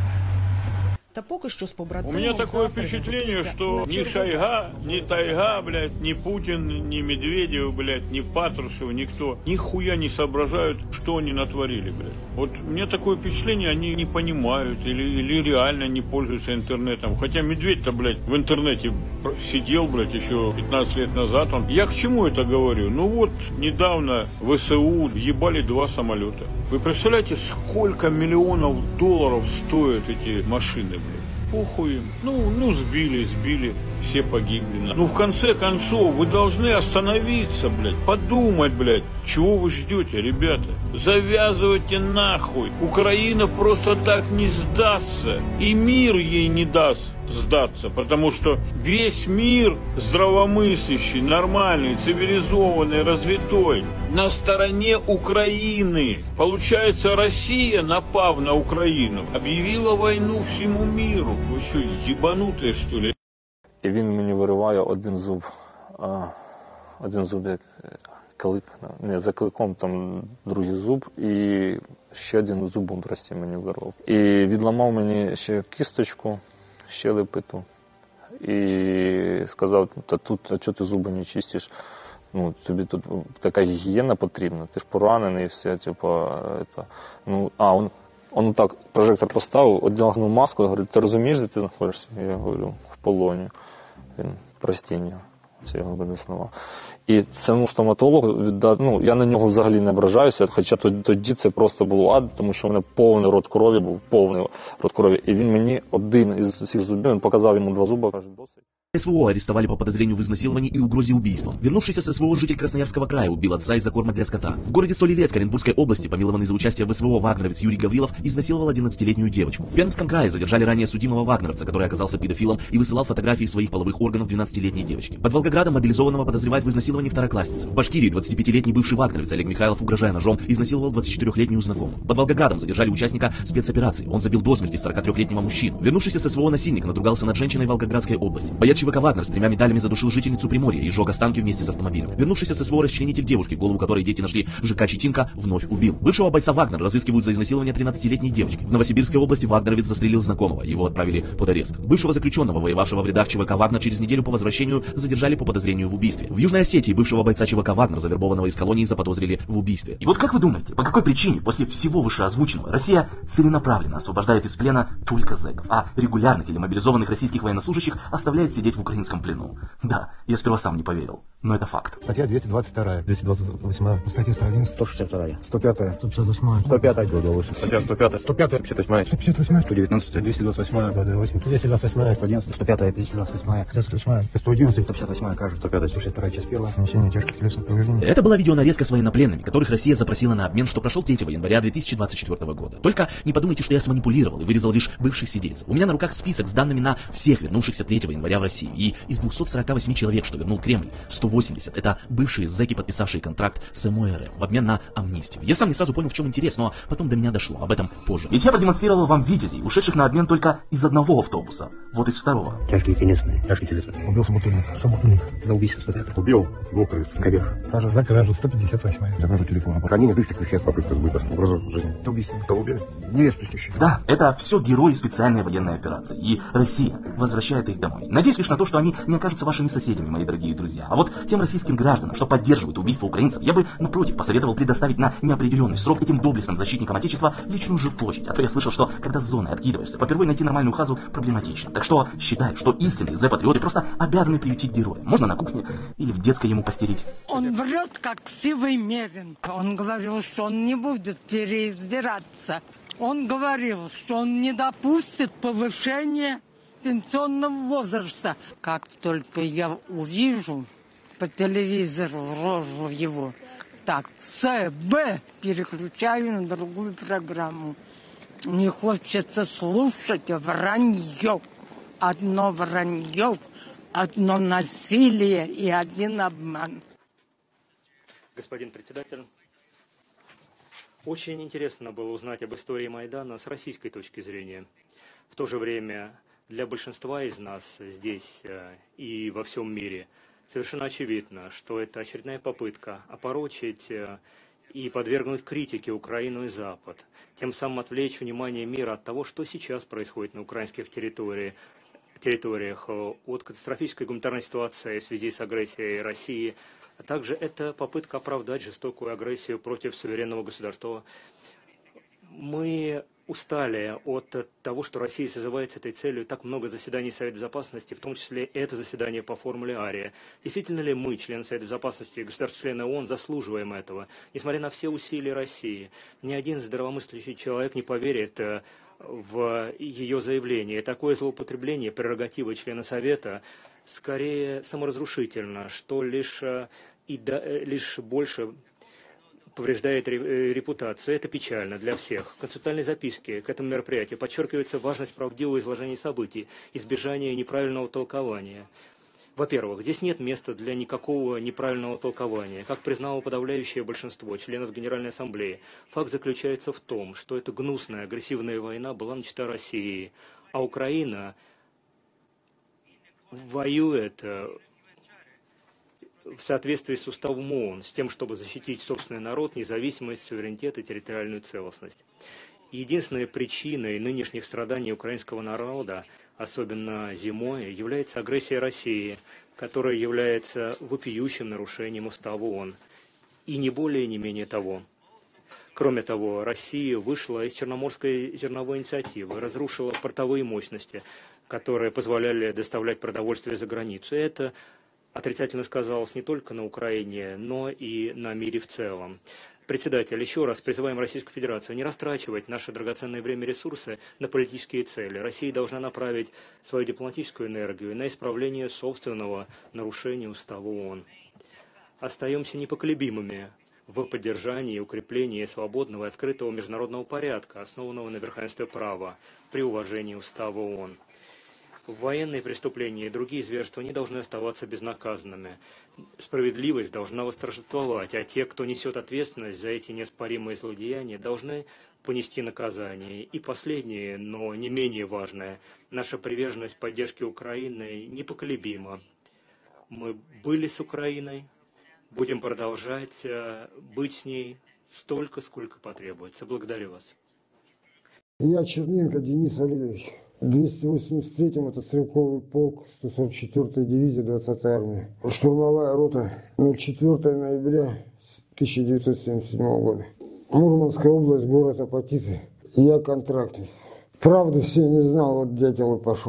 Та поки що з побратимом У меня такое завтра впечатление, відбудеться что на ни чергову- Шойга, ни Тайга, блядь, ни Путин, ни Медведев, блядь, ни Патрушев, никто нихуя не соображают, что они натворили, блядь. Вот мне такое впечатление, они не понимают или, или реально не пользуются интернетом. Хотя Медведь-то, блядь, в интернете сидел, блядь, еще пятнадцать лет назад. Он... Я к чему это говорю? Ну вот, недавно в С У въебали два самолета. Вы представляете, сколько миллионов долларов стоят эти машины, блядь? Похуй им. Ну, ну, сбили, сбили, все погибли. Ну, в конце концов, вы должны остановиться, блядь, подумать, блядь, чего вы ждете, ребята? Завязывайте нахуй. Украина просто так не сдастся. И мир ей не даст сдаться, потому что весь мир здравомыслящий, нормальный, цивилизованный, развитой на стороне Украины. Получается, Россия, напав на Украину, объявила войну всему миру. Вы что, ебанутые, что ли? І він мені вириває один зуб, а, один зуб як клик, не, за кликом там другий зуб, і ще один зуб мудрості мені вирвав. І відламав мені ще кісточку, щелепиту, і сказав, та тут, а чого ти зуби не чистиш? Ну, тобі тут така гігієна потрібна, ти ж поранений і все, типу, это, ну, а, он, он так прожектор поставив, одягнув маску, говорить, ти розумієш, де ти знаходишся? Я говорю, в полоні. Він простіння, це його винесло. І цьому стоматологу віддати, ну, я на нього взагалі не ображаюся, хоча тоді це просто було ад, тому що в мене повний рот крові був, повний рот крові. І він мені один із цих зубів, він показав йому два зуби, каже, досить. С В О арестовали по подозрению в изнасиловании и угрозе убийством. Вернувшийся с С В О житель Красноярского края убил отца из-за корма для скота. В городе Соль-Илецк Оренбургской области, помилованный за участие в С В О вагнеровец Юрий Гаврилов изнасиловал одиннадцатилетнюю девочку. В Пермском крае задержали ранее судимого вагнеровца, который оказался педофилом и высылал фотографии своих половых органов двенадцатилетней девочки. Под Волгоградом мобилизованного подозревают в изнасиловании второклассницы. В Башкирии двадцатипятилетний бывший вагнеровец Олег Михайлов, угрожая ножом, изнасиловал двадцатичетырёхлетнюю знакомую. Под Волгоградом задержали участника спецоперации. Он забил до смерти сорокатрёхлетнего мужчину. Вернувшийся с С В О насильник надругался над женщиной в Волгоградской области. Боец ЧВК «Вагнер» с тремя медалями задушил жительницу Приморья и сжег останки вместе с автомобилем. Вернувшийся с С В О расчленитель девушки, голову которой дети нашли в ЖК Читинка, вновь убил. Бывшего бойца «Вагнер» разыскивают за изнасилование тринадцатилетней девочки. В Новосибирской области вагнеровец застрелил знакомого, его отправили под арест. Бывшего заключенного, воевавшего в рядах ЧВК «Вагнер», через неделю по возвращению задержали по подозрению в убийстве. В Южной Осетии бывшего бойца ЧВК «Вагнер», завербованного из колонии, заподозрили в убийстве. И вот как вы думаете, по какой причине после всего вышеозвученного Россия целенаправленно освобождает из плена только зэков, а регулярных или мобилизованных российских военнослужащих оставляет сидеть в украинском плену? Да, я сперва сам не поверил. но это факт. Статья двести двадцать вторая, двести двадцать восьмая, статья сто одиннадцать, сто шестьдесят вторая, сто пятая, сто пятьдесят восьмая, сто пятая, статья сто пятая, сто пятая, пятьдесят восьмая, сто пятьдесят восьмая, сто девятнадцать, двести двадцать восьмая, двести двадцать восьмая, сто одиннадцать, сто пятая, двести двадцать восьмая, двести восьмая, сто одиннадцать, сто пятьдесят восьмая, кажется, сто пятая, сто шестьдесят вторая, часть первая, нанесение тяжких телесных повреждений. Это была видеонарезка с военнопленными, которых Россия запросила на обмен, что прошел третьего января две тысячи двадцать четвёртого года. Только не подумайте, что я сманипулировал и вырезал лишь бывших сидельцев. У меня на руках список с данными на всех вернувшихся третьего января в Россию. И из двухсот сорока восьми человек, что вернул Кремль, сто восемьдесят это бывшие зэки, подписавшие контракт с МО-РФ в обмен на амнистию. Я сам не сразу понял, в чем интерес, но потом до меня дошло. Об этом позже. Ведь я продемонстрировал вам витязей, ушедших на обмен только из одного автобуса. Вот из второго. Тяжкие телесные, тяжкие телесные. Убил собутыльник, собутыльник. За убийство сто пятый. Убил двух крыс. Кобег. Кража, за кражу сто пятьдесят восьмая. За кражу телефона. Хранение лишних веществ, попытка сбыта. Угроза жизни. Это убийство. Кого убили? Невесту ищущих. Да, это все герои специальной военной операции. И Россия возвращает их домой. Надеюсь лишь на то, что они не окажутся вашими соседями, мои дорогие друзья. А вот тем российским гражданам, что поддерживают убийство украинцев, я бы, напротив, посоветовал предоставить на неопределенный срок этим доблестным защитникам Отечества личную жилплощадь. А то я слышал, что когда с зоны откидываешься, попервой найти нормальную хазу проблематично. Так что считаю, что истинные зе-патриоты просто обязаны приютить героя. Можно на кухне или в детской ему постелить. Он врет, как сивый мерин. Он говорил, что он не будет переизбираться. Он говорил, что он не допустит повышения пенсионного возраста. Как только я увижу по телевизору рожу его, так, С, Б, переключаю на другую программу. Не хочется слушать вранье. Одно вранье, одно насилие и один обман. Господин председатель, очень интересно было узнать об истории Майдана с российской точки зрения. В то же время для большинства из нас здесь и во всем мире совершенно очевидно, что это очередная попытка опорочить и подвергнуть критике Украину и Запад, тем самым отвлечь внимание мира от того, что сейчас происходит на украинских территориях, территориях, от катастрофической гуманитарной ситуации в связи с агрессией России, а также это попытка оправдать жестокую агрессию против суверенного государства. Мы устали от того, что Россия созывает с этой целью так много заседаний Совета Безопасности, в том числе это заседание по формуле Ария. Действительно ли мы, члены Совета Безопасности, государства-члены ООН, заслуживаем этого? Несмотря на все усилия России, ни один здравомыслящий человек не поверит в ее заявление. И такое злоупотребление прерогативы члена Совета скорее саморазрушительно, что лишь, и да, лишь больше повреждает репутацию. Это печально для всех. В концептуальной записке к этому мероприятию подчеркивается важность правдивого изложения событий, избежания неправильного толкования. Во-первых, здесь нет места для никакого неправильного толкования. Как признало подавляющее большинство членов Генеральной Ассамблеи, факт заключается в том, что эта гнусная, агрессивная война была начата Россией, а Украина воюет в соответствии с уставом ООН, с тем, чтобы защитить собственный народ, независимость, суверенитет и территориальную целостность. Единственной причиной нынешних страданий украинского народа, особенно зимой, является агрессия России, которая является вопиющим нарушением устава ООН. И не более, не менее того. Кроме того, Россия вышла из Черноморской зерновой инициативы, разрушила портовые мощности, которые позволяли доставлять продовольствие за границу. И это отрицательно сказалось не только на Украине, но и на мире в целом. Председатель, еще раз призываем Российскую Федерацию не растрачивать наше драгоценное время и ресурсы на политические цели. Россия должна направить свою дипломатическую энергию на исправление собственного нарушения устава ООН. Остаемся непоколебимыми в поддержании и укреплении свободного и открытого международного порядка, основанного на верховенстве права, при уважении устава ООН. Военные преступления и другие зверства не должны оставаться безнаказанными. Справедливость должна восторжествовать, а те, кто несет ответственность за эти неоспоримые злодеяния, должны понести наказание. И последнее, но не менее важное, наша приверженность поддержке Украины непоколебима. Мы были с Украиной, будем продолжать быть с ней столько, сколько потребуется. Благодарю вас. Я Черненко Денис Олегович. В двести восемьдесят третьем это стрелковый полк, сто сорок четвёртая дивизия, двадцатая армия. Штурмовая рота, четвёртого ноября тысяча девятьсот семьдесят седьмого года. Мурманская область, город Апатиты. Я контрактник. Правды все не знал, вот дятел и пошел.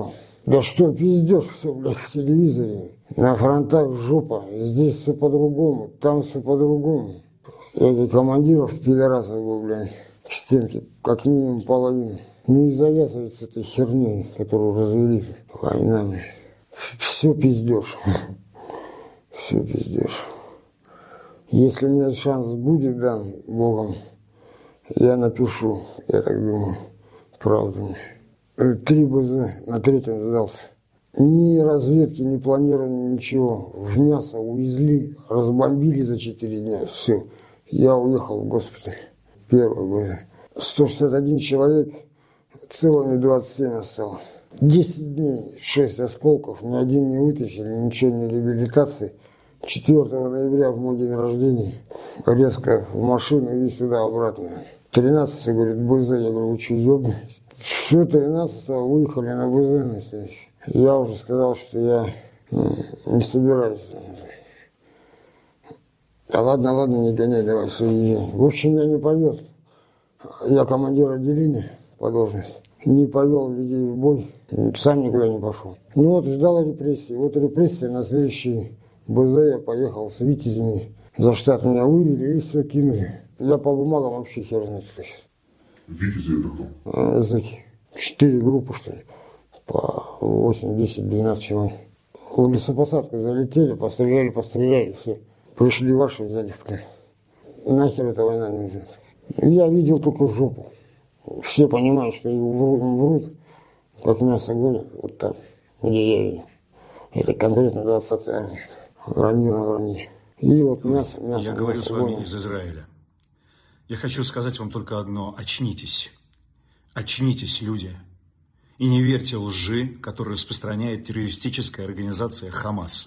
Да что пиздешь все, блядь, в телевизоре. На фронтах жопа, здесь все по-другому, там все по-другому. Этих командиров, пидорасов, блядь, к стенке, как минимум половину. Ну и завязывать с этой херней, которую развели война. Все пиздешь. Все пиздешь. Если у меня шанс будет дан Богом, я напишу, я так думаю, правду. Три БЗ, на третьем сдался. Ни разведки, ни планирования, ничего. В мясо увезли, разбомбили за четыре дня. Все. Я уехал в госпиталь. Первый БЗ. сто шестьдесят один человек, целыми двадцать семь осталось. десять дней, шесть осколков, ни один не вытащили, ничего не реабилитации. четвёртого ноября, в мой день рождения, резко в машину и сюда обратно. тринадцатого, говорит, БЗ. Я говорю, вы что, ёбнулись? Все, тринадцатого выехали на БЗ на следующий. Я уже сказал, что я ну, не собираюсь. А ладно, ладно, не гоняй, давай, все, езжай. В общем, я не повез. Я командир отделения по должности. Не повел людей в бой, сам никуда не пошел. Ну вот, ждал репрессии. Вот репрессии на следующий БЗ я поехал с витязями. За штат меня вывели и все кинули. Я по бумагам вообще хер знает, что сейчас. Витязи это кто? Зэки. Четыре группы, что ли. По восемь, десять, двенадцать человек. В лесопосадку залетели, постреляли, постреляли, все. Пришли ваши, взяли в плен. Нахер эта война не нужна. Я видел только жопу. Все понимают, что им врут, как мясо гонят, вот так, где я видел. Это конкретно двадцатая армия. Вранье на вранье. И вот мясо, мясо, Я говорю мясо с вами гонят. из Израиля. Я хочу сказать вам только одно. Очнитесь. Очнитесь, люди. И не верьте лжи, которую распространяет террористическая организация «Хамас».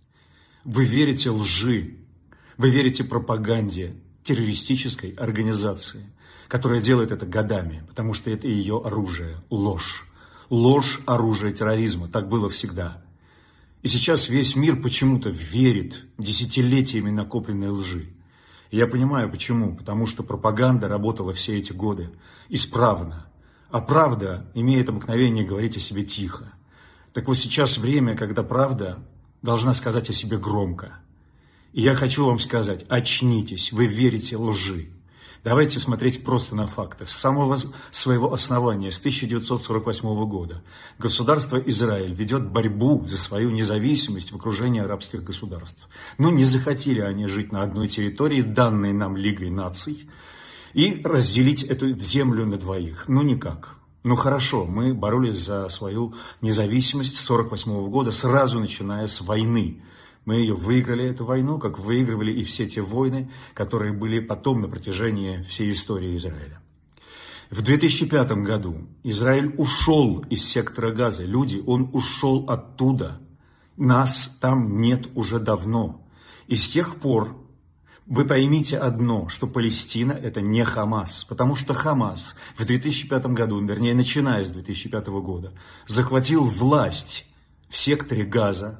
Вы верите лжи. Вы верите пропаганде террористической организации, которая делает это годами, потому что это ее оружие, ложь. Ложь – оружие терроризма. Так было всегда. И сейчас весь мир почему-то верит десятилетиями накопленной лжи. И я понимаю, почему. Потому что пропаганда работала все эти годы исправно. А правда имеет обыкновение говорить о себе тихо. Так вот сейчас время, когда правда должна сказать о себе громко. И я хочу вам сказать, очнитесь, вы верите лжи. Давайте смотреть просто на факты. С самого своего основания, с тысяча девятьсот сорок восьмого года, государство Израиль ведет борьбу за свою независимость в окружении арабских государств. Ну, не захотели они жить на одной территории, данной нам Лигой наций, и разделить эту землю на двоих. Ну, никак. Ну, хорошо, мы боролись за свою независимость с сорок восьмого года, сразу начиная с войны. Мы ее выиграли, эту войну, как выигрывали и все те войны, которые были потом на протяжении всей истории Израиля. В две тысячи пятом году Израиль ушел из сектора Газа. Люди, он ушел оттуда. Нас там нет уже давно. И с тех пор вы поймите одно, что Палестина это не Хамас. Потому что Хамас в две тысячи пятом году, вернее, начиная с две тысячи пятого года, захватил власть в секторе Газа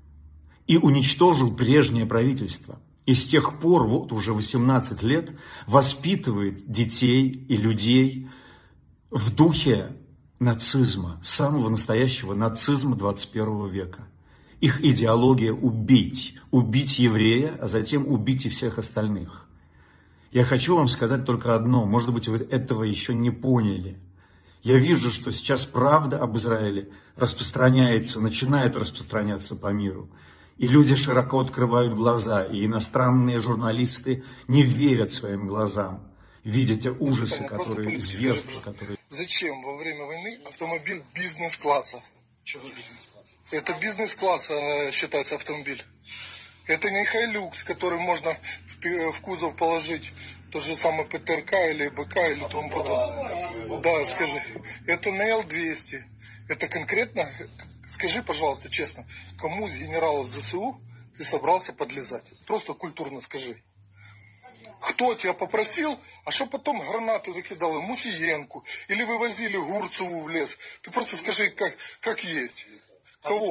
и уничтожил прежнее правительство. И с тех пор, вот уже восемнадцать лет, воспитывает детей и людей в духе нацизма, самого настоящего нацизма двадцать первого века. Их идеология убить, убить еврея, а затем убить и всех остальных. Я хочу вам сказать только одно, может быть, вы этого еще не поняли. Я вижу, что сейчас правда об Израиле распространяется, начинает распространяться по миру. И люди широко открывают глаза, и иностранные журналисты не верят своим глазам, видя те ужасы, которые, зверства, которые... Зачем во время войны автомобиль бизнес-класса? Чего бизнес-класса? Это бизнес-класса считается автомобиль. Это не Хайлюкс, который можно в, в кузов положить тот же самый ПТРК или БК или тому подобное. Да, скажи. Это на Эл двести. Это конкретно... Скажи, пожалуйста, честно, кому из генералов ЗСУ ты собрался подлезать? Просто культурно скажи. Кто тебя попросил, а что потом гранаты закидал Мусиенку или вывозили Гурцеву в лес? Ты просто скажи, как, как есть. Кого?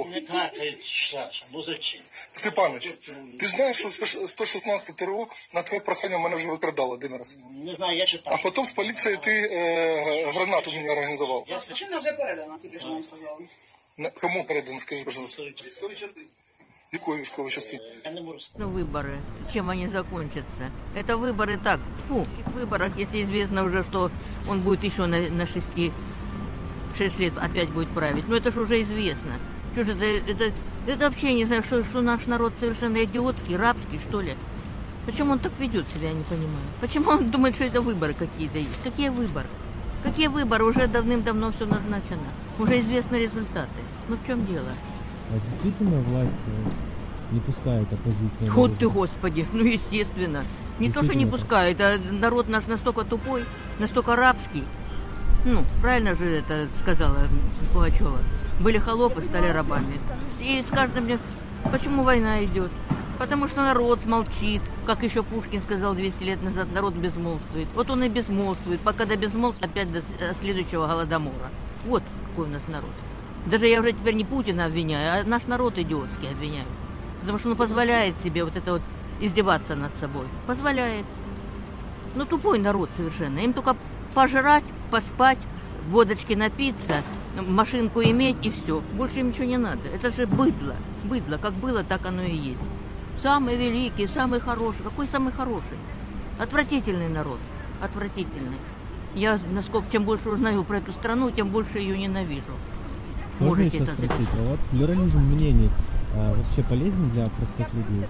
Ну зачем? Степанович, ти знаєш, що сто шістнадцяте ТРО на твоє прохання мене вже викрадало один раз? Не знаю, я читав. А потім з поліції ти е, гранату мені організував. Причина вже передана, тільки що нам сказали. На, кому передано, скажи, пожалуйста. Військовій частині. Якої військової частини? Выборы, чем они закончатся? Это выборы так, фу, в выборах, если известно уже, что он будет еще на, на шести, шесть лет опять будет править. Но это же уже известно. Что же это, это, это вообще не знаю, что, что наш народ совершенно идиотский, рабский, что ли. Почему он так ведет себя, я не понимаю. Почему он думает, что это выборы какие-то есть? Какие выборы? Какие выборы? Уже давным-давно все назначено. Уже известны результаты. Ну в чем дело? А действительно власть не пускает оппозицию? Вот ты, Господи, ну естественно. Не то, что не пускает, а народ наш настолько тупой, настолько рабский. Ну, правильно же это сказала Пугачева. Были холопы, стали рабами. И с каждым днем... Почему война идет? Потому что народ молчит. Как еще Пушкин сказал двести лет назад, народ безмолвствует. Вот он и безмолвствует, пока до безмолвства опять до следующего голодомора. Вот какой у нас народ. Даже я уже теперь не Путина обвиняю, а наш народ идиотский обвиняю. Потому что он позволяет себе вот это вот издеваться над собой. Позволяет. Ну, тупой народ совершенно. Им только пожрать, поспать, водочки напиться, машинку иметь и все. Больше им ничего не надо. Это же быдло. Быдло. Как было, так оно и есть. Самый великий, самый хороший. Какой самый хороший? Отвратительный народ. Отвратительный. Я, насколько, чем больше узнаю про эту страну, тем больше ее ненавижу. Можно Можете еще это спросить, записать. а вот плюрализм мнений а, вообще полезен для простых людей?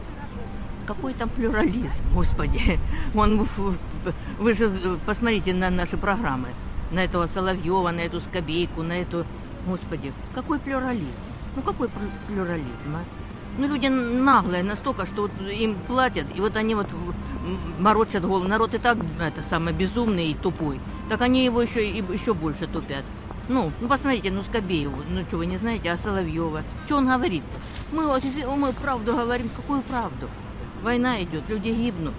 Какой там плюрализм, Господи. Он, вы же посмотрите на наши программы. На этого Соловьева, на эту Скобейку, на эту... Господи, какой плюрализм? Ну какой плюрализм, а? Ну люди наглые настолько, что вот им платят, и вот они вот морочат голову. Народ и так это самое безумный и тупой. Так они его еще, и еще больше тупят. Ну, ну посмотрите, ну Скобееву, ну что вы не знаете, а Соловьева? Что он говорит-то? Мы, мы правду говорим, какую правду? Война идет, люди гибнут.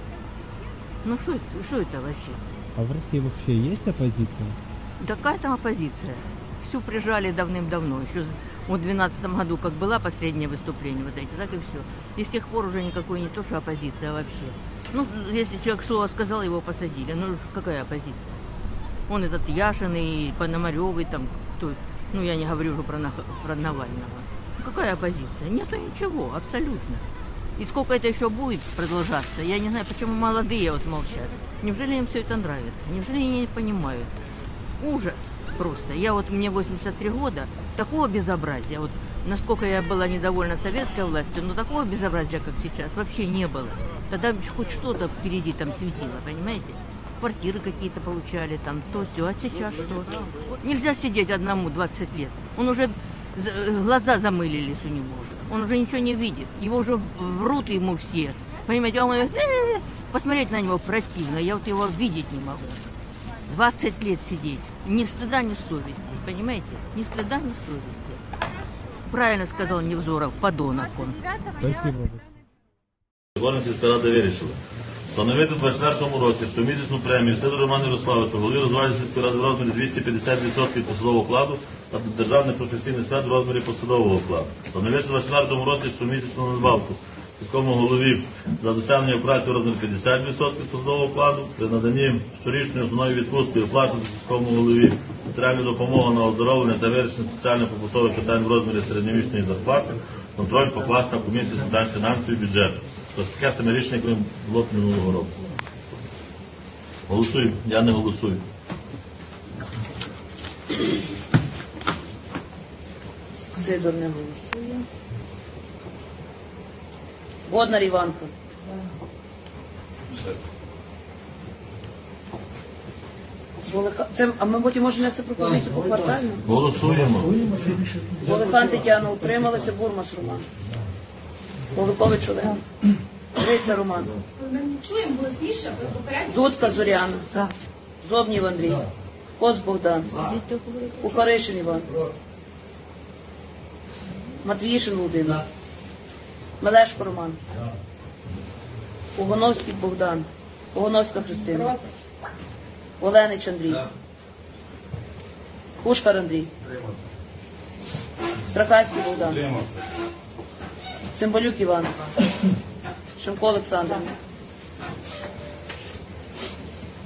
Ну что это, что это вообще? А в России вообще есть оппозиция? Да какая там оппозиция? Всю прижали давным-давно. Еще в двенадцатом году, как была последнее выступление, вот эти, так и все. И с тех пор уже никакой не то, что оппозиция, а вообще. Ну, если человек слово сказал, его посадили. Ну, какая оппозиция? Он этот Яшин и Пономарёвый, там, кто, ну, я не говорю уже про, про Навального. Какая оппозиция? Нету ничего, абсолютно. И сколько это еще будет продолжаться, я не знаю, почему молодые вот молчат. Неужели им все это нравится? Неужели они не понимают? Ужас просто. Я вот, мне восемьдесят три года, такого безобразия, вот насколько я была недовольна советской властью, но такого безобразия, как сейчас, вообще не было. Тогда хоть что-то впереди там светило, понимаете? Квартиры какие-то получали, там, то, все. А сейчас что? Нельзя сидеть одному двадцать лет. Он уже, глаза замылились у него уже. Он уже ничего не видит. Его уже врут ему все. Понимаете, он говорит, посмотреть на него противно. Я вот его видеть не могу. двадцать лет сидеть. Ни стыда, ни совести. Понимаете? Ни стыда, ни совести. Правильно сказал Невзоров, подонок он. Спасибо. Горна сільська рада вирішила встановити у двадцять четвертому році щомісячну премію Сидору Роману Ярославовичу, голові Розважної сільської ради в розмірі двісті п'ятдесят відсотків посадового окладу та державних професійних свят в розмірі посадового окладу. Встановити у двадцять четвертому році щомісячну надбавку сільському голові за досягнення праці в розмірі п'ятдесят відсотків посадового окладу, при наданні щорічної основної відпустки оплачувати сільському голові матеріальну допомогу на оздоровлення та вирішення соціально-побутових питань в розмірі середньомісячної зарплати, контроль покласти на комісію з питань фінансів і бюджету. Тобто таке саме рішення, яке було минулого року. Голосуємо. Я не голосую. Сидор не голосує. Боднар Іванко. Це, а ми потім можемо нести пропозицію по квартально? Голосуємо. Волихан Тетяна, утрималася. Бурмас Роман. Поликович Олег. Гриця Роман. Чуємо голосніше, попередньо. Дудка Зоряна. Зобнів Андрій. Кос Богдан. Кухаришин Іван. Матвіїшин Володимир. Мелешко Роман. Угоновський Богдан. Угоновська Христина. Оленич Андрій. Пушкар Андрій. Страхайський Богдан. Цимбалюк Іван. Шимко Олександр.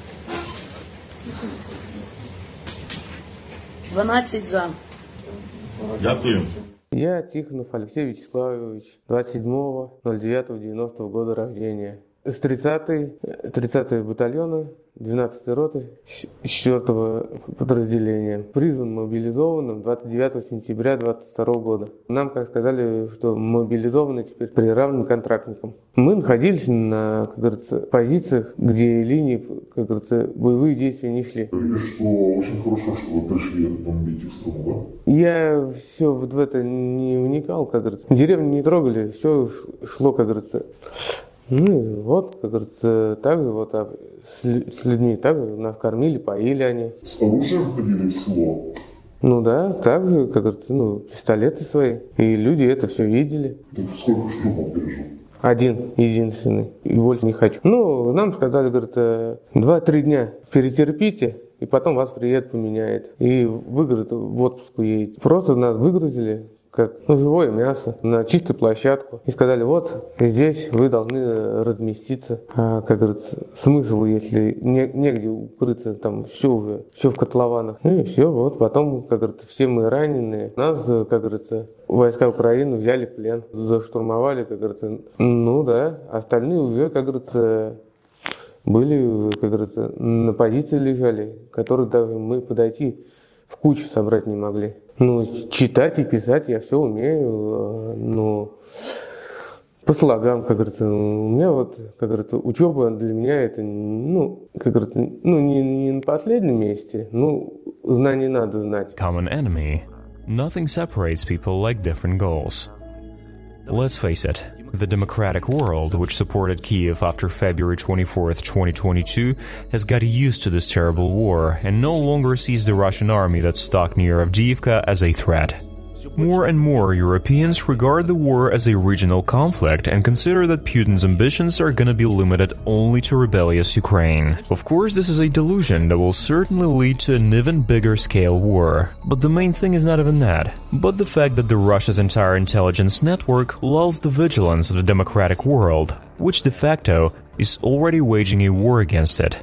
дванадцять за. Дякую. Я Тихонов Алексей Вячеславович, двадцать седьмого ноль девятого девяностого года рождения. С тридцатого батальона, двенадцатой роты, четвёртого подразделения. Призван мобилизованным двадцать девятого сентября двадцать второго года. Нам, как сказали, что мобилизованы теперь приравнены к контрактникам. Мы находились на, как говорится, позициях, где линии, как говорится, боевые действия не шли. Говорили, что очень хорошо, что вы пришли бомбить их страну, да? Я все вот в это не вникал, как говорится. Деревню не трогали, все шло, как говорится. Ну и вот, как говорится, так же вот с, с людьми, так же нас кормили, поили они. С оружием ходили в село? Ну да, так же, как говорится, ну, пистолеты свои. И люди это все видели. Ты сколько штурмов пережил? Один, единственный. И больше не хочу. Ну, нам сказали, говорят, два-три дня перетерпите, и потом вас приедет, поменяет. И вы, говорят, в отпуск уедете. Просто нас выгрузили, как ну, живое мясо, на чистую площадку. И сказали, вот здесь вы должны разместиться. А, как говорится, смысл, если не, негде укрыться, там все уже, все в котлованах. Ну и все, вот потом, как говорится, все мы раненые. Нас, как говорится, войска Украины взяли в плен, заштурмовали, как говорится. Ну да, остальные уже, как говорится, были, как говорится, на позиции лежали, которые даже мы подойти в кучу собрать не могли. Ну, читать и писать я все умею, но по слогам, как говорится, у меня вот, как говорится, учеба для меня это, ну, как говорится, ну, не, не на последнем месте, ну, знаний надо знать. Common enemy. Nothing separates people like different goals. Let's face it. The democratic world, which supported Kiev after February twenty-fourth, twenty twenty-two, has got used to this terrible war and no longer sees the Russian army that's stuck near Avdiivka as a threat. More and more Europeans regard the war as a regional conflict and consider that Putin's ambitions are gonna be limited only to rebellious Ukraine. Of course, this is a delusion that will certainly lead to an even bigger scale war. But the main thing is not even that, but the fact that the Russia's entire intelligence network lulls the vigilance of the democratic world, which de facto is already waging a war against it.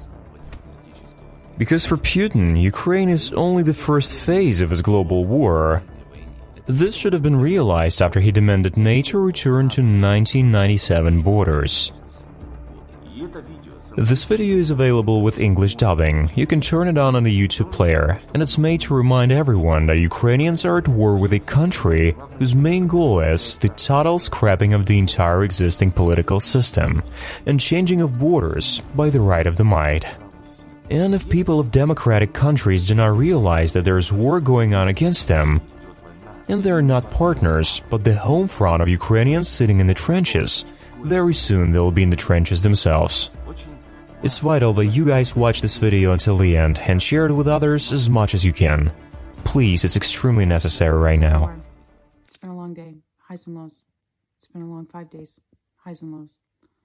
Because for Putin, Ukraine is only the first phase of his global war. This should have been realized after he demanded NATO return to nineteen ninety-seven borders. This video is available with English dubbing. You can turn it on on the YouTube player, and it's made to remind everyone that Ukrainians are at war with a country whose main goal is the total scrapping of the entire existing political system and changing of borders by the right of the might. And if people of democratic countries do not realize that there is war going on against them, and they're not partners, but the home front of Ukrainians sitting in the trenches, very soon they'll be in the trenches themselves. It's vital that you guys watch this video until the end and share it with others as much as you can. Please, it's extremely necessary right now. It's been a long day, highs and lows. It's been a long five days, highs and lows.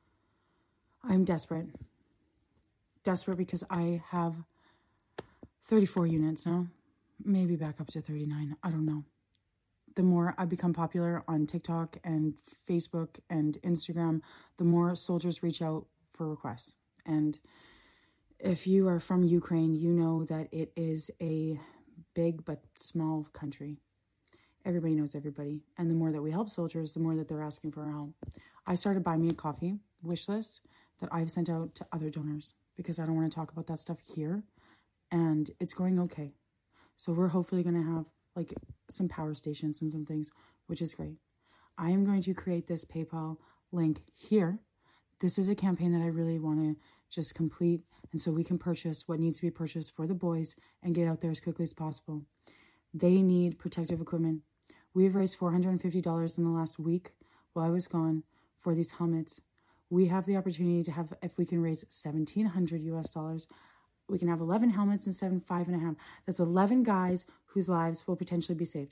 I'm desperate. Desperate because I have thirty-four units now, maybe back up to thirty-nine, I don't know. The more I become popular on TikTok and Facebook and Instagram, the more soldiers reach out for requests. And if you are from Ukraine, you know that it is a big but small country. Everybody knows everybody. And the more that we help soldiers, the more that they're asking for our help. I started Buy Me a Coffee wish list that I've sent out to other donors because I don't want to talk about that stuff here. And it's going okay. So we're hopefully going to have like some power stations and some things, which is great. I am going to create this PayPal link here. This is a campaign that I really want to just complete, and so we can purchase what needs to be purchased for the boys and get out there as quickly as possible. They need protective equipment. We've raised four hundred fifty dollars in the last week while I was gone for these helmets. We have the opportunity to have, if we can raise seventeen hundred U S dollars, we can have eleven helmets instead of five and a half. That's eleven guys whose lives will potentially be saved.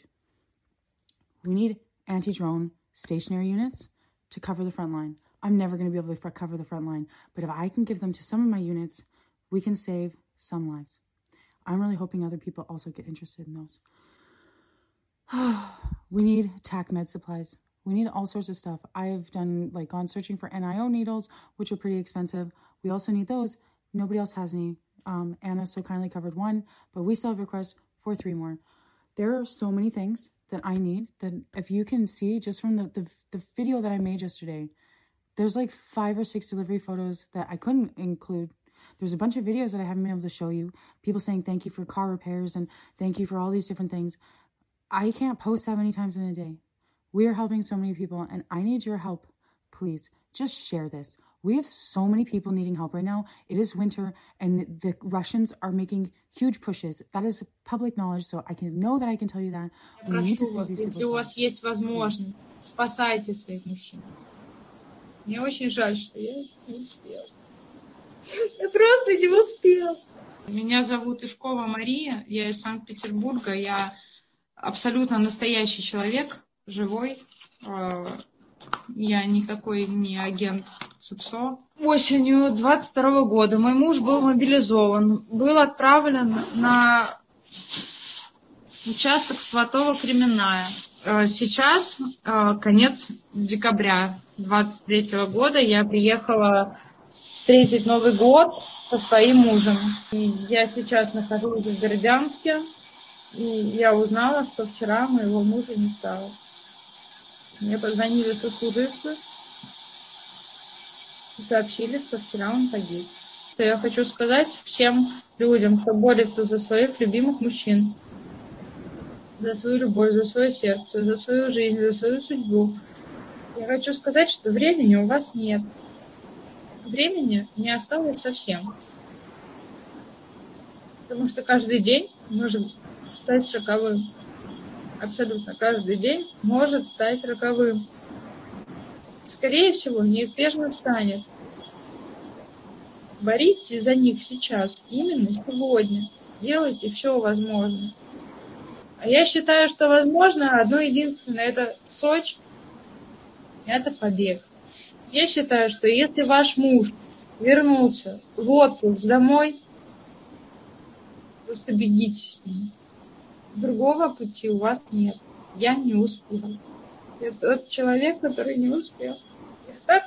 We need anti-drone stationary units to cover the front line. I'm never going to be able to cover the front line, but if I can give them to some of my units, we can save some lives. I'm really hoping other people also get interested in those. We need T A C med supplies. We need all sorts of stuff. I've done, like, gone searching for N I O needles, which are pretty expensive. We also need those. Nobody else has any. Um, Anna so kindly covered one, but we still have requests for three more. There are so many things that I need that if you can see just from the, the, the video that I made yesterday, there's like five or six delivery photos that I couldn't include. There's a bunch of videos that I haven't been able to show you. People saying thank you for car repairs and thank you for all these different things. I can't post that many times in a day. We are helping so many people and I need your help. Please, just share this. We have so many people needing help right now. It is winter and the Russians are making huge pushes. That is public knowledge, so I can know that I can tell you that. We need to see these people. Если у вас есть возможность, спасайте своих мужчин. Мне очень жаль, что я не успела. Я просто не успела. Меня зовут Ишкова Мария, я из Санкт-Петербурга. Я абсолютно настоящий человек, живой. Я никакой не агент СУПСО. Осенью двадцать второго года мой муж был мобилизован, был отправлен на участок Сватово-Кременная. Сейчас конец декабря двадцать третьего года. Я приехала встретить Новый год со своим мужем. И я сейчас нахожусь в Бердянске. И я узнала, что вчера моего мужа не стало. Мне позвонили сослуживцы и сообщили, что вчера он погиб. Что я хочу сказать всем людям, кто борется за своих любимых мужчин, за свою любовь, за свое сердце, за свою жизнь, за свою судьбу. Я хочу сказать, что времени у вас нет. Времени не осталось совсем. Потому что каждый день может стать роковым. Абсолютно каждый день может стать роковым. Скорее всего, неизбежно станет. Боритесь за них сейчас, именно сегодня. Делайте все возможное. А я считаю, что возможно одно единственное, это Сочи, это побег. Я считаю, что если ваш муж вернулся в отпуск домой, просто бегите с ним. Другого пути у вас нет. Я не успела. Я тот человек, который не успел. Я так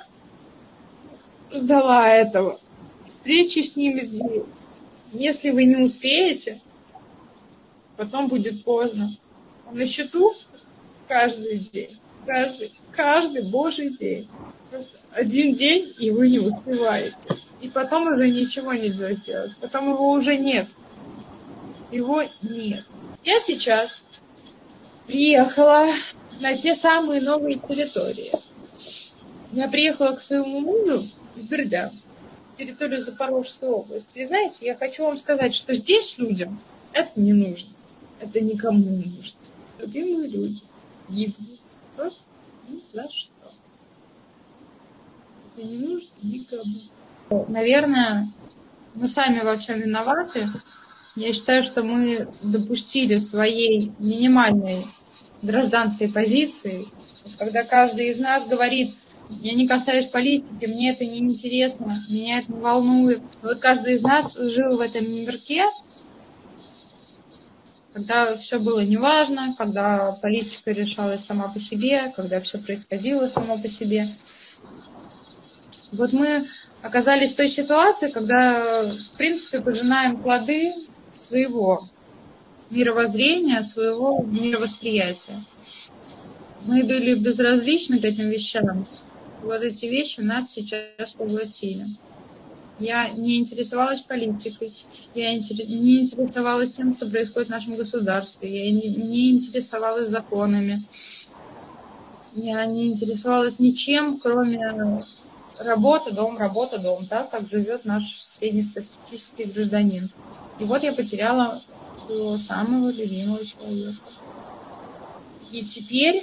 ждала этого. Встречи с ним здесь. Если вы не успеете, потом будет поздно. На счету каждый день. Каждый, каждый божий день. Просто один день, и вы не успеваете. И потом уже ничего нельзя сделать. Потом его уже нет. Его нет. Я сейчас приехала на те самые новые территории. Я приехала к своему мужу в Бердянск, территорию Запорожской области. И знаете, я хочу вам сказать, что здесь людям это не нужно. Это никому не нужно. Любимые люди гибнут просто ни за что. Это не нужно никому. Наверное, мы сами во всем виноваты. Я считаю, что мы допустили своей минимальной гражданской позиции. Когда каждый из нас говорит, я не касаюсь политики, мне это не интересно, меня это не волнует. Вот каждый из нас жил в этом мирке, когда все было неважно, когда политика решалась сама по себе, когда все происходило само по себе. Вот мы оказались в той ситуации, когда, в принципе, пожинаем плоды своего мировоззрения, своего мировосприятия. Мы были безразличны к этим вещам. Вот эти вещи нас сейчас поглотили. Я не интересовалась политикой, я не интересовалась тем, что происходит в нашем государстве, я не, не интересовалась законами, я не интересовалась ничем, кроме работы, дом, работа, дом, так как живет наш среднестатистический гражданин. И вот я потеряла своего самого любимого человека. И теперь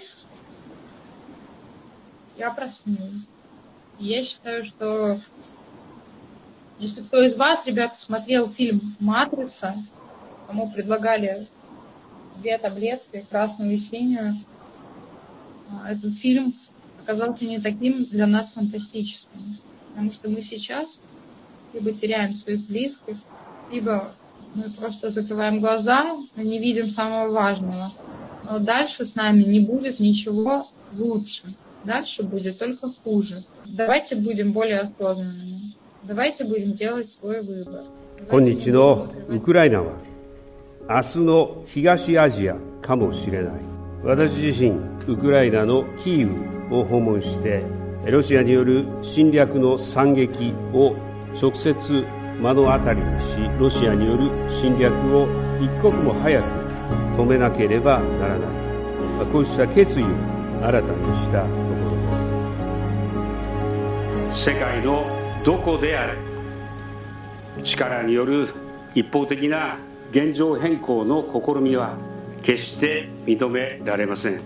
я проснулась. И я считаю, что если кто из вас, ребята, смотрел фильм «Матрица», кому предлагали две таблетки, красную и синюю, этот фильм оказался не таким для нас фантастическим. Потому что мы сейчас либо теряем своих близких, либо мы просто закрываем глаза, но не видим самого важного. Но дальше с нами не будет ничего лучше. Дальше будет только хуже. Давайте будем более осознанными. Давайте будем делать свой выбор. 今日のウクライナは明日の東アジアかもしれない。私自身ウクライナのキーウを訪問してロシアによる侵略の惨劇を直接目の当たりにし、ロシアによる侵略を一刻も早く止めなければならない、こうした決意を新たにしたところです。世界のどこであれ、力による一方的な現状変更の試みは決して認められません。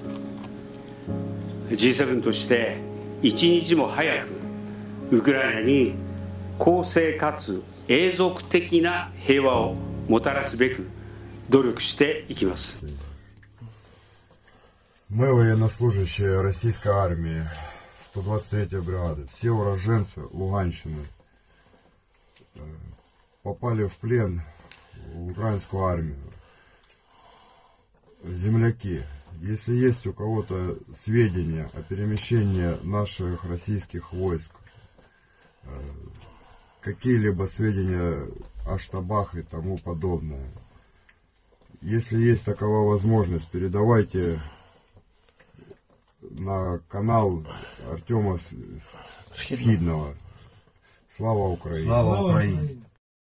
ジーセブン として一日も早くウクライナに公正かつ永続的な平和をもたらすべく努力していきます。 Мы, военнослужащие российской армии, сто двадцать третья бригады, все уроженцы Луганщины, попали в плен в украинскую армию. Земляки, если есть у кого-то сведения о перемещении наших российских войск, какие-либо сведения о штабах и тому подобное, если есть такова возможность, передавайте на канал Артема Схидного. Слава Украине! Слава Украине!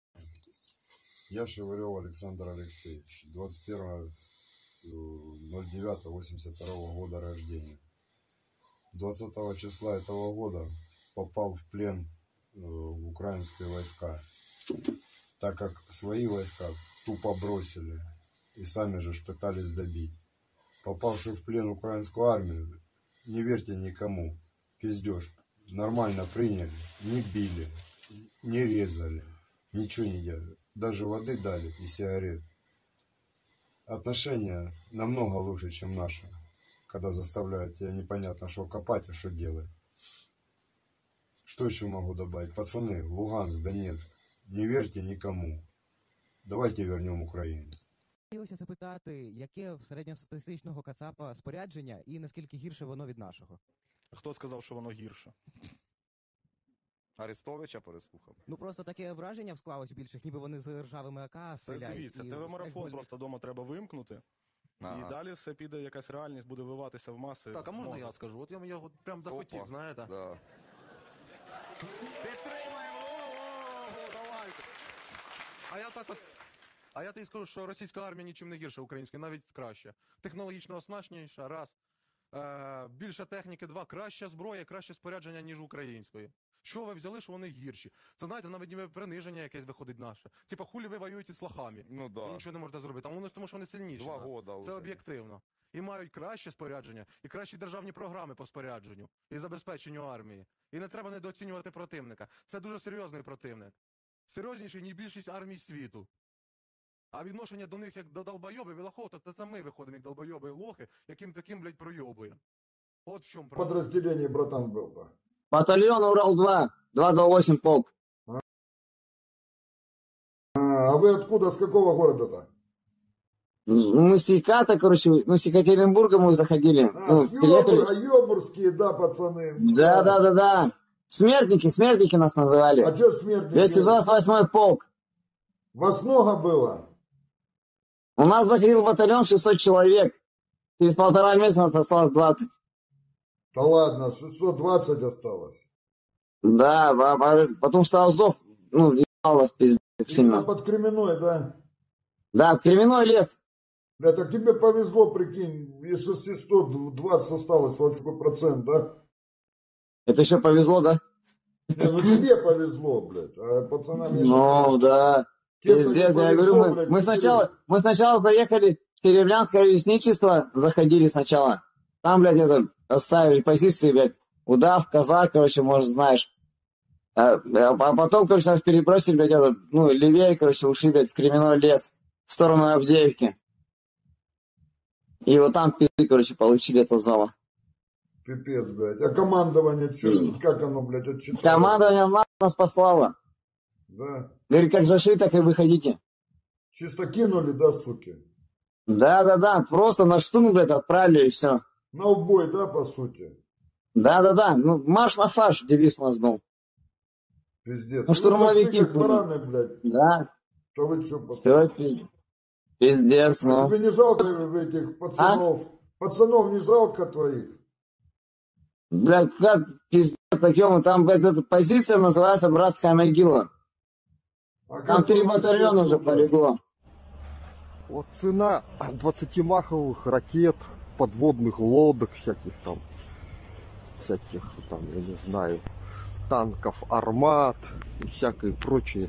Я Шевырев Александр Алексеевич, двадцать первого ноль девятого восемьдесят второго года рождения. двадцатого числа этого года попал в плен в украинские войска, так как свои войска тупо бросили и сами же пытались добить. Попавший в плен в украинскую армию, не верьте никому, пиздеж, нормально приняли, не били, не резали, ничего не делали, даже воды дали и сигарет. Отношения намного лучше, чем наши, когда заставляют тебя непонятно что копать, а что делать. Что еще могу добавить? Пацаны, Луганск, Донецк, не верьте никому. Давайте вернем Украину. Хотілося запитати, яке в середньостатистичного кацапа спорядження і наскільки гірше воно від нашого? Хто сказав, що воно гірше? Арестовича переслухав. Ну просто таке враження склалось у більших, ніби вони з ржавими АК стріляють. Дивіться, телемарафон просто вдома треба вимкнути. Ага. І далі все піде, якась реальність буде виливатися в маси. Так, а можна мозок. Я скажу? От я, я от прям захотів, Опа. Знаєте? Да. Підтримаємо! Давайте! А я так от... А я тобі скажу, що російська армія нічим не гірша української, навіть краще. Технологічно оснащеніша, раз. Е, більше техніки, два. Краща зброя, краще спорядження, ніж української. Що ви взяли, що вони гірші? Це, знаєте, навіть ніби приниження якесь виходить наше. Типа, хулі ви воюєте з лохами. Ну да. І нічого не можете зробити. А вони тому, що вони сильніші. Два года Це вже. об'єктивно. І мають краще спорядження, і кращі державні програми по спорядженню, і забезпеченню армії. І не треба недооцінювати противника. Це дуже серйозний противник. Серйозніший, ніж більшість армій світу. А відношення до них як до долбойобів і лохов, то це самі виходимо як долбойоби і лохи, яким таким, блядь, пройобуємо. От в чому проблема. Подразделение, братан, был. Батальон Урал-два, двести двадцать восемь полк. А, а вы откуда, с какого города-то? Мы с Еката, короче, ну с Екатеринбурга мы заходили. А, ну, с Ёбур, а Ёбурские, да, пацаны. Да, да, да, да. Смертники, смертники нас называли. А что смертники? двести двадцать восьмой полк. Вас много было? У нас заходил батальон шестьсот человек. Через полтора месяца нас осталось двадцать. Да ладно, шестьсот двадцать осталось. Да, а потом стал сдох, ну, ебалось пиздец сильно. Под Кременной, да? Да, в Кременной лес. Бля, так тебе повезло, прикинь, из шестисот двадцать осталось, вот какой процент, да? Это еще повезло, да? Не, ну тебе повезло, блядь, а пацанам... Ну, да. Пиздец, я говорю, мы, блядь, мы сначала, мы сначала заехали в Серебрянское лесничество, заходили сначала. Там, блядь, это, оставили позиции, блядь, удав, казак, короче, может, знаешь. А, а потом, короче, нас перебросили, блядь, это, ну, левее, короче, ушли, блядь, в Кременной лес, в сторону Авдеевки. И вот там, пизды, короче, получили это зала. Пипец, блядь. А командование, что, mm. как оно, блядь, отчитало? Командование нас послало. Да. Говорит, как зашли, так и выходите. Чисто кинули, да, суки? Да-да-да, просто на штурм, блядь, отправили и все. На убой, да, по сути? Да-да-да, ну, марш на фаш, девиз у нас был. Пиздец. Ну, штурмовики. Как бараны, блядь. Да. То вы что, пацаны? Пиздец, ну. Тебе не жалко этих пацанов? А? Пацанов не жалко твоих? Блядь, как пиздец, таким, там эта позиция называется «Братская могила». А там три батальона уже полегло. Вот цена двадцатимаховых ракет, подводных лодок всяких там, всяких там, я не знаю, танков, армат и всякой прочей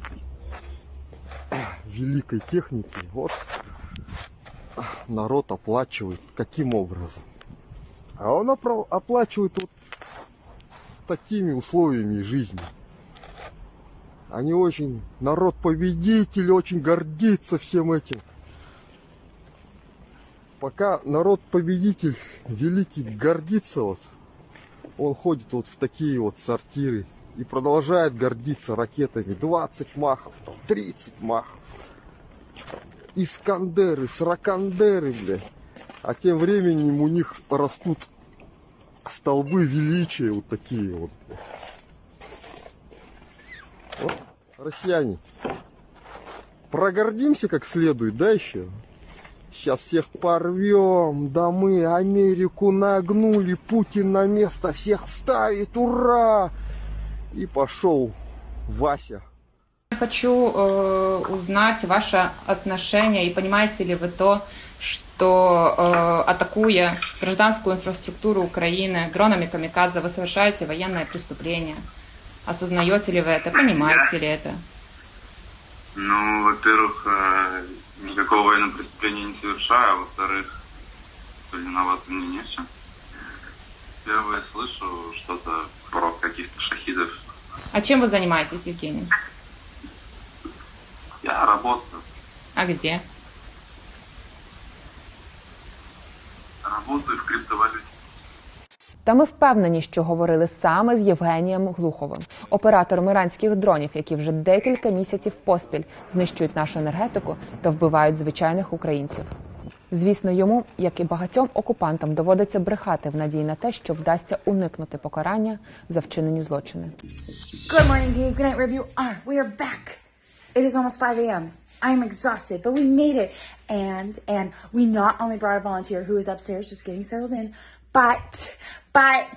великой техники. Вот народ оплачивает. Каким образом? А он оплачивает вот такими условиями жизни. Они очень, народ-победитель, очень гордится всем этим. Пока народ-победитель великий гордится, вот, он ходит вот в такие вот сортиры и продолжает гордиться ракетами. двадцать махов, там, тридцать махов. Искандеры, сракандеры, блядь. А тем временем у них растут столбы величия вот такие вот. Вот, россияне, прогордимся как следует, да, еще? Сейчас всех порвем, да мы Америку нагнули, Путин на место всех ставит, ура! И пошел Вася. Хочу э, узнать ваше отношение и понимаете ли вы то, что э, атакуя гражданскую инфраструктуру Украины дронами камикадзе, вы совершаете военное преступление. Осознаете ли вы это, понимаете ли это? Ну, во-первых, э, никакого военного преступления не совершаю, а во-вторых, виноваты мне не в чем. Первое слышу что-то про каких-то шахидов. А чем вы занимаетесь, Евгений? Я работаю. А где? Работаю в криптовалюті. Та ми впевнені, що говорили саме з Євгенієм Глуховим, оператором іранських дронів, які вже декілька місяців поспіль знищують нашу енергетику та вбивають звичайних українців. Звісно, йому, як і багатьом окупантам, доводиться брехати в надії на те, що вдасться уникнути покарання за вчинені злочини. Good morning, Dave. Good night, review. Ah, we are back. It is almost five a.m. I'm exhausted, but we made it. And, and we not only brought a volunteer who is upstairs just getting settled in, but, but,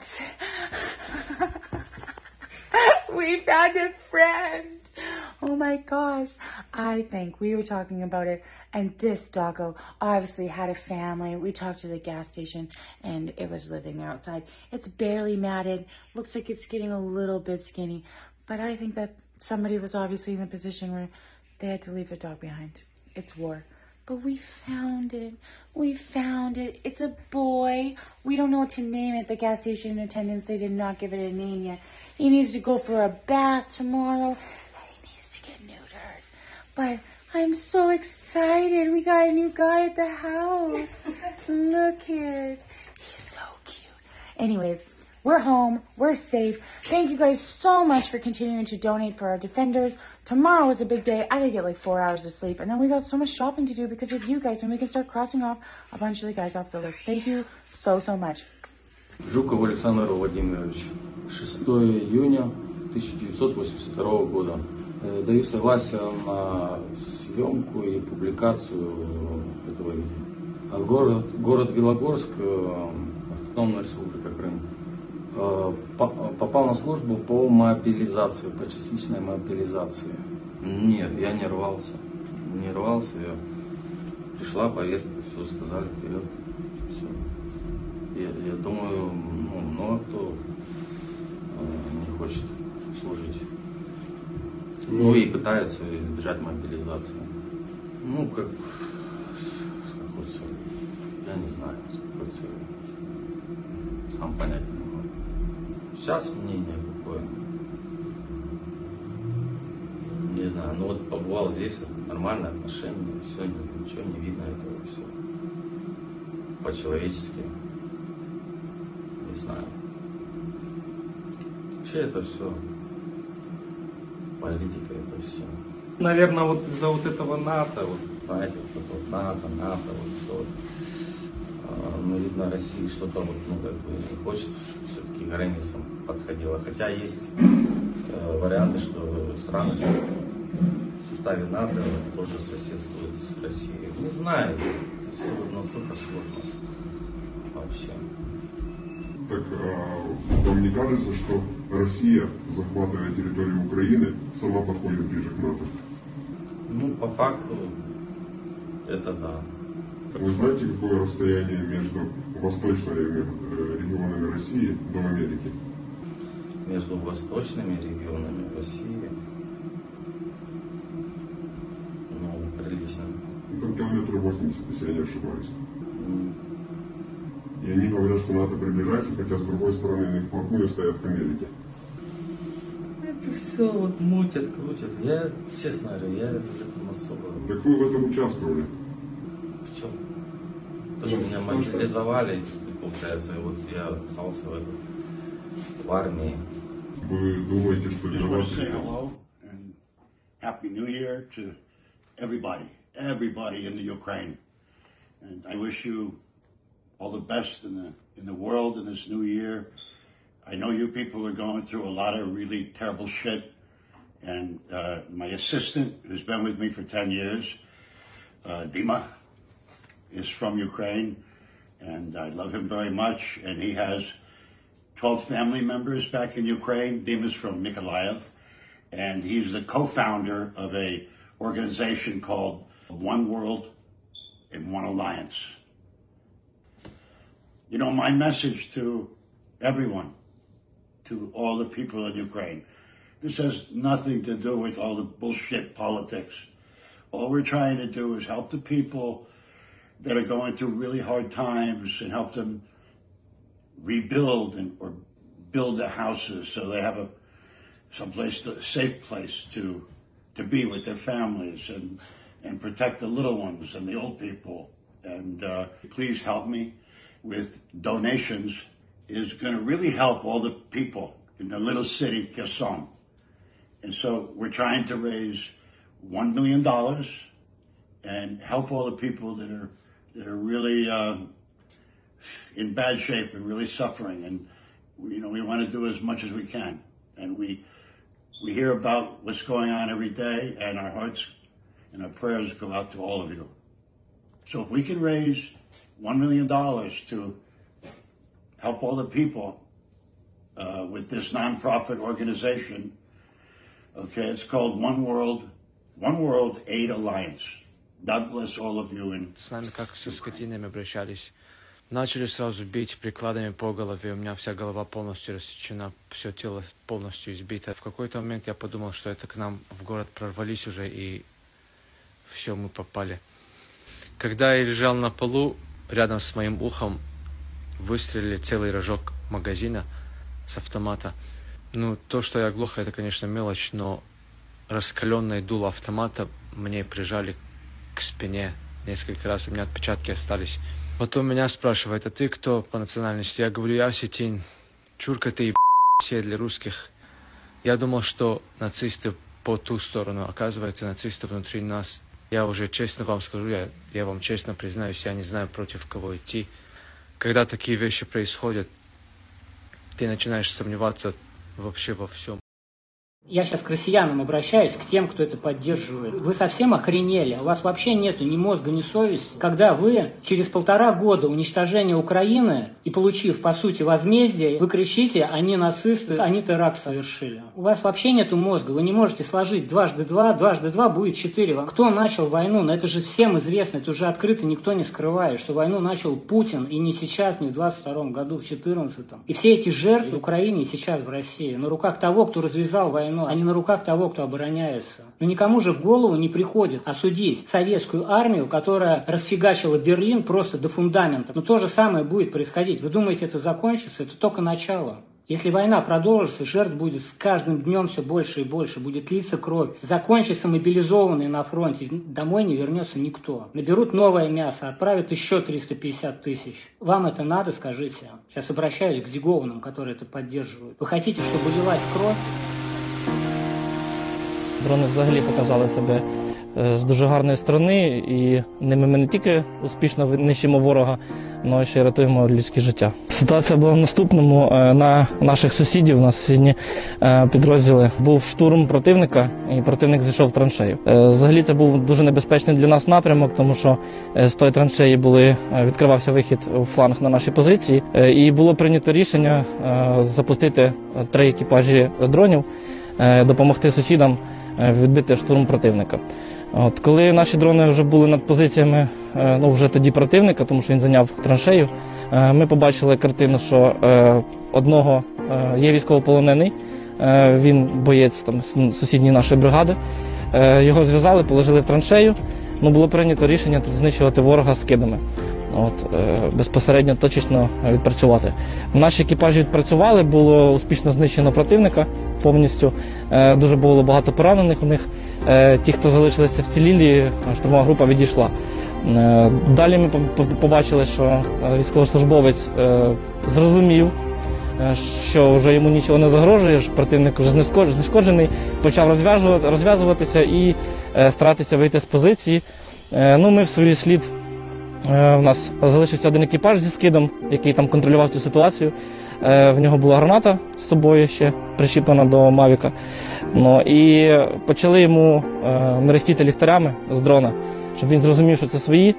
we found a friend. Oh my gosh. I think we were talking about it, and this doggo obviously had a family. We talked to the gas station, and it was living outside. It's barely matted. Looks like it's getting a little bit skinny, but I think that somebody was obviously in a position where they had to leave their dog behind. It's war. But we found it. We found it. It's a boy. We don't know what to name it. The gas station attendants, they did not give it a name yet. He needs to go for a bath tomorrow. And he needs to get neutered. But I'm so excited. We got a new guy at the house. Look it. He's so cute. Anyways, we're home. We're safe. Thank you guys so much for continuing to donate for our defenders. Tomorrow is a big day. I gotta get like four hours of sleep. And then we got so much shopping to do because of you guys. And we can start crossing off a bunch of the guys off the list. Thank you so, so much. Жуков Александр Владимирович. шестого июня тысяча девятьсот восемьдесят второго года. Даю согласие на съемку и публикацию этого видео. Город, город Белогорск, Автономная Республика Крым. Попал на службу по мобилизации, по частичной мобилизации. Нет, я не рвался. Не рвался. Я... Пришла повестка, все сказали, вперед. Все. Я, я думаю, ну, много кто э, не хочет служить. Ну и пытается избежать мобилизации. Ну, как с какой целью? Я не знаю, с какой целью. Сам понять не могу. Сейчас мнение какое? Не знаю, ну вот побывал здесь, нормальное отношение, все, ничего не видно этого, все. По-человечески. Не знаю. Вообще это все. Политика это все. Наверное, вот из-за вот этого НАТО, вот, знаете, вот это вот НАТО, НАТО, вот что вот. Ну, видно, Россия что-то вот, ну, как бы не хочет, все-таки к границам подходила. Хотя есть э, варианты, что страны в составе НАТО тоже соседствует с Россией. Не знаю, все настолько сложно вообще. Так а вам не кажется, что Россия, захватывая территорию Украины, сама подходит ближе к НАТО? Ну, по факту, это да. Вы знаете, какое расстояние между восточными регионами России до Америки? Между восточными регионами России, ну, прилично. Ну, там километров восемьдесят, если я не ошибаюсь. Mm. И они говорят, что НАТО приближается, хотя с другой стороны они вплотную стоят к Америке. Это все вот мутят, крутят. Я, честно говорю, я в этом особо... Так вы в этом участвовали? В чем? То, что меня мобилизовали, получается, и вот я остался в, этом, в армии. Вы думаете, что для вас... Happy New Year to everybody, everybody in the Ukraine. And I wish you all the best in the in the world in this new year. I know you people are going through a lot of really terrible shit. And uh, my assistant, who's been with me for ten years, uh, Dima, is from Ukraine. And I love him very much. And he has twelve family members back in Ukraine. Dima's from Mykolaiv. And he's the co-founder of a organization called One World in One Alliance. You know, my message to everyone, to all the people in Ukraine, this has nothing to do with all the bullshit politics. All we're trying to do is help the people that are going through really hard times and help them rebuild and or build their houses so they have a someplace, to, a safe place to to be with their families and and protect the little ones and the old people. And uh, please help me with donations. Is going to really help all the people in the little city Kherson. And so we're trying to raise one million dollars and help all the people that are that are really uh, in bad shape and really suffering. And you know, we want to do as much as we can. And we we hear about what's going on every day, and our hearts and our prayers go out to all of you. So if we can raise one million dollars to help all the people uh, with this nonprofit organization, okay, it's called One World, One World Aid Alliance. God bless all of you. And с нами как со скотинами обращались. Начали сразу бить прикладами по голове. У меня вся голова полностью рассечена, все тело полностью избито. В какой-то момент я подумал, что это к нам в город прорвались уже, и все, мы попали. Когда я лежал на полу, рядом с моим ухом выстрелили целый рожок магазина с автомата. Ну, то, что я глухо, это, конечно, мелочь, но раскаленное дуло автомата мне прижали к спине несколько раз. У меня отпечатки остались. Потом меня спрашивают: а ты кто по национальности? Я говорю: я осетин. Чурка ты, все для русских. Я думал, что нацисты по ту сторону. Оказывается, нацисты внутри нас. Я уже честно вам скажу, я, я вам честно признаюсь, я не знаю, против кого идти. Когда такие вещи происходят, ты начинаешь сомневаться вообще во всем. Я сейчас к россиянам обращаюсь, к тем, кто это поддерживает. Вы совсем охренели? У вас вообще нету ни мозга, ни совести. Когда вы через полтора года уничтожения Украины и получив, по сути, возмездие, вы кричите: они нацисты, они теракт совершили. У вас вообще нету мозга. Вы не можете сложить дважды два, дважды два будет четыре. Кто начал войну? Но это же всем известно, это уже открыто никто не скрывает, что войну начал Путин, и не сейчас, не в двадцать втором году, в четырнадцатом. И все эти жертвы в Украине сейчас в России на руках того, кто развязал войну, а не на руках того, кто обороняется. Но никому же в голову не приходит осудить советскую армию, которая расфигачила Берлин просто до фундамента. Но то же самое будет происходить. Вы думаете, это закончится? Это только начало. Если война продолжится, жертв будет с каждым днем все больше и больше. Будет литься кровь. Закончится мобилизованные на фронте. Домой не вернется никто. Наберут новое мясо, отправят еще триста пятьдесят тысяч. Вам это надо, скажите? Сейчас обращаюсь к Зигованным, которые это поддерживают. Вы хотите, чтобы лилась кровь? Дрони взагалі показали себе з дуже гарної сторони, і ними ми не тільки успішно нищимо ворога, але ще й рятуємо людське життя. Ситуація була в наступному. На наших сусідів, на сусідні підрозділи, був штурм противника, і противник зайшов в траншею. Взагалі це був дуже небезпечний для нас напрямок, тому що з тої траншеї були, відкривався вихід у фланг на наші позиції, і було прийнято рішення запустити три екіпажі дронів, допомогти сусідам відбити штурм противника. От, коли наші дрони вже були над позиціями, ну, вже тоді противника, тому що він зайняв траншею, ми побачили картину, що е, одного е, є військовополонений, е, він боєць там, сусідньої нашої бригади, е, його зв'язали, положили в траншею, ну, було прийнято рішення знищувати ворога скидами. От, е, безпосередньо точечно відпрацювати. Наші екіпажі відпрацювали, було успішно знищено противника повністю, е, дуже було багато поранених у них. Е, ті, хто залишилися вцілілі, штурмова група відійшла. Е, далі ми побачили, що військовослужбовець е, зрозумів, е, що вже йому нічого не загрожує, що противник вже знешкоджений, почав розв'язуватися і е, старатися вийти з позиції. Е, ну, ми в свій слід. У нас залишився один екіпаж зі скидом, який там контролював цю ситуацію. В нього була граната з собою ще причіплена до Мавіка. Ну, і почали йому мерехтіти ліхтарями з дрона, щоб він зрозумів, що це свої,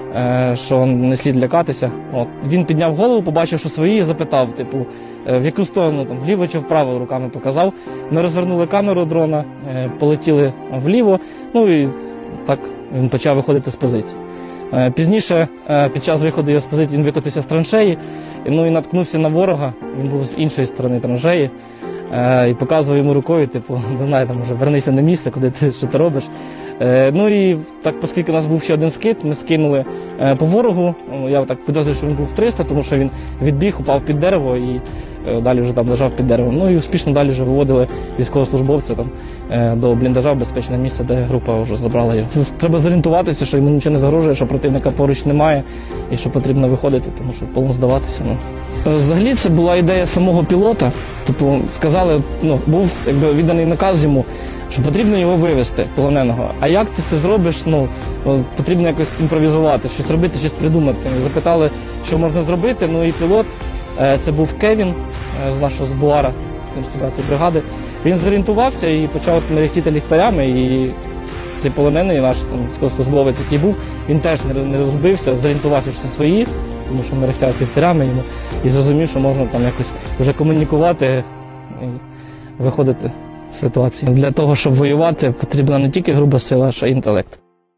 що не слід лякатися. От. Він підняв голову, побачив, що свої, і запитав, типу, в яку сторону, там, вліво чи вправо, руками показав. Ми розвернули камеру дрона, полетіли вліво, ну і так він почав виходити з позиції. Пізніше, під час виходу його з позиції, він викотився з траншеї, ну і наткнувся на ворога, він був з іншої сторони траншеї, і показував йому рукою, типу, не знаю, там, може, вернися на місце, куди ти, що ти робиш. Ну і так, оскільки у нас був ще один скид, ми скинули по ворогу, я так підозрюю, що він був в триста, тому що він відбіг, упав під дерево і далі вже там лежав під деревом. Ну і успішно далі вже виводили військовослужбовця там до бліндажа в безпечне місце, де група вже забрала його. Треба зорієнтуватися, що йому нічого не загрожує, що противника поруч немає і що потрібно виходити, тому що повно здаватися. Ну. Взагалі це була ідея самого пілота. Типу, сказали, ну, був якби відданий наказ йому, що потрібно його вивезти, полоненого. А як ти це зробиш? Ну, потрібно якось імпровізувати, щось робити, щось придумати. Запитали, що можна зробити, ну і пілот, це був Кевін з нашого з Буара, дев'яносто дев'ятої бригади. Він зорієнтувався і почав мерехтіти ліхтарями, і цей полонений наш там військовослужбовець, який був, він теж не розгубився, зорієнтувався, що це свої, тому що мерехтять ліхтарями йому, і зрозумів, що можна там якось вже комунікувати і виходити з ситуації. Для того, щоб воювати, потрібна не тільки груба сила, а ще й інтелект.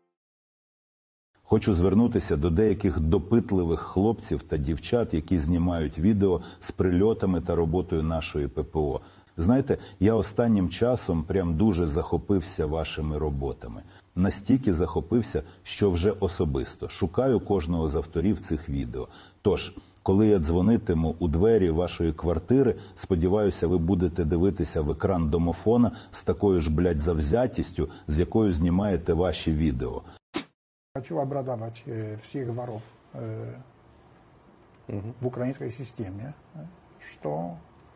Хочу звернутися до деяких допитливих хлопців та дівчат, які знімають відео з прильотами та роботою нашої ППО. Знаєте, я останнім часом прям дуже захопився вашими роботами. Настільки захопився, що вже особисто шукаю кожного з авторів цих відео. Тож, коли я дзвонитиму у двері вашої квартири, сподіваюся, ви будете дивитися в екран домофона з такою ж, блядь, завзятістю, з якою знімаєте ваші відео. Хочу обрадовать всех воров в украинской системе, что,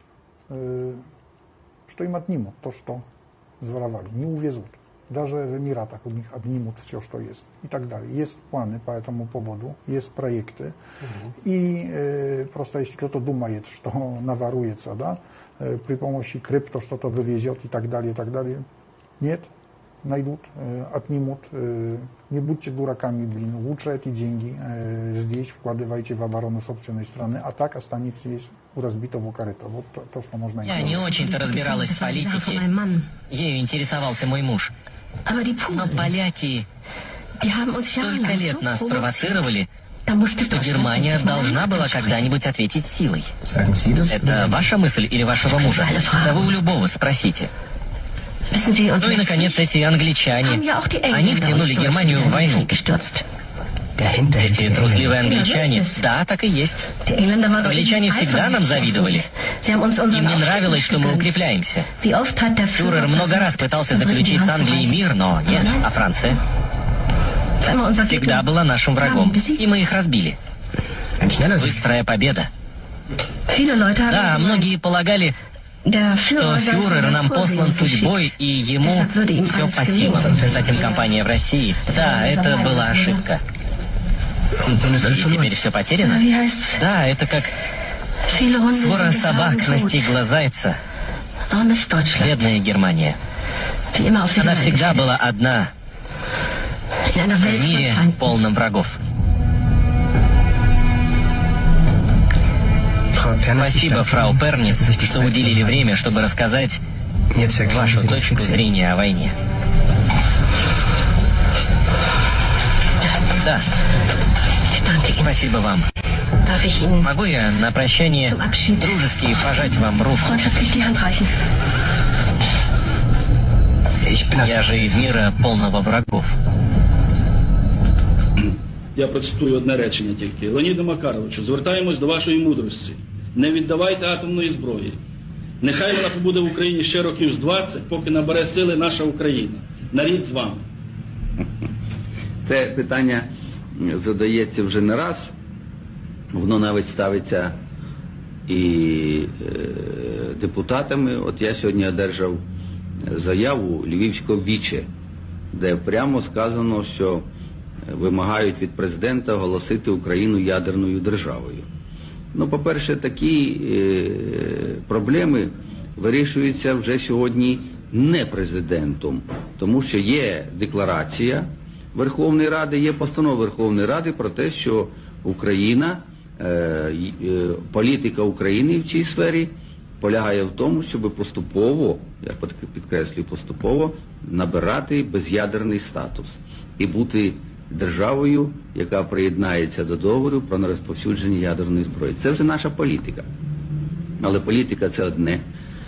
что им отнимут то, что своровали, не увезут. Даже в Эмиратах у них отнимут все, что есть и так далее. Есть планы по этому поводу, есть проекты. Угу. И э, просто если кто-то думает, что наворуется, да, э, при помощи крипто что-то вывезет и так далее, и так далее, нет. Найдут, э, отнимут. Э, не будьте дураками, блин. Лучше эти деньги э, здесь вкладывайте в оборону собственной страны, а так останется здесь у разбитого корыта. Вот то, то, что можно... Я не очень-то разбиралась в политике. Ею интересовался мой муж. Но поляки столько лет нас провоцировали, что Германия должна была когда-нибудь ответить силой. Это ваша мысль или вашего мужа? Да вы у любого спросите. Ну и, наконец, эти англичане. Они втянули Германию в войну. Эти трусливые англичане, да, так и есть. Англичане всегда нам завидовали. Им не нравилось, что мы укрепляемся. Фюрер много раз пытался заключить с Англией мир, но нет. А Франция? Всегда была нашим врагом. И мы их разбили. Быстрая победа. Да, многие полагали, то фюрер нам послан судьбой, и ему все по силам. Затем кампания в России. Да, это была ошибка. И теперь все потеряно? Да, это как свора собак настигла зайца. Бедная Германия. Она всегда была одна в мире, полном врагов. Спасибо, фрау Пернис, что уделили время, чтобы рассказать вашу точку зрения о войне. Да. Спасибо вам. Могу я на прощание дружески пожать вам руку? Я же из мира полного врагов. Я процитую одне речення тільки. Леоніде Макаровичу, звертаємось до вашої мудрості. Не віддавайте атомної зброї. Нехай вона побуде в Україні ще років з двадцять, поки набере сили наша Україна. Нарід з вами. Це питання задається вже не раз. Воно навіть ставиться і е, депутатами. От я сьогодні одержав заяву Львівського віче, де прямо сказано, що вимагають від президента оголосити Україну ядерною державою. Ну, по-перше, такі е, проблеми вирішуються вже сьогодні не президентом, тому що є декларація Верховної Ради, є постанова Верховної Ради про те, що Україна, е, е, політика України в цій сфері полягає в тому, щоб поступово, я підкреслюю поступово, набирати без'ядерний статус і бути державою, яка приєднається до договору про нерозповсюдження ядерної зброї. Це вже наша політика. Але політика – це одне.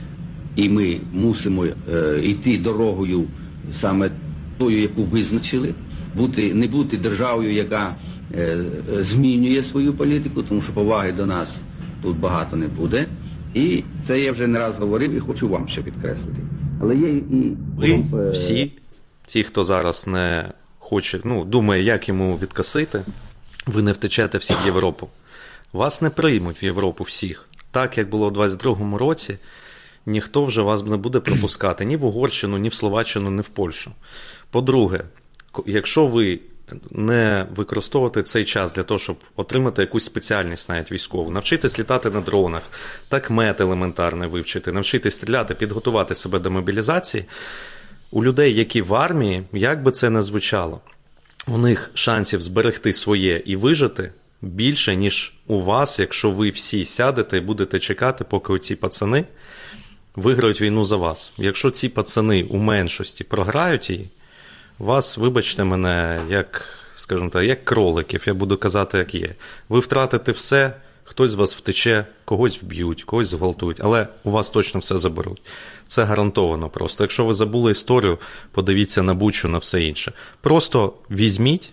І ми мусимо е, йти дорогою саме тою, яку визначили, бути, не бути державою, яка е, змінює свою політику, тому що поваги до нас тут багато не буде. І це я вже не раз говорив і хочу вам ще підкреслити. Але є і... Ви всі, ті, хто зараз не хоче, ну, думає, як йому відкосити, ви не втечете всі в Європу. Вас не приймуть в Європу всіх. Так, як було у двадцять другому році, ніхто вже вас не буде пропускати ні в Угорщину, ні в Словаччину, ні в Польщу. По-друге, якщо ви не використовувати цей час для того, щоб отримати якусь спеціальність навіть військову, навчитись літати на дронах, такмет елементарний вивчити, навчитись стріляти, підготувати себе до мобілізації, у людей, які в армії, як би це не звучало, у них шансів зберегти своє і вижити більше, ніж у вас, якщо ви всі сядете і будете чекати, поки оці пацани виграють війну за вас. Якщо ці пацани у меншості програють її, вас, вибачте мене, як, скажімо так, як кроликів, я буду казати, як є. Ви втратите все, хтось з вас втече, когось вб'ють, когось зґвалтують, але у вас точно все заберуть. Це гарантовано просто. Якщо ви забули історію, подивіться на Бучу, на все інше. Просто візьміть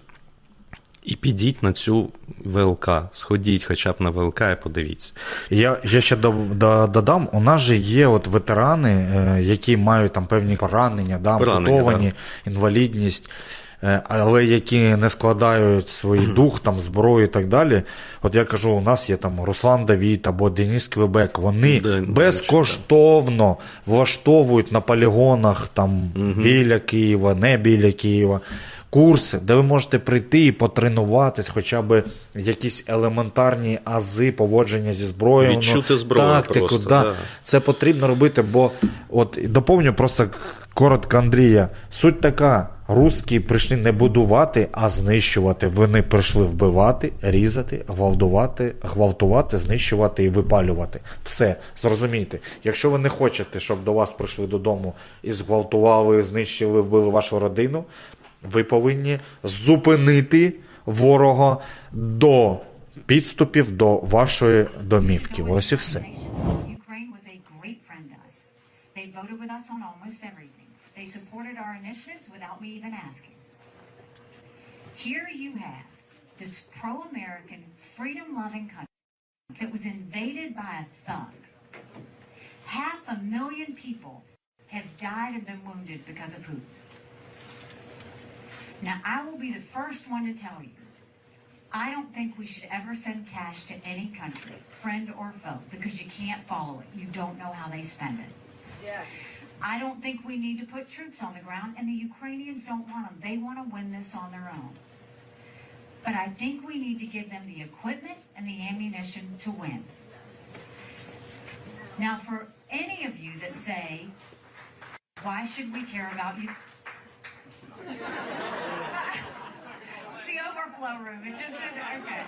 і підіть на цю ВЛК, сходіть хоча б на ВЛК і подивіться. Я, я ще додам, у нас же є от ветерани, які мають там певні поранення, да, ампутовані, да. інвалідність, але які не складають свій дух, там, зброю і так далі. От я кажу, у нас є там Руслан Давід або Денис Квебек, вони да, безкоштовно влаштовують на полігонах там, угу. біля Києва, не біля Києва, курси, де ви можете прийти і потренуватись, хоча б якісь елементарні ази поводження зі зброєю. Відчути зброю тактику, просто. Да. Да. Це потрібно робити, бо от доповню просто коротко Андрія. Суть така, русські прийшли не будувати, а знищувати. Вони прийшли вбивати, різати, гвалтувати, гвалтувати, знищувати і випалювати. Все, зрозумійте. Якщо ви не хочете, щоб до вас прийшли додому і зґвалтували, знищили, вбили вашу родину, ви повинні зупинити ворога до підступів до вашої домівки. Ось і все. They supported our initiatives without me even asking. Here you have this pro-American, freedom-loving country that was invaded by a thug. Half a million people have died and been wounded because of Putin. Now, I will be the first one to tell you I don't think we should ever send cash to any country, friend or foe, because you can't follow it. You don't know how they spend it. Yes. I don't think we need to put troops on the ground, and the Ukrainians don't want them. They want to win this on their own. But I think we need to give them the equipment and the ammunition to win. Now, for any of you that say, why should we care about you? It's the overflow room. It just said, okay.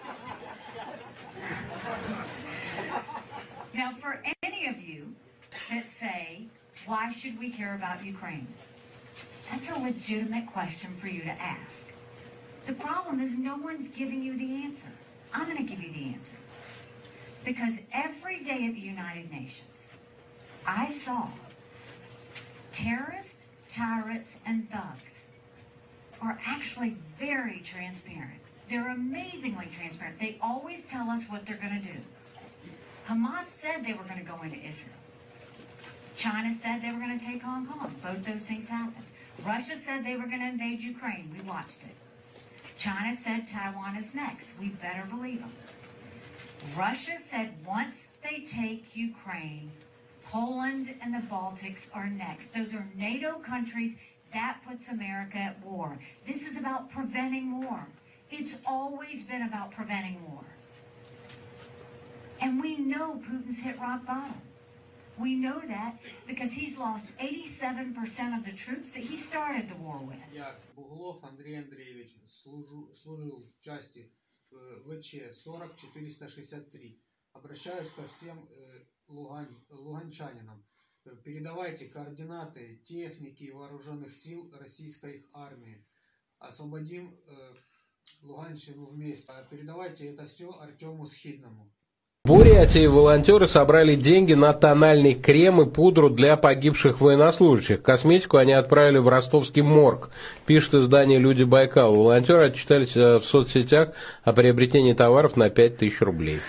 Now, for any of you that say, why should we care about Ukraine? That's a legitimate question for you to ask. The problem is no one's giving you the answer. I'm going to give you the answer. Because every day at the United Nations, I saw terrorists, tyrants, and thugs are actually very transparent. They're amazingly transparent. They always tell us what they're going to do. Hamas said they were going to go into Israel. China said they were going to take Hong Kong. Both those things happened. Russia said they were going to invade Ukraine. We watched it. China said Taiwan is next. We better believe them. Russia said once they take Ukraine, Poland and the Baltics are next. Those are NATO countries. That puts America at war. This is about preventing war. It's always been about preventing war. And we know Putin's hit rock bottom. We know that because he's lost eighty-seven percent of the troops that he started the war with. Я Буглов Андрей Андреевич, служу, служил в части ВЧ сорок четыреста шестьдесят три. Обращаюсь ко всем э, лугань, луганчанинам. Передавайте координаты техники и вооруженных сил российской армии. Освободим э, Луганщину вместе. Передавайте это все Артему Схидному. В Бурятии волонтеры собрали деньги на тональный крем и пудру для погибших военнослужащих. Косметику они отправили в ростовский морг, пишет издание «Люди Байкала». Волонтеры отчитались в соцсетях о приобретении товаров на пять тысяч рублей.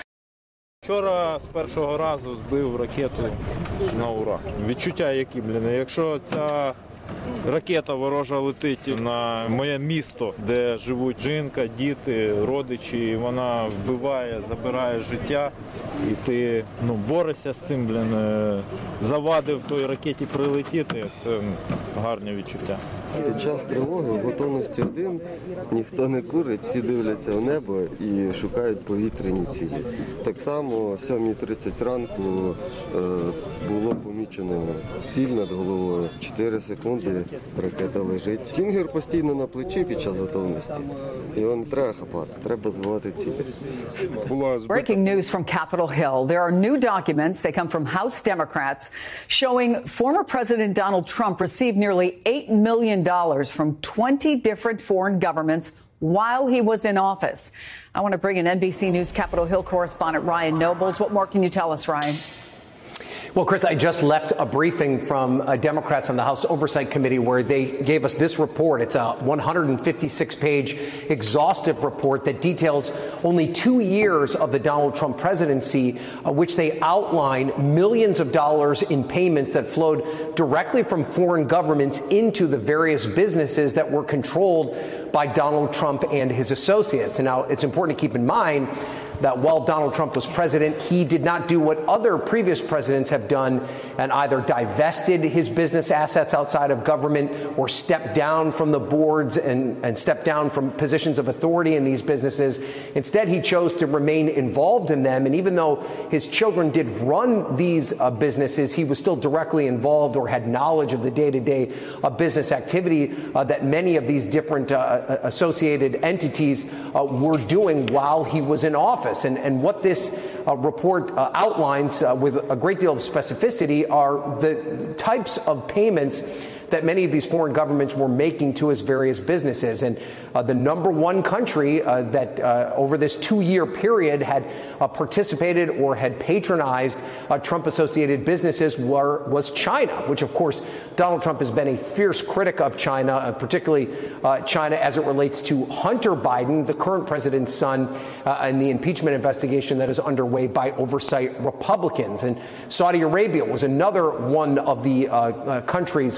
Вчора з першого разу збив ракету на ура. Відчуття які, блін, якщо ця ракета ворожа летить на моє місто, де живуть жінка, діти, родичі, і вона вбиває, забирає життя, і ти ну, борешся з цим, блін, завадив той ракеті прилетіти, це гарне відчуття. Під час тривоги в готовності один, ніхто не курить, всі дивляться в небо і шукають повітряні цілі. Так само о сьомій тридцять ранку е, було помічено ціль над головою, чотири секунди ракета лежить. Стінгер постійно на плечі під час готовності. Його не треба хапати, треба збивати цілі. Breaking news from Capitol Hill. There are new documents, they come from House Democrats, showing former President Donald Trump received nearly eight million dollars from twenty different foreign governments while he was in office. I want to bring in N B C News Capitol Hill correspondent Ryan Nobles. What more can you tell us, Ryan? Well, Chris, I just left a briefing from uh, Democrats on the House Oversight Committee where they gave us this report. It's a one hundred fifty-six page exhaustive report that details only two years of the Donald Trump presidency, uh, which they outline millions of dollars in payments that flowed directly from foreign governments into the various businesses that were controlled by Donald Trump and his associates. And now it's important to keep in mind that while Donald Trump was president, he did not do what other previous presidents have done and either divested his business assets outside of government or stepped down from the boards and, and stepped down from positions of authority in these businesses. Instead, he chose to remain involved in them. And even though his children did run these uh, businesses, he was still directly involved or had knowledge of the day-to-day uh, business activity uh, that many of these different uh, associated entities uh, were doing while he was in office. And, and what this uh, report uh, outlines uh, with a great deal of specificity are the types of payments that many of these foreign governments were making to his various businesses. And uh, the number one country uh, that uh, over this two-year period had uh, participated or had patronized uh, Trump-associated businesses were, was China, which, of course, Donald Trump has been a fierce critic of China, uh, particularly uh, China as it relates to Hunter Biden, the current president's son, uh, and the impeachment investigation that is underway by oversight Republicans. And Saudi Arabia was another one of the uh, uh, countries of which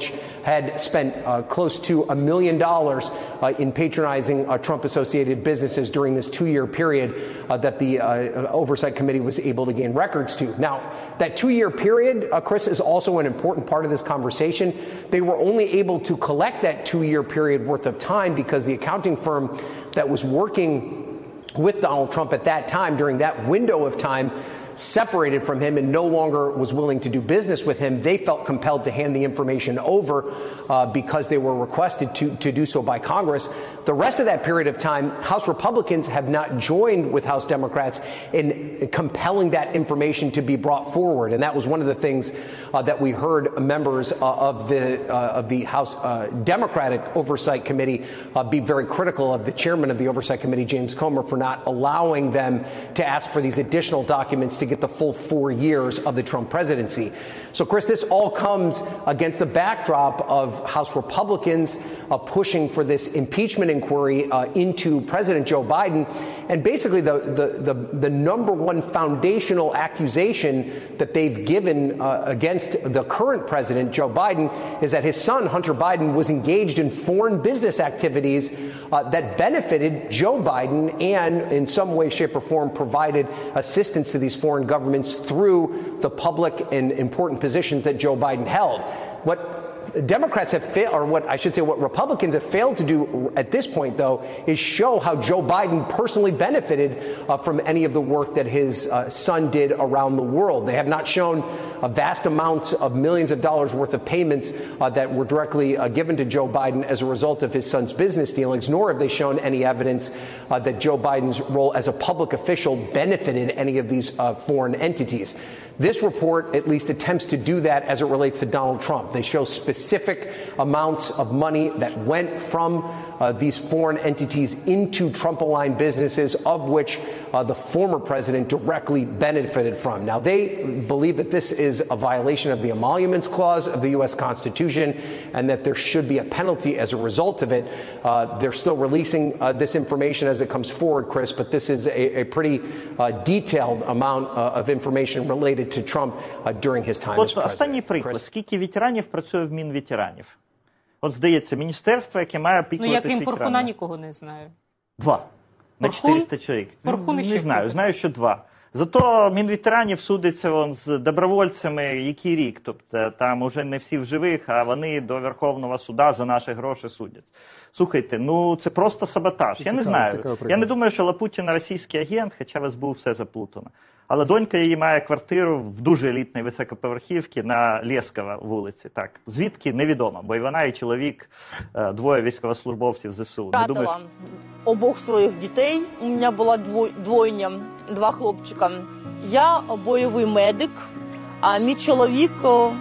which had spent uh, close to a million dollars uh, in patronizing uh, Trump-associated businesses during this two-year period uh, that the uh, Oversight Committee was able to gain records to. Now, that two-year period, uh, Chris, is also an important part of this conversation. They were only able to collect that two-year period worth of time because the accounting firm that was working with Donald Trump at that time, during that window of time, separated from him and no longer was willing to do business with him. They felt compelled to hand the information over uh, because they were requested to, to do so by Congress. The rest of that period of time, House Republicans have not joined with House Democrats in compelling that information to be brought forward. And that was one of the things uh, that we heard members uh, of the uh, of the House uh, Democratic Oversight Committee uh, be very critical of the chairman of the Oversight Committee, James Comer, for not allowing them to ask for these additional documents to get the full four years of the Trump presidency. So, Chris, this all comes against the backdrop of House Republicans uh, pushing for this impeachment inquiry uh, into President Joe Biden. And basically the, the, the, the number one foundational accusation that they've given uh, against the current president, Joe Biden, is that his son, Hunter Biden, was engaged in foreign business activities uh, that benefited Joe Biden and in some way, shape, or form provided assistance to these foreign governments through the public and important positions that Joe Biden held. What Democrats have failed, or what I should say, what Republicans have failed to do at this point, though, is show how Joe Biden personally benefited uh, from any of the work that his uh, son did around the world. They have not shown uh, vast amounts of millions of dollars worth of payments uh, that were directly uh, given to Joe Biden as a result of his son's business dealings, nor have they shown any evidence uh, that Joe Biden's role as a public official benefited any of these uh, foreign entities. This report at least attempts to do that as it relates to Donald Trump. They show specific amounts of money that went from uh, these foreign entities into Trump-aligned businesses, of which uh, the former president directly benefited from. Now, they believe that this is a violation of the Emoluments Clause of the U S Constitution and that there should be a penalty as a result of it. Uh, they're still releasing uh, this information as it comes forward, Chris, but this is a, a pretty uh, detailed amount uh, of information related to Trump uh, during his time as От president. останній приклад. Скільки ветеранів працює в Мінветеранів? От, здається, міністерство, яке має Ну, опікуватися я крім ветеранами. Порхуна нікого не знаю. Два. На Порхун? чотириста чоловік. Порхун Не іще знаю, хто? знаю, що два. Зато Мінветеранів судиться вон з добровольцями який рік. Тобто там уже не всі в живих, а вони до Верховного суда за наші гроші судять. Слухайте, ну це просто саботаж. Це Я не цікаво, знаю. цікаво Я не думаю, що Лапутіна російський агент, хоча в ес бе у все заплутано. Але донька її має квартиру в дуже елітній високоповерхівці на Лєскова вулиці. Так, звідки невідомо, бо і вона, і чоловік, двоє військовослужбовців зе се у. Не думаю, Втратила обох своїх дітей. У мене була двойня, два хлопчика. Я бойовий медик, а мій чоловік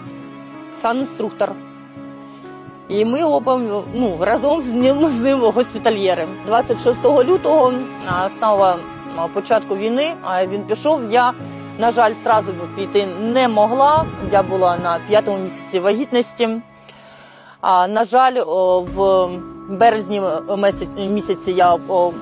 санінструктор. І ми оба ну, разом з ним, з ним госпітальєри. двадцять шостого лютого, з самого початку війни, він пішов. Я, на жаль, одразу піти не могла. Я була на п'ятому місяці вагітності. А, на жаль, в березні місяці я,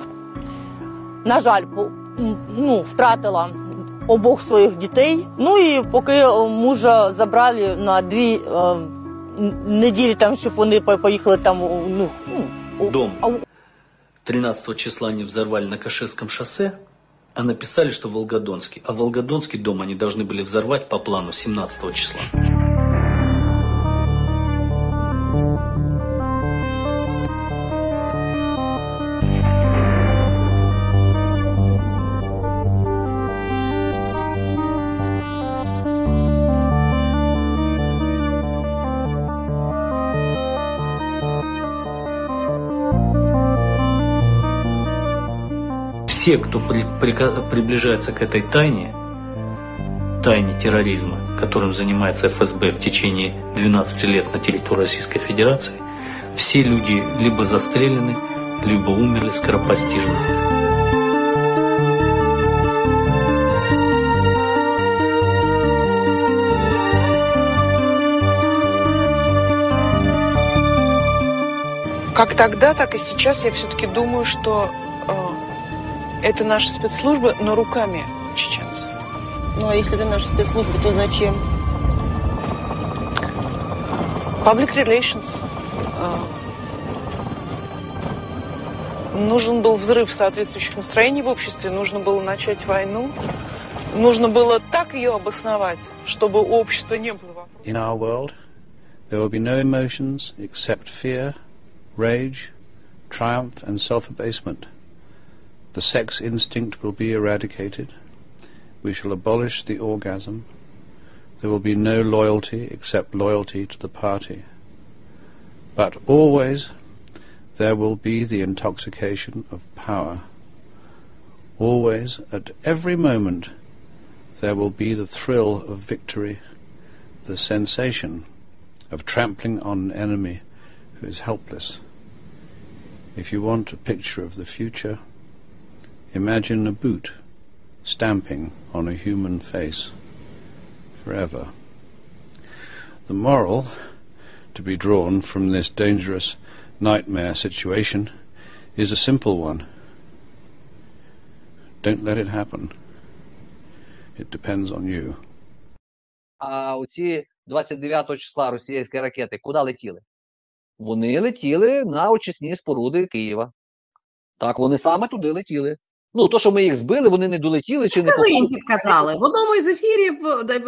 на жаль, ну, втратила обох своїх дітей. Ну і поки мужа забрали на дві неділі, там, щоб вони поїхали там, ну, дом. тринадцатого числа они взорвали на Каширском шоссе, а написали, что Волгодонский. А Волгодонский дом они должны были взорвать по плану семнадцатого числа. Все, кто при, при, приближается к этой тайне, тайне терроризма, которым занимается эф эс бэ в течение двенадцати лет на территории Российской Федерации, все люди либо застрелены, либо умерли скоропостижно. Как тогда, так и сейчас я все-таки думаю, что это наши спецслужбы, но руками чеченцев. Ну а если это наши спецслужбы, то зачем? Public relations. Нужен был взрыв соответствующих настроений в обществе, нужно было начать войну, нужно было так ее обосновать, чтобы у общества не было. In our world, there will be no emotions except fear, rage, triumph and self-abasement. The sex instinct will be eradicated. We shall abolish the orgasm. There will be no loyalty except loyalty to the party. But always there will be the intoxication of power. Always, at every moment, there will be the thrill of victory, the sensation of trampling on an enemy who is helpless. If you want a picture of the future, imagine a boot stamping on a human face forever. The moral to be drawn from this dangerous nightmare situation is a simple one. Don't let it happen. It depends on you. А оці двадцять дев'ятого числа російські ракети куди летіли? Вони летіли на очисні споруди Києва. Так, вони саме туди летіли. Ну, то, що ми їх збили, вони не долетіли чи не Це ви попали. їм підказали. В одному із ефірів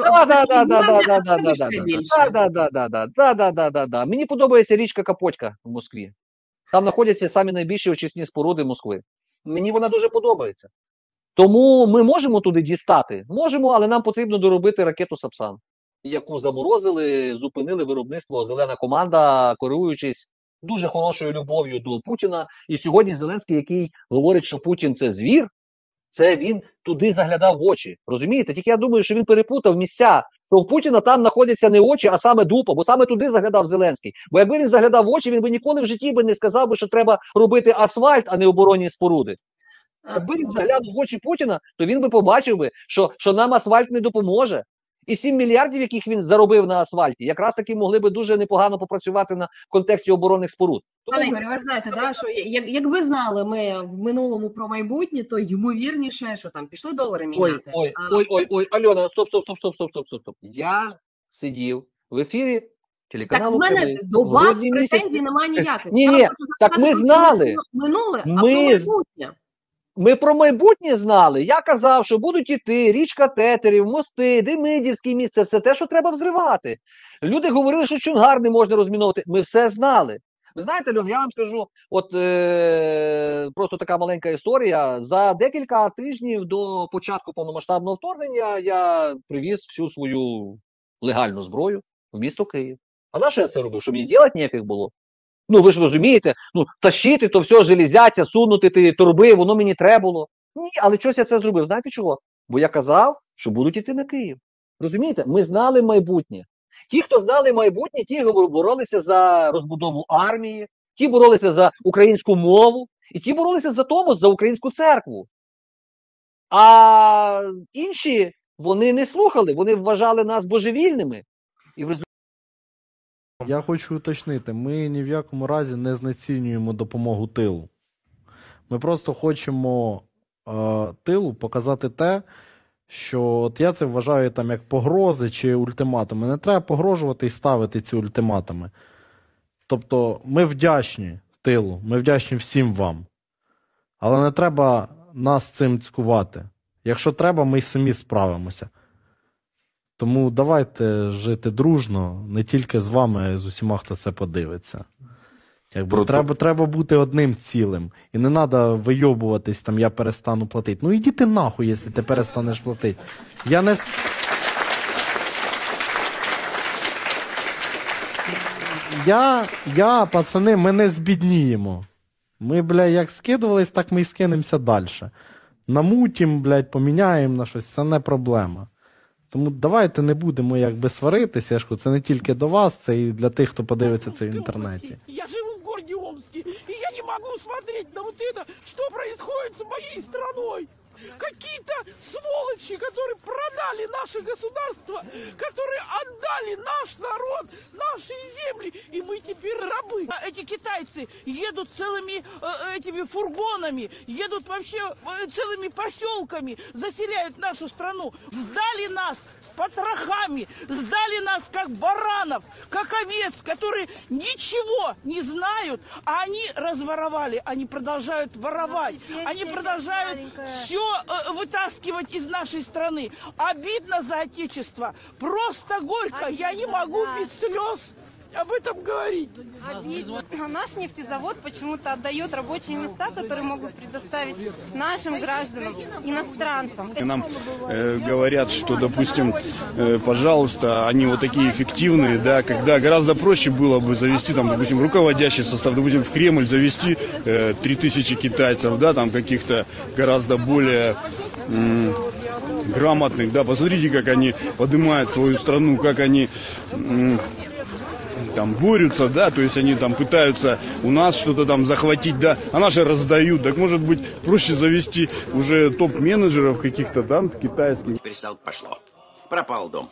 Да-да-да-да-да-да-да-да-да-да-да-да-да-да. Мені подобається річка Капотька в Москві. Там знаходяться самі найбільші очисні споруди Москви. Мені вона дуже подобається. Тому ми можемо туди дістати? Можемо, але нам потрібно доробити ракету «Сапсан», яку заморозили, зупинили виробництво «Зелена команда», керуючись дуже хорошою любов'ю до Путіна. І сьогодні Зеленський, який говорить, що Путін – це звір, це він туди заглядав в очі. Розумієте? Тільки я думаю, що він перепутав місця. То в Путіна там знаходяться не очі, а саме дупа, бо саме туди заглядав Зеленський. Бо якби він заглядав в очі, він би ніколи в житті би не сказав би, що треба робити асфальт, а не оборонні споруди. Якби він заглянув в очі Путіна, то він би побачив би, що, що нам асфальт не допоможе. І сім мільярдів, яких він заробив на асфальті, якраз таки могли би дуже непогано попрацювати на контексті оборонних споруд. Пане Ігорю, ви ж знаєте, да, що як, якби знали ми в минулому про майбутнє, то ймовірніше, що там пішли долари міняти. Ой, ой, а, ой, ой, ой, Альона, стоп, стоп, стоп, стоп, стоп, стоп, стоп, стоп. Я сидів в ефірі телеканалу Так в мене «Кривий». до вас Грудні претензій місяці. немає ніяких. Ні, Я ні, вас хочу так запитати ми про знали. минуле, а Ми про з- майбутнє. Ми про майбутнє знали. Я казав, що будуть іти річка Тетерів, мости, Демидівський міст, це все те, що треба взривати. Люди говорили, що Чонгар не можна розміновувати. Ми все знали. Ви знаєте, Льон, я вам скажу, от е- просто така маленька історія. За декілька тижнів до початку повномасштабного вторгнення я привіз всю свою легальну зброю в місто Київ. А на що я це робив? Щоб мені ділати ніяких було? Ну, ви ж розумієте, ну, тащити то все, железяця, сунути ті торби, воно мені треба було. Ні, але чогось я це зробив. Знаєте чого? Бо я казав, що будуть іти на Київ. Розумієте? Ми знали майбутнє. Ті, хто знали майбутнє, ті боролися за розбудову армії, ті боролися за українську мову, і ті боролися за Томос, за українську церкву. А інші, вони не слухали, вони вважали нас божевільними. І в результаті Я хочу уточнити, ми ні в якому разі не знецінюємо допомогу тилу. Ми просто хочемо е, тилу показати те, що от я це вважаю там як погрози чи ультиматуми. Не треба погрожувати і ставити ці ультиматуми. Тобто ми вдячні тилу, ми вдячні всім вам. Але не треба нас цим цькувати. Якщо треба, ми й самі справимося. Тому давайте жити дружно, не тільки з вами, а й з усіма, хто це подивиться. Якби Про- треба, треба бути одним цілим. І не треба вийобуватись, там, я перестану платити. Ну іди ти нахуй, якщо ти перестанеш платити. Я не... с- Я, я, пацани, ми не збідніємо. Ми, бля, як скидувались, так ми і скинемося далі. Намутім, блядь, поміняємо на щось, це не проблема. Тому давайте не будемо якби сваритися, я ж кажу, це не тільки до вас, це і для тих, хто подивиться це в інтернеті. Я живу в городе Омске, и я не могу смотреть на вот это, что происходит с моей страной. какие-то сволочи, которые продали наше государство, которые отдали наш народ, наши земли, и мы теперь рабы. А эти китайцы едут целыми э, этими фургонами, едут вообще э, целыми поселками, заселяют нашу страну. Сдали нас с потрохами, сдали нас как баранов, как овец, которые ничего не знают, а они разворовали, они продолжают воровать, они продолжают все э, вытаскивать из нашей страны. Обидно за отечество, просто горько, я не могу без слез об этом говорить. Обидно. А наш нефтезавод почему-то отдает рабочие места, которые могут предоставить нашим гражданам, иностранцам. Нам э, говорят, что, допустим, э, пожалуйста, они вот такие эффективные, да, когда гораздо проще было бы завести, там, допустим, руководящий состав, допустим, в Кремль завести э, три тысячи китайцев, да, там каких-то гораздо более м- грамотных, да, посмотрите, как они поднимают свою страну, как они м- там борются, да, то есть они там пытаются у нас что-то там захватить, да, а наши раздают. Так может быть проще завести уже топ-менеджеров каких-то там китайских. Теперь стало пошло. Пропал дом.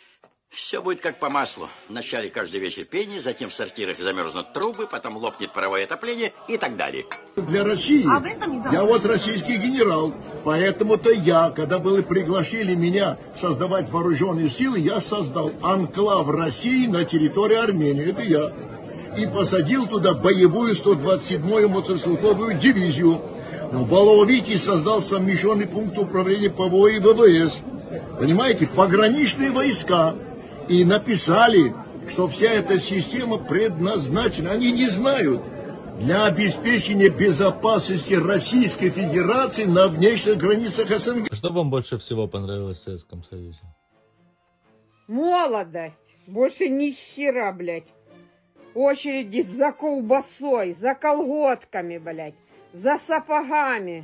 Все будет как по маслу. Вначале каждый вечер пение, затем в сортирах замерзнут трубы, потом лопнет паровое отопление и так далее. Для России. А я вот российский генерал, поэтому-то я, когда были пригласили меня создавать вооруженные силы, я создал анклав России на территории Армении. Это я. И посадил туда боевую сто двадцать седьмую мотострелковую дивизию. В Баловите создал совмещенный пункт управления ПВО и ВВС. Понимаете, пограничные войска. И написали, что вся эта система предназначена, они не знают, для обеспечения безопасности Российской Федерации на внешних границах СНГ. Что вам больше всего понравилось в Советском Союзе? Молодость. Больше ни хера, блядь. Очереди за колбасой, за колготками, блядь, за сапогами.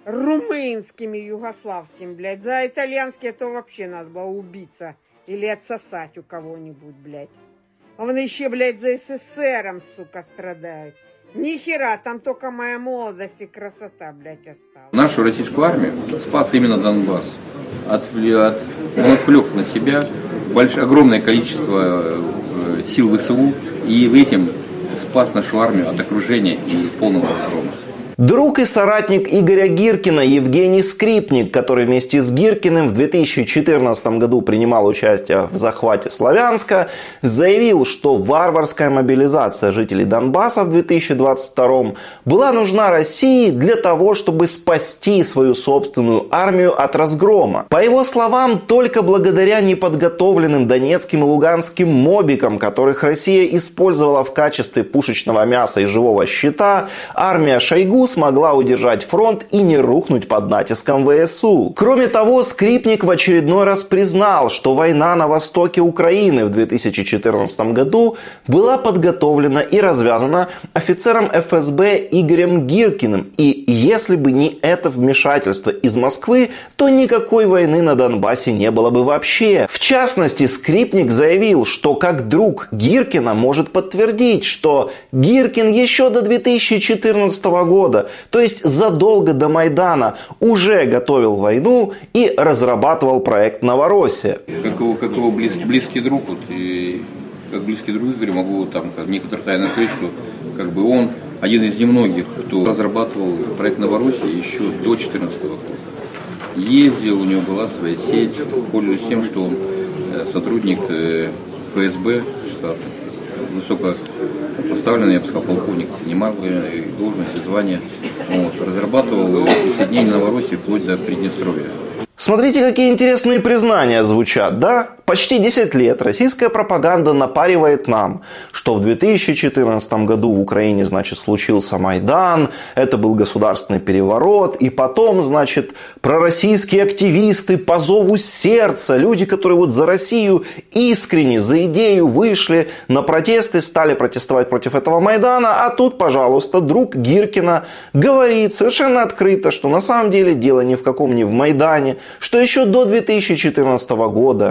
Румынскими, югославскими, блядь. За итальянские то вообще надо было убиться. Или отсосать у кого-нибудь, блядь. А вон еще, блядь, за СССРом, сука, страдают. Ни хера, там только моя молодость и красота, блядь, осталась. Нашу российскую армию спас именно Донбасс. Отвлек, от, он отвлек на себя большое, огромное количество сил ВСУ. И этим спас нашу армию от окружения и полного разгрома. Друг и соратник Игоря Гиркина Евгений Скрипник, который вместе с Гиркиным в две тысячи четырнадцатом году принимал участие в захвате Славянска, заявил, что варварская мобилизация жителей Донбасса в две тысячи двадцать втором была нужна России для того, чтобы спасти свою собственную армию от разгрома. По его словам, только благодаря неподготовленным донецким и луганским мобикам, которых Россия использовала в качестве пушечного мяса и живого щита, армия Шойгу смогла удержать фронт и не рухнуть под натиском ВСУ. Кроме того, Скрипник в очередной раз признал, что война на востоке Украины в две тысячи четырнадцатом году была подготовлена и развязана офицером эф эс бэ Игорем Гиркиным. И если бы не это вмешательство из Москвы, то никакой войны на Донбассе не было бы вообще. В частности, Скрипник заявил, что как друг Гиркина может подтвердить, что Гиркин еще до две тысячи четырнадцатого года, то есть задолго до Майдана, уже готовил войну и разрабатывал проект «Новороссия». Как его, как его близ, близкий друг, вот, и как близкий друг Игоря могу там некоторые тайны открыть, что как бы он один из немногих, кто разрабатывал проект «Новороссия» еще до две тысячи четырнадцатого года. Ездил, у него была своя сеть, пользуясь тем, что он сотрудник эф эс бэ штата, высоко поставленный, я бы сказал, полковник, занимал должности, звания, вот, разрабатывал присоединение Новороссии вплоть до Приднестровья. Смотрите, какие интересные признания звучат, да? Почти десять лет российская пропаганда напаривает нам, что в две тысячи четырнадцатом году в Украине, значит, случился Майдан, это был государственный переворот, и потом, значит, пророссийские активисты по зову сердца, люди, которые вот за Россию искренне, за идею вышли на протесты, стали протестовать против этого Майдана, а тут, пожалуйста, друг Гиркина говорит совершенно открыто, что на самом деле дело ни в каком не в Майдане, что еще до две тысячи четырнадцатого года российские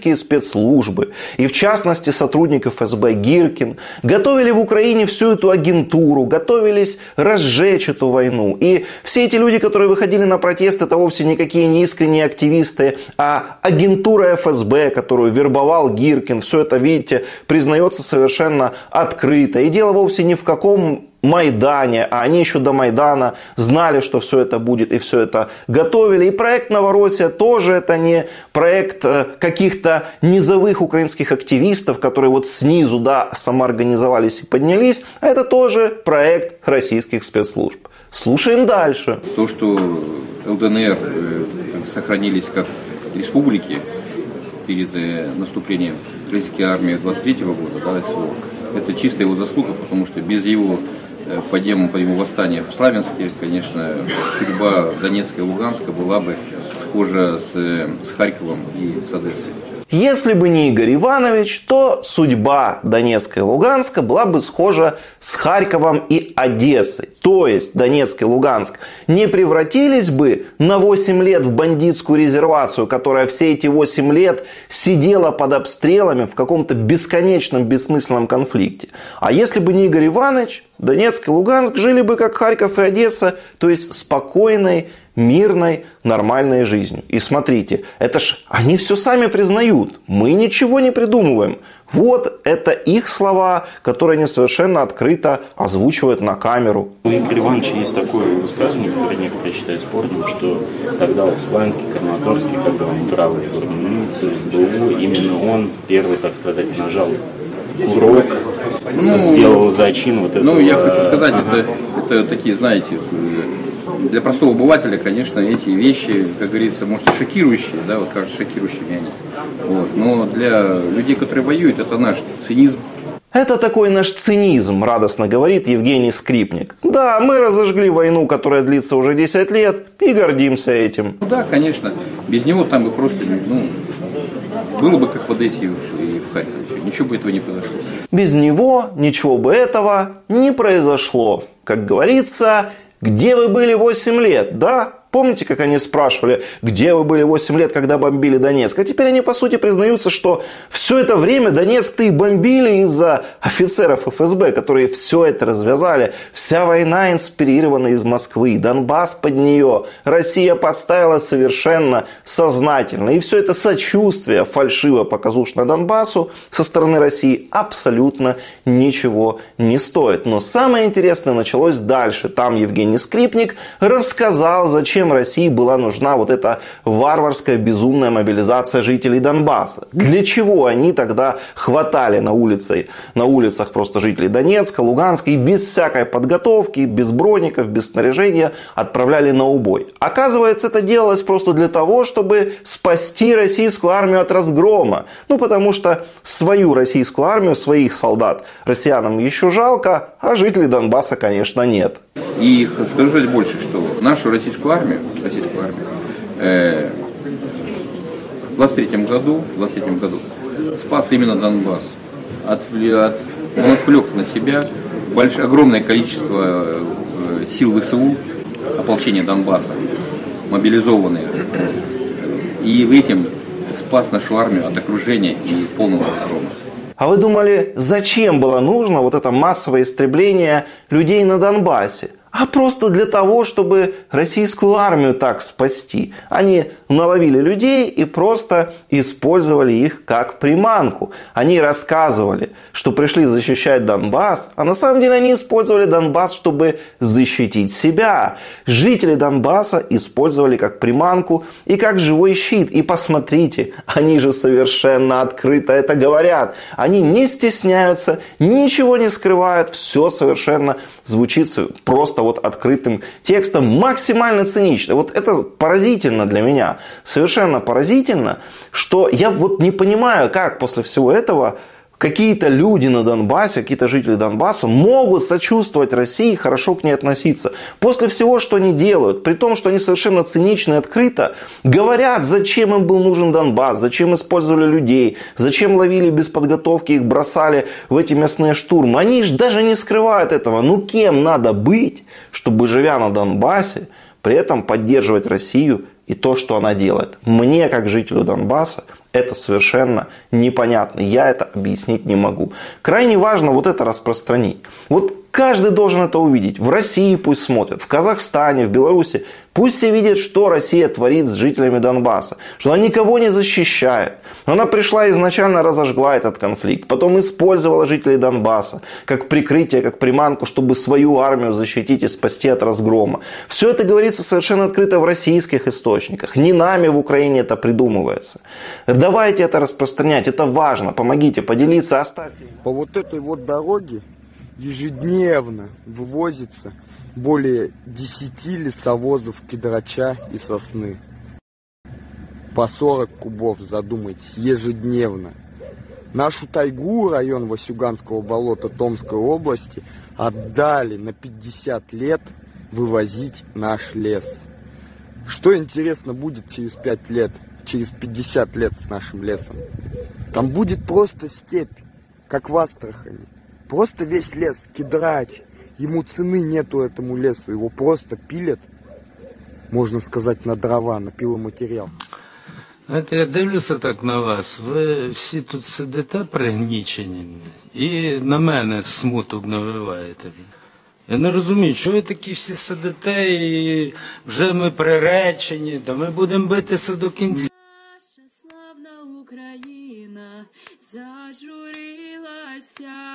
российские спецслужбы, и в частности сотрудник эф эс бэ Гиркин, готовили в Украине всю эту агентуру, готовились разжечь эту войну. И все эти люди, которые выходили на протест, это вовсе никакие не искренние активисты, а агентура эф эс бэ, которую вербовал Гиркин. Все это, видите, признается совершенно открыто. И дело вовсе не в каком Майдане, а они еще до Майдана знали, что все это будет, и все это готовили. И проект «Новороссия» тоже это не проект каких-то низовых украинских активистов, которые вот снизу, да, самоорганизовались и поднялись, а это тоже проект российских спецслужб. Слушаем дальше. То, что эл дэ эн эр сохранились как республики перед наступлением российской армии двадцать третьего года, да, СВО, это чисто его заслуга, потому что без его подъема, по его восстания в Славянске, конечно, судьба Донецка и Луганска была бы схожа с, с Харьковом и с Одессой. Если бы не Игорь Иванович, то судьба Донецка и Луганска была бы схожа с Харьковом и Одессой. То есть Донецк и Луганск не превратились бы на восемь лет в бандитскую резервацию, которая все эти восемь лет сидела под обстрелами в каком-то бесконечном бессмысленном конфликте. А если бы не Игорь Иванович, Донецк и Луганск жили бы как Харьков и Одесса, то есть спокойной, мирной, нормальной жизнью. И смотрите, это ж они все сами признают. Мы ничего не придумываем. Вот это их слова, которые они совершенно открыто озвучивают на камеру. У Игоря Ивановича есть такое высказывание, которое некоторые считают спорным, что тогда в Славянске, Краматорске, когда он брал эту организацию эс бэ у, именно он первый, так сказать, нажал курок, ну, сделал зачин вот этого. Ну, я хочу сказать, это, это такие, знаете, для простого обывателя, конечно, эти вещи, как говорится, может, и шокирующие, да, вот кажется, шокирующими они. Вот. Но для людей, которые воюют, это наш цинизм. Это такой наш цинизм, радостно говорит Евгений Скрипник. Да, мы разожгли войну, которая длится уже десять лет, и гордимся этим. Ну да, конечно, без него там бы просто, ну, было бы как в Одессе и в Харькове, ничего бы этого не произошло. Без него ничего бы этого не произошло. Как говорится, где вы были восемь лет, да? Помните, как они спрашивали, где вы были восемь лет, когда бомбили Донецк? А теперь они, по сути, признаются, что все это время Донецк-то и бомбили из-за офицеров эф эс бэ, которые все это развязали. Вся война инспирирована из Москвы, Донбасс под нее. Россия подставила совершенно сознательно. И все это сочувствие фальшиво-показушно Донбассу со стороны России абсолютно ничего не стоит. Но самое интересное началось дальше. Там Евгений Скрипник рассказал, зачем России была нужна вот эта варварская, безумная мобилизация жителей Донбасса. Для чего они тогда хватали на, улице, на улицах просто жителей Донецка, Луганска и без всякой подготовки, без броников, без снаряжения отправляли на убой. Оказывается, это делалось просто для того, чтобы спасти российскую армию от разгрома. Ну, потому что свою российскую армию, своих солдат россиянам еще жалко, а жителей Донбасса, конечно, нет. И скажу больше, что нашу российскую армию, российскую армию э, в двадцать третьем году, двадцать третьем году спас именно Донбасс. Отвлек, от, он отвлек на себя большое, огромное количество э, сил вэ эс у, ополчения Донбасса, мобилизованные. И этим спас нашу армию от окружения и полного разгрома. А вы думали, зачем было нужно вот это массовое истребление людей на Донбассе? А просто для того, чтобы российскую армию так спасти. Они наловили людей и просто использовали их как приманку. Они рассказывали, что пришли защищать Донбасс, а на самом деле они использовали Донбасс, чтобы защитить себя. Жители Донбасса использовали как приманку и как живой щит. И посмотрите, они же совершенно открыто это говорят. Они не стесняются, ничего не скрывают, все совершенно звучит просто вот открытым текстом, максимально цинично. Вот это поразительно для меня, совершенно поразительно, что я вот не понимаю, как после всего этого какие-то люди на Донбассе, какие-то жители Донбасса могут сочувствовать России и хорошо к ней относиться. После всего, что они делают, при том, что они совершенно цинично и открыто говорят, зачем им был нужен Донбасс, зачем использовали людей, зачем ловили без подготовки, их бросали в эти мясные штурмы. Они же даже не скрывают этого. Ну кем надо быть, чтобы, живя на Донбассе, при этом поддерживать Россию и то, что она делает? Мне, как жителю Донбасса, Это совершенно непонятно. Я это объяснить не могу. Крайне важно вот это распространить. Вот каждый должен это увидеть. В России пусть смотрят, в Казахстане, в Беларуси. Пусть все видят, что Россия творит с жителями Донбасса. Что она никого не защищает. Она пришла и изначально разожгла этот конфликт. Потом использовала жителей Донбасса как прикрытие, как приманку, чтобы свою армию защитить и спасти от разгрома. Все это говорится совершенно открыто в российских источниках. Не нами в Украине это придумывается. Давайте это распространять. Это важно. Помогите, поделиться, оставьте. По вот этой вот дороге ежедневно вывозится более десяти лесовозов кедрача и сосны. По сорок кубов, задумайтесь, ежедневно. Нашу тайгу, район Васюганского болота Томской области, отдали на пятьдесят лет вывозить наш лес. Что интересно будет через пять лет, через пятьдесят лет с нашим лесом? Там будет просто степь, как в Астрахани. Просто весь лес, кедрач. Ему цены нету этому лесу, его просто пилят, можна сказати, на дрова, на пиломатеріал. Знаєте, я дивлюся так на вас, ви всі тут сидите пригнічені і на мене смуток навиваєте. Я не розумію, що ви такі всі сидите і вже ми приречені, да ми будемо битися до кінця. Наша славна Україна зажурилася.